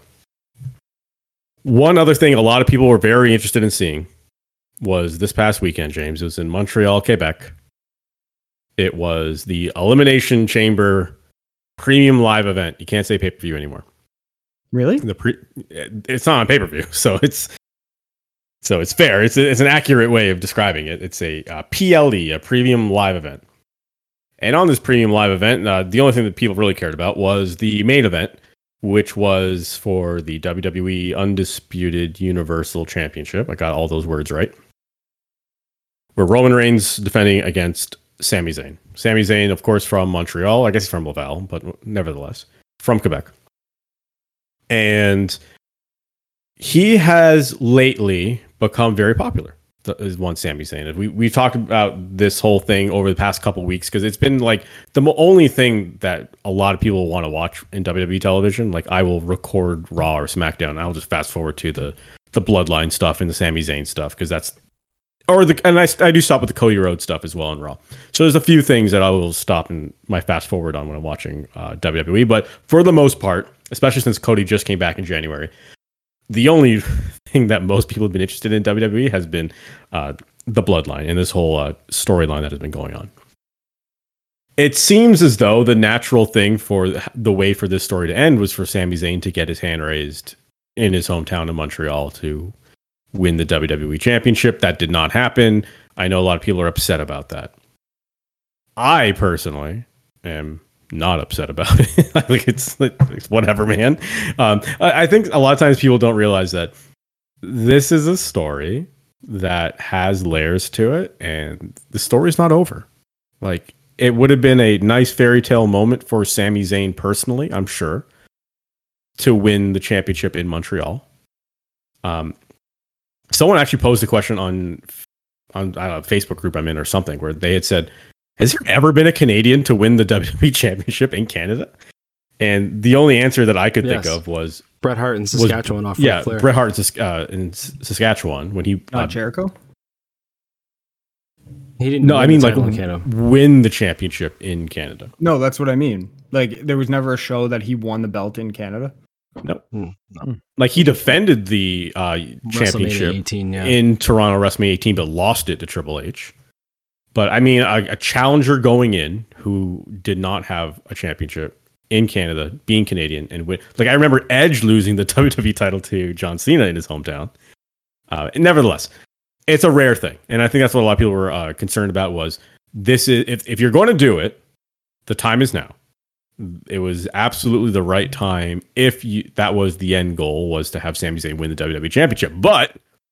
One other thing a lot of people were very interested in seeing was this past weekend, James. It was in Montreal, Quebec. It was the Elimination Chamber premium live event. You can't say pay-per-view anymore. Really? The pre- it's not on pay-per-view, so it's so it's fair. It's a, it's an accurate way of describing it. It's a uh, P L E, a premium live event. And on this premium live event, uh, the only thing that people really cared about was the main event, which was for the W W E Undisputed Universal Championship. I got all those words right. Where Roman Reigns defending against Sami Zayn. Sami Zayn, of course, from Montreal. I guess he's from Laval, but nevertheless, from Quebec. And he has lately become very popular. Is one Sami Zayn. We we talked about this whole thing over the past couple of weeks because it's been like the mo- only thing that a lot of people want to watch in W W E television. Like I will record Raw or SmackDown, and I'll just fast forward to the the Bloodline stuff and the Sami Zayn stuff because that's or the and I I do stop with the Cody Rhodes stuff as well in Raw. So there's a few things that I will stop and my fast forward on when I'm watching uh, W W E. But for the most part, especially since Cody just came back in January, the only thing that most people have been interested in W W E has been uh, the Bloodline and this whole uh, storyline that has been going on. It seems as though the natural thing for the way for this story to end was for Sami Zayn to get his hand raised in his hometown of Montreal to win the W W E Championship. That did not happen. I know a lot of people are upset about that. I personally am not upset about it. Like it's, it's whatever, man. Um, I, I think a lot of times people don't realize that this is a story that has layers to it, and the story's not over. Like it would have been a nice fairy tale moment for Sami Zayn personally, I'm sure, to win the championship in Montreal. Um, someone actually posed a question on on I don't know, a Facebook group I'm in or something where they had said, has there ever been a Canadian to win the W W E Championship in Canada? And the only answer that I could Yes. think of was Bret Hart in Saskatchewan off yeah, Ric Flair. Bret Hart in, Sas- uh, in S- Saskatchewan when he Not uh, Jericho? He didn't. no, win I the mean like title in Canada. win the championship in Canada. No, that's what I mean. Like there was never a show that he won the belt in Canada. No, Hmm, no. like he defended the uh, WrestleMania championship eighteen, yeah. in Toronto WrestleMania eighteen, but lost it to Triple H. But I mean, a, a challenger going in who did not have a championship in Canada, being Canadian, and win. Like I remember Edge losing the W W E title to John Cena in his hometown. Uh, nevertheless, it's a rare thing, and I think that's what a lot of people were uh, concerned about. Was this is if if you're going to do it, the time is now. It was absolutely the right time if you, that was the end goal, was to have Sami Zayn win the W W E Championship. But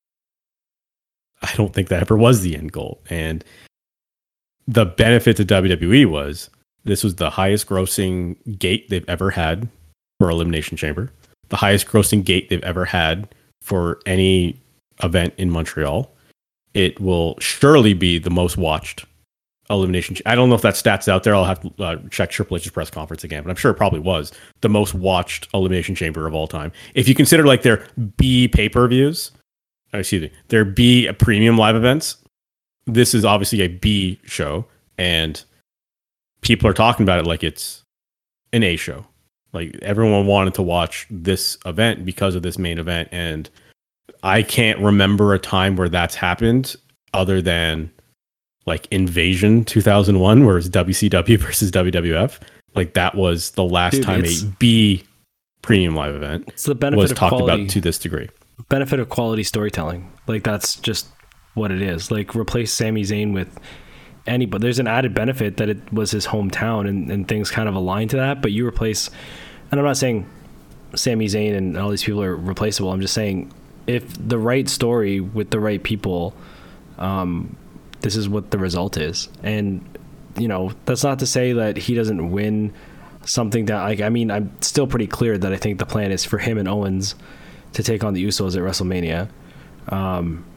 I don't think that ever was the end goal. And the benefit to W W E was This was the highest grossing gate they've ever had for Elimination Chamber, the highest grossing gate they've ever had for any event in Montreal. It will surely be the most watched Elimination. I don't know if that stat's out there. I'll have to uh, check Triple H's press conference again, but I'm sure it probably was the most watched Elimination Chamber of all time. If you consider like their B pay-per-views, excuse me, their B premium live events, this is obviously a B show, and people are talking about it like it's an A show. Like everyone wanted to watch this event because of this main event, and I can't remember a time where that's happened other than like Invasion two thousand one, where it's W C W versus W W F. Like that was the last Dude, time a B premium live event it's the benefit was of talked quality, about to this degree. Benefit of quality storytelling. Like that's just what it is. Like replace Sami Zayn with anybody. There's an added benefit that it was his hometown and, and things kind of align to that. But you replace, and I'm not saying Sami Zayn and all these people are replaceable. I'm just saying if the right story with the right people, um, this is what the result is. And, you know, that's not to say that he doesn't win something that, like, I mean, I'm still pretty clear that I think the plan is for him and Owens to take on the Usos at WrestleMania. Um,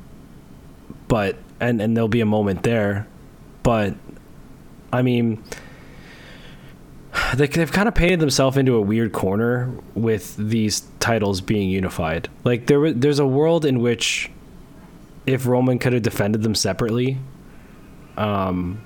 but, and, and there'll be a moment there. But, I mean, they, they've kind of painted themselves into a weird corner with these titles being unified. Like, there, there's a world in which if Roman could have defended them separately, um,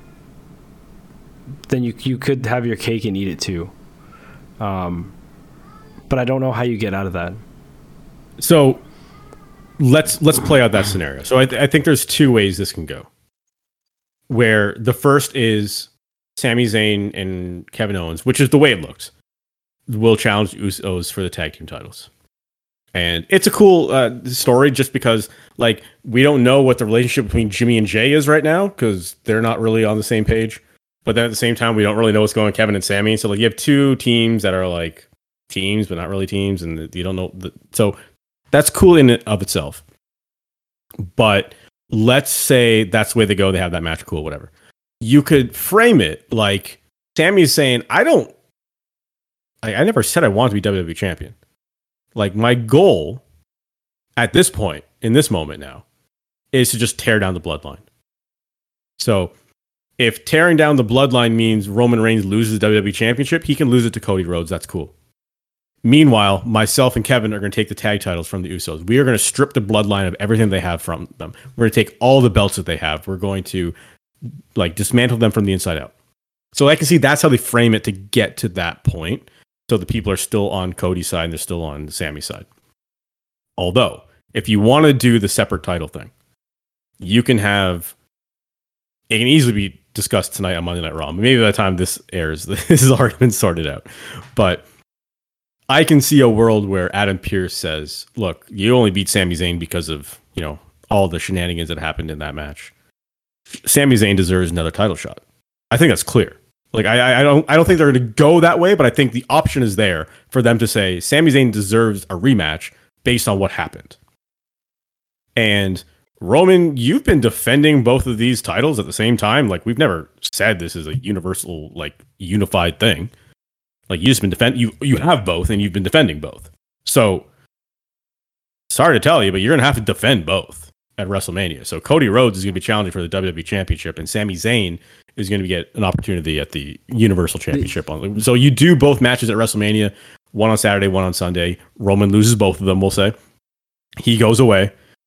then you you could have your cake and eat it too. Um, but I don't know how you get out of that. So let's let's play out that scenario. So I, th- I think there's two ways this can go. Where the first is Sami Zayn and Kevin Owens, which is the way it looks, will challenge Usos for the tag team titles. And it's a cool uh, story just because, like, we don't know what the relationship between Jimmy and Jay is right now because they're not really on the same page. But then at the same time, we don't really know what's going on with Kevin and Sami. So, like, you have two teams that are, like, teams, but not really teams. And you don't know. The, so that's cool in and of itself. But let's say that's the way they go. They have that match. Cool, whatever. You could frame it like Sami's saying, I don't, I, I never said I wanted to be W W E champion. Like, my goal at this point, in this moment now, is to just tear down the bloodline. So, if tearing down the bloodline means Roman Reigns loses the W W E Championship, he can lose it to Cody Rhodes. That's cool. Meanwhile, myself and Kevin are going to take the tag titles from the Usos. We are going to strip the bloodline of everything they have from them. We're going to take all the belts that they have. We're going to, like, dismantle them from the inside out. So I can see that's how they frame it to get to that point. So the people are still on Cody's side and they're still on Sami's side. Although, if you want to do the separate title thing, you can have, it can easily be discussed tonight on Monday Night Raw. Maybe by the time this airs, this has already been sorted out. But I can see a world where Adam Pearce says, look, you only beat Sami Zayn because of, you know, all the shenanigans that happened in that match. Sami Zayn deserves another title shot. I think that's clear. Like, I, I don't I don't think they're going to go that way, but I think the option is there for them to say Sami Zayn deserves a rematch based on what happened. And Roman, you've been defending both of these titles at the same time. Like, we've never said this is a universal, like, unified thing. Like, you just been defend you you have both and you've been defending both. So sorry to tell you, but you're going to have to defend both at WrestleMania. So Cody Rhodes is going to be challenging for the W W E Championship, and Sami Zayn is going to get an opportunity at the Universal Championship. On so you do both matches at WrestleMania, one on Saturday, one on Sunday. Roman loses both of them, we'll say. He goes away.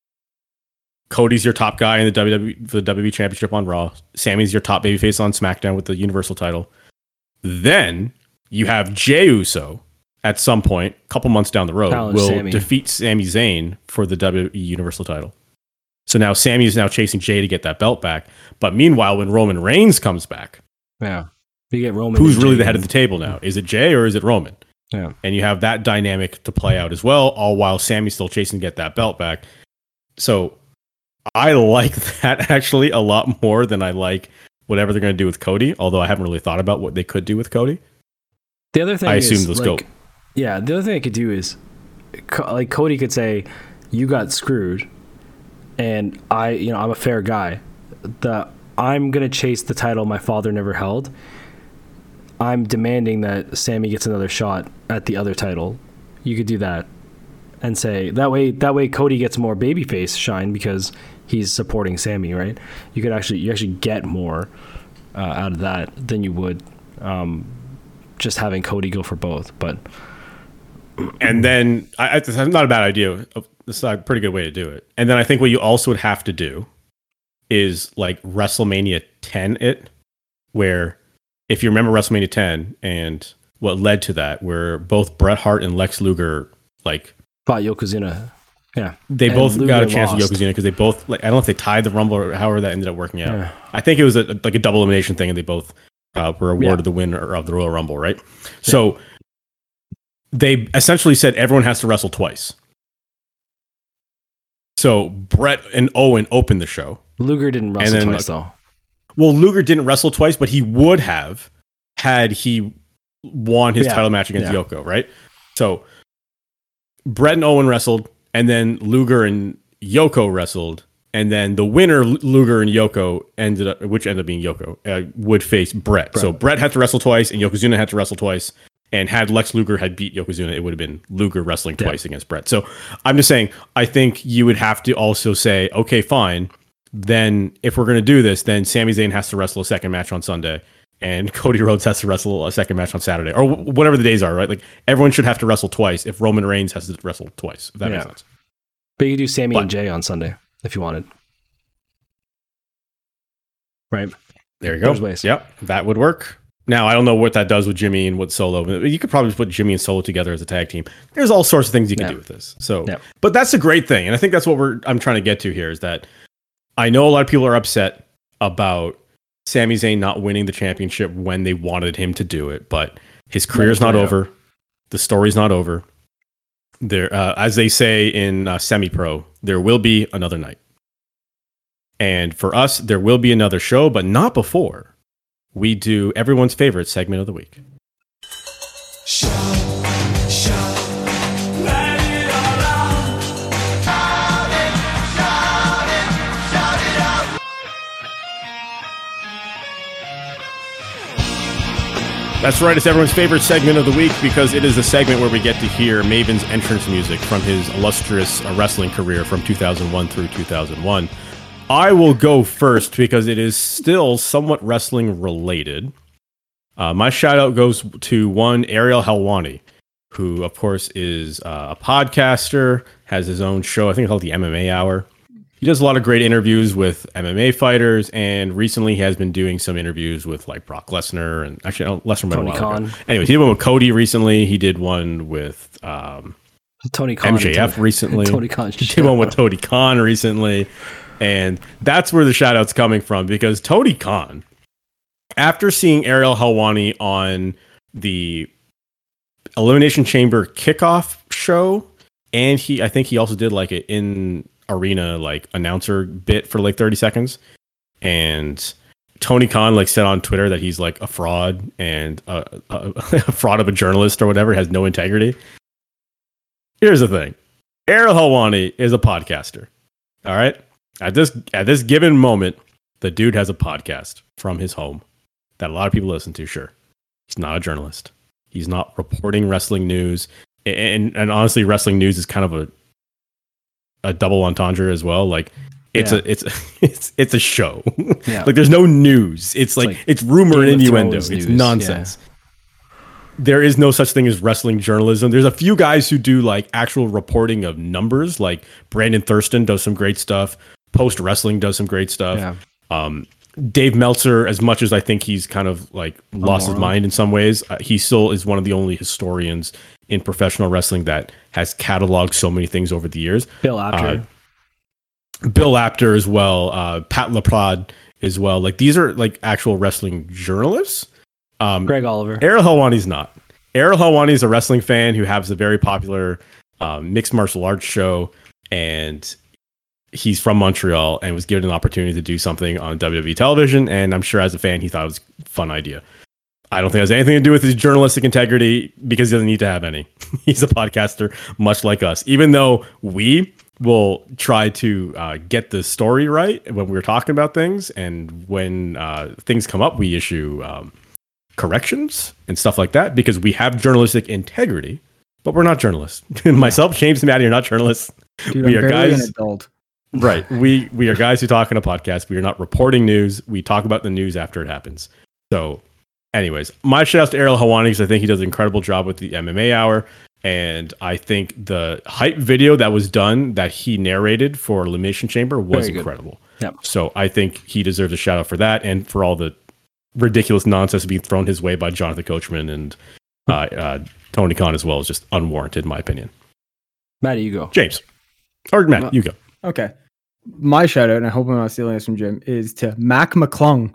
Cody's your top guy in the W W E for the W W E Championship on Raw. Sami's your top babyface on SmackDown with the Universal title. Then you have Jey Uso at some point, a couple months down the road, Challenge will Sami. defeat Sami Zayn for the W W E Universal title. So now Sami is now chasing Jey to get that belt back. But meanwhile, when Roman Reigns comes back, yeah, you get Roman. Who's really Jey the head of the table now? Is it Jey or is it Roman? Yeah, and you have that dynamic to play out as well, all while Sami's still chasing to get that belt back. So I like that actually a lot more than I like whatever they're going to do with Cody. Although I haven't really thought about what they could do with Cody. The other thing, I is, assume they'll like, go. Yeah, the other thing I could do is, like, Cody could say, "You got screwed." And I, you know, I'm a fair guy. The I'm gonna chase the title my father never held. I'm demanding that Sammy gets another shot at the other title. You could do that and say that way. That way, Cody gets more babyface shine because he's supporting Sammy, right? You could actually you actually get more uh, out of that than you would um, just having Cody go for both. But and then I, it's not a bad idea. It's a pretty good way to do it. And then I think what you also would have to do is like WrestleMania ten it, where if you remember WrestleMania ten and what led to that, where both Bret Hart and Lex Luger like fought Yokozuna. Yeah, they and both Luger got a chance lost. with Yokozuna because they both like I don't know if they tied the Rumble or however that ended up working out. Yeah. I think it was a, like a double elimination thing, and they both uh, were awarded Yeah. the winner of the Royal Rumble, right? So they essentially said everyone has to wrestle twice. So Bret and Owen opened the show. Luger didn't wrestle then, twice like, though. Well, Luger didn't wrestle twice, but he would have had he won his Yeah. title match against Yeah. Yoko, right? So Bret and Owen wrestled, and then Luger and Yoko wrestled, and then the winner, L- Luger and Yoko, ended up, which ended up being Yoko, uh, would face Bret. Bret. So Bret had to wrestle twice, and Yokozuna had to wrestle twice. And had Lex Luger had beat Yokozuna, it would have been Luger wrestling Yeah. twice against Bret. So I'm just saying, I think you would have to also say, okay, fine. Then if we're going to do this, then Sami Zayn has to wrestle a second match on Sunday, and Cody Rhodes has to wrestle a second match on Saturday, or w- whatever the days are, right? Like everyone should have to wrestle twice if Roman Reigns has to wrestle twice. If that Yeah. makes sense. But you could do Sammy But- and Jay on Sunday if you wanted. Right. There you go. There's ways. Yep, that would work. Now I don't know what that does with Jimmy and what Solo. You could probably put Jimmy and Solo together as a tag team. There's all sorts of things you can Yeah. do with this. So, Yeah. but that's a great thing, and I think that's what we're. I'm trying to get to here is that I know a lot of people are upset about Sami Zayn not winning the championship when they wanted him to do it, but his career's not play out. over. The story's not over. There, uh, as they say in uh, semi-pro, there will be another night, and for us, there will be another show, but not before we do everyone's favorite segment of the week. That's right, it's everyone's favorite segment of the week because it is a segment where we get to hear Maven's entrance music from his illustrious uh, wrestling career from two thousand one through two thousand one. I will go first because it is still somewhat wrestling related. Uh, my shout out goes to one Ariel Helwani, who, of course, is uh, a podcaster, has his own show, I think called the M M A Hour. He does a lot of great interviews with M M A fighters, and recently he has been doing some interviews with like Brock Lesnar and actually no, Lesnar Tony went a while ago. Khan. Anyways, he did one with Cody recently. He did one with um, Tony Khan. M J F Tony, recently. Tony Khan. He did one with Tony Khan recently. And that's where the shout out's coming from because Tony Khan, after seeing Ariel Helwani on the Elimination Chamber kickoff show, and he, I think he also did like an in arena like announcer bit for like thirty seconds. And Tony Khan like said on Twitter that he's like a fraud and a, a, a fraud of a journalist or whatever, has no integrity. Here's the thing. Ariel Helwani is a podcaster. All right. At this at this given moment, the dude has a podcast from his home that a lot of people listen to. Sure, he's not a journalist. He's not reporting wrestling news, and and honestly, wrestling news is kind of a a double entendre as well. Like it's Yeah. a it's it's it's a show. Yeah. Like there's no news. It's, like, like it's rumor and Game of innuendo. Thrones It's news, nonsense. There is no such thing as wrestling journalism. There's a few guys who do like actual reporting of numbers, like Brandon Thurston does some great stuff. Post Wrestling does some great stuff. Yeah. Um, Dave Meltzer, as much as I think he's kind of like lost his moron. mind in some ways, uh, he still is one of the only historians in professional wrestling that has cataloged so many things over the years. Bill Apter. Uh, Bill Apter as well, uh, Pat LaPrade as well. Like these are like actual wrestling journalists. Um, Greg Oliver. Ariel Helwani's not. Ariel Helwani is a wrestling fan who has a very popular um, mixed martial arts show, and he's from Montreal and was given an opportunity to do something on W W E television. And I'm sure as a fan, he thought it was a fun idea. I don't think it has anything to do with his journalistic integrity because he doesn't need to have any. He's a podcaster, much like us, even though we will try to uh, get the story right when we're talking about things. And when uh, things come up, we issue um, corrections and stuff like that because we have journalistic integrity, but we're not journalists. Myself, James, and Maddie are not journalists. Dude, we I'm are barely guys. an adult. Right. We we are guys who talk on a podcast. We are not reporting news. We talk about the news after it happens. So, anyways, my shout out to Ariel Helwani because I think he does an incredible job with the M M A Hour. And I think the hype video that was done that he narrated for Elimination Chamber was incredible. Yep. So I think he deserves a shout out for that and for all the ridiculous nonsense being thrown his way by Jonathan Coachman and uh, uh, Tony Khan as well is just unwarranted, in my opinion. Maddie, you go. James. Or Matt, Uh, you go. Okay. My shout out, and I hope I'm not stealing this from Jim, is to Mac McClung.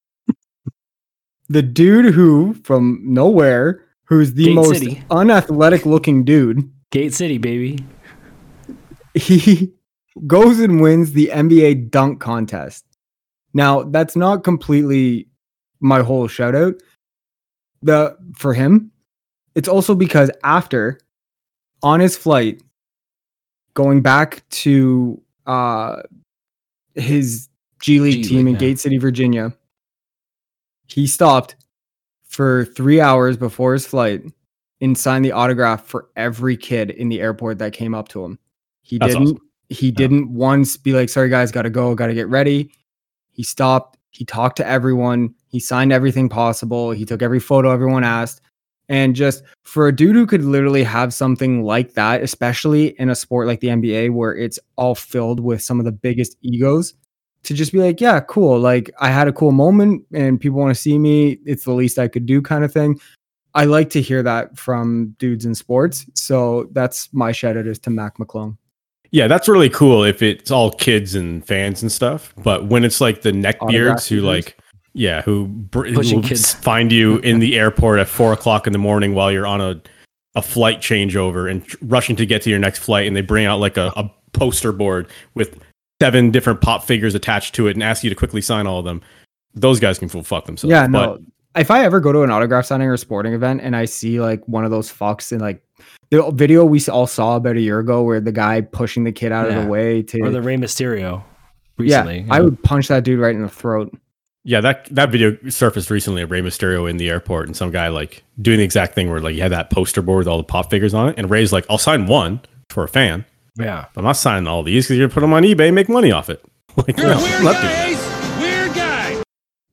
The dude who, from nowhere, who's the Gate most City. unathletic looking dude, Gate City, baby. he goes and wins the N B A dunk contest. Now, that's not completely my whole shout out. The for him, it's also because after on his flight going back to uh his G League G team League, in yeah. Gate City, Virginia, he stopped for three hours before his flight and signed the autograph for every kid in the airport that came up to him. He That's didn't awesome. he didn't once be like, sorry guys, gotta go, gotta get ready. He stopped, he talked to everyone, he signed everything possible, he took every photo everyone asked. And just for a dude who could literally have something like that, especially in a sport like the N B A where it's all filled with some of the biggest egos, to just be like, yeah, cool. Like I had a cool moment and people want to see me. It's the least I could do kind of thing. I like to hear that from dudes in sports. So that's my shout out is to Mac McClung. Yeah, that's really cool if it's all kids and fans and stuff. But when it's like the neckbeards Autograph who users? like, yeah, who, br- who Pushing will kids. find you in the airport at four o'clock in the morning while you're on a, a flight changeover and tr- rushing to get to your next flight, and they bring out like a, a poster board with seven different pop figures attached to it and ask you to quickly sign all of them. Those guys can full fuck themselves. Yeah, But no. If I ever go to an autograph signing or sporting event and I see like one of those fucks and like the video we all saw about a year ago where the guy pushing the kid out of Yeah. the way to Or the Rey Mysterio yeah, recently. I would punch that dude right in the throat. yeah, that that video surfaced recently of Rey Mysterio in the airport and some guy like doing the exact thing where like you had that poster board with all the pop figures on it, and Ray's like, I'll sign one for a fan. Yeah. I'm not signing all these because you're gonna put them on eBay and make money off it. Like, no, I'm not doing that.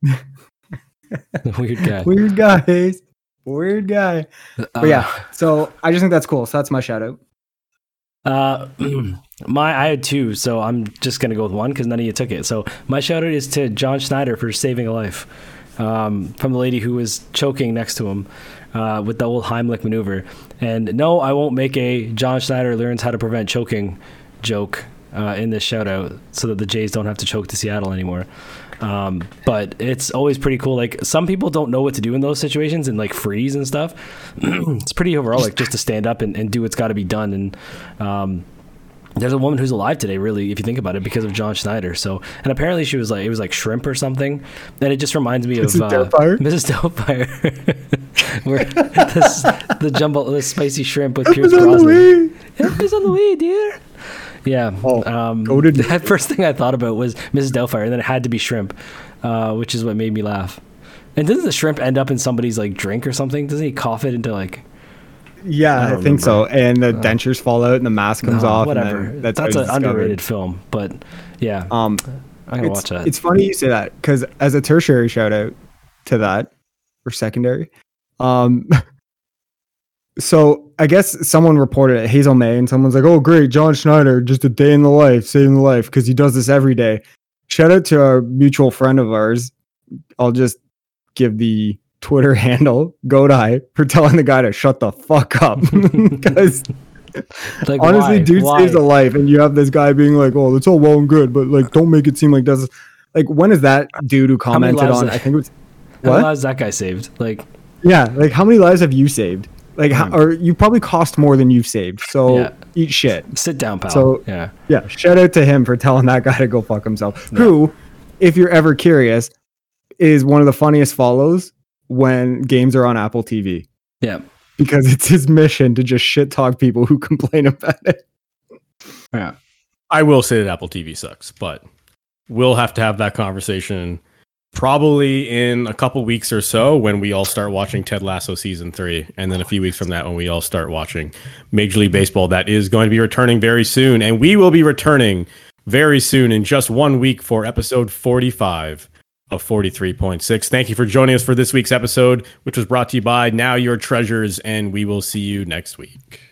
Weird guy. Weird guys. Weird guy. Uh, But yeah, so I just think that's cool. So that's my shout out. Uh, my I had two, so I'm just gonna go with one because none of you took it. So my shout out is to John Schneider for saving a life um, from the lady who was choking next to him uh, with the old Heimlich maneuver. And no, I won't make a John Schneider learns how to prevent choking joke uh, in this shout out so that the Jays don't have to choke to Seattle anymore. Um, but it's always pretty cool. Like some people don't know what to do in those situations and like freeze and stuff. It's pretty overall like just to stand up and, and do what's got to be done. And um, there's a woman who's alive today, really, if you think about it, because of John Schneider. So, and apparently she was like, it was like shrimp or something. And it just reminds me Missus of uh, Doubtfire? Missus Doubtfire, where this, the jumbo, the spicy shrimp with Pierce on the Brosnan. way. Help is on the way, dear. Yeah. Oh, um, goated. the first thing I thought about was Missus Doubtfire, and then it had to be shrimp, uh, which is what made me laugh. And doesn't the shrimp end up in somebody's like drink or something? Doesn't he cough it into like? Yeah, I I, don't think so. remember. And the dentures fall out and the mask comes No, off. whatever. And then that's, That's how an it's discovered. underrated film, but yeah, Um, I'm gonna it's, watch that. it's funny you say that because as a tertiary shout out to that or secondary, um, so I guess someone reported it, Hazel May, and someone's like, "Oh, great, John Schneider, just a day in the life, saving the life because he does this every day." Shout out to our mutual friend of ours. I'll just give the Twitter handle Godai for telling the guy to shut the fuck up because. Like, Honestly, why? dude Why? saves a life, and you have this guy being like, "Oh, that's all well and good, but like, don't make it seem like that's like." When is that dude who How many commented lives on? did- I think it was How what? was that guy saved? Like, Yeah, like how many lives have you saved? Like, how, Hmm. or you probably cost more than you've saved. So Yeah. eat shit. sit down, pal. So- yeah. Yeah, shout out to him for telling that guy to go fuck himself. Yeah. Who, if you're ever curious, is one of the funniest follows when games are on Apple T V Yeah. because it's his mission to just shit talk people who complain about it. Yeah. I will say that Apple T V sucks, but we'll have to have that conversation probably in a couple weeks or so when we all start watching Ted Lasso season three. And then a few weeks from that when we all start watching Major League Baseball. That is going to be returning very soon. And we will be returning very soon in just one week for episode forty-five of forty-three point six. Thank you for joining us for this week's episode, which was brought to you by Now Your Treasures. And we will see you next week.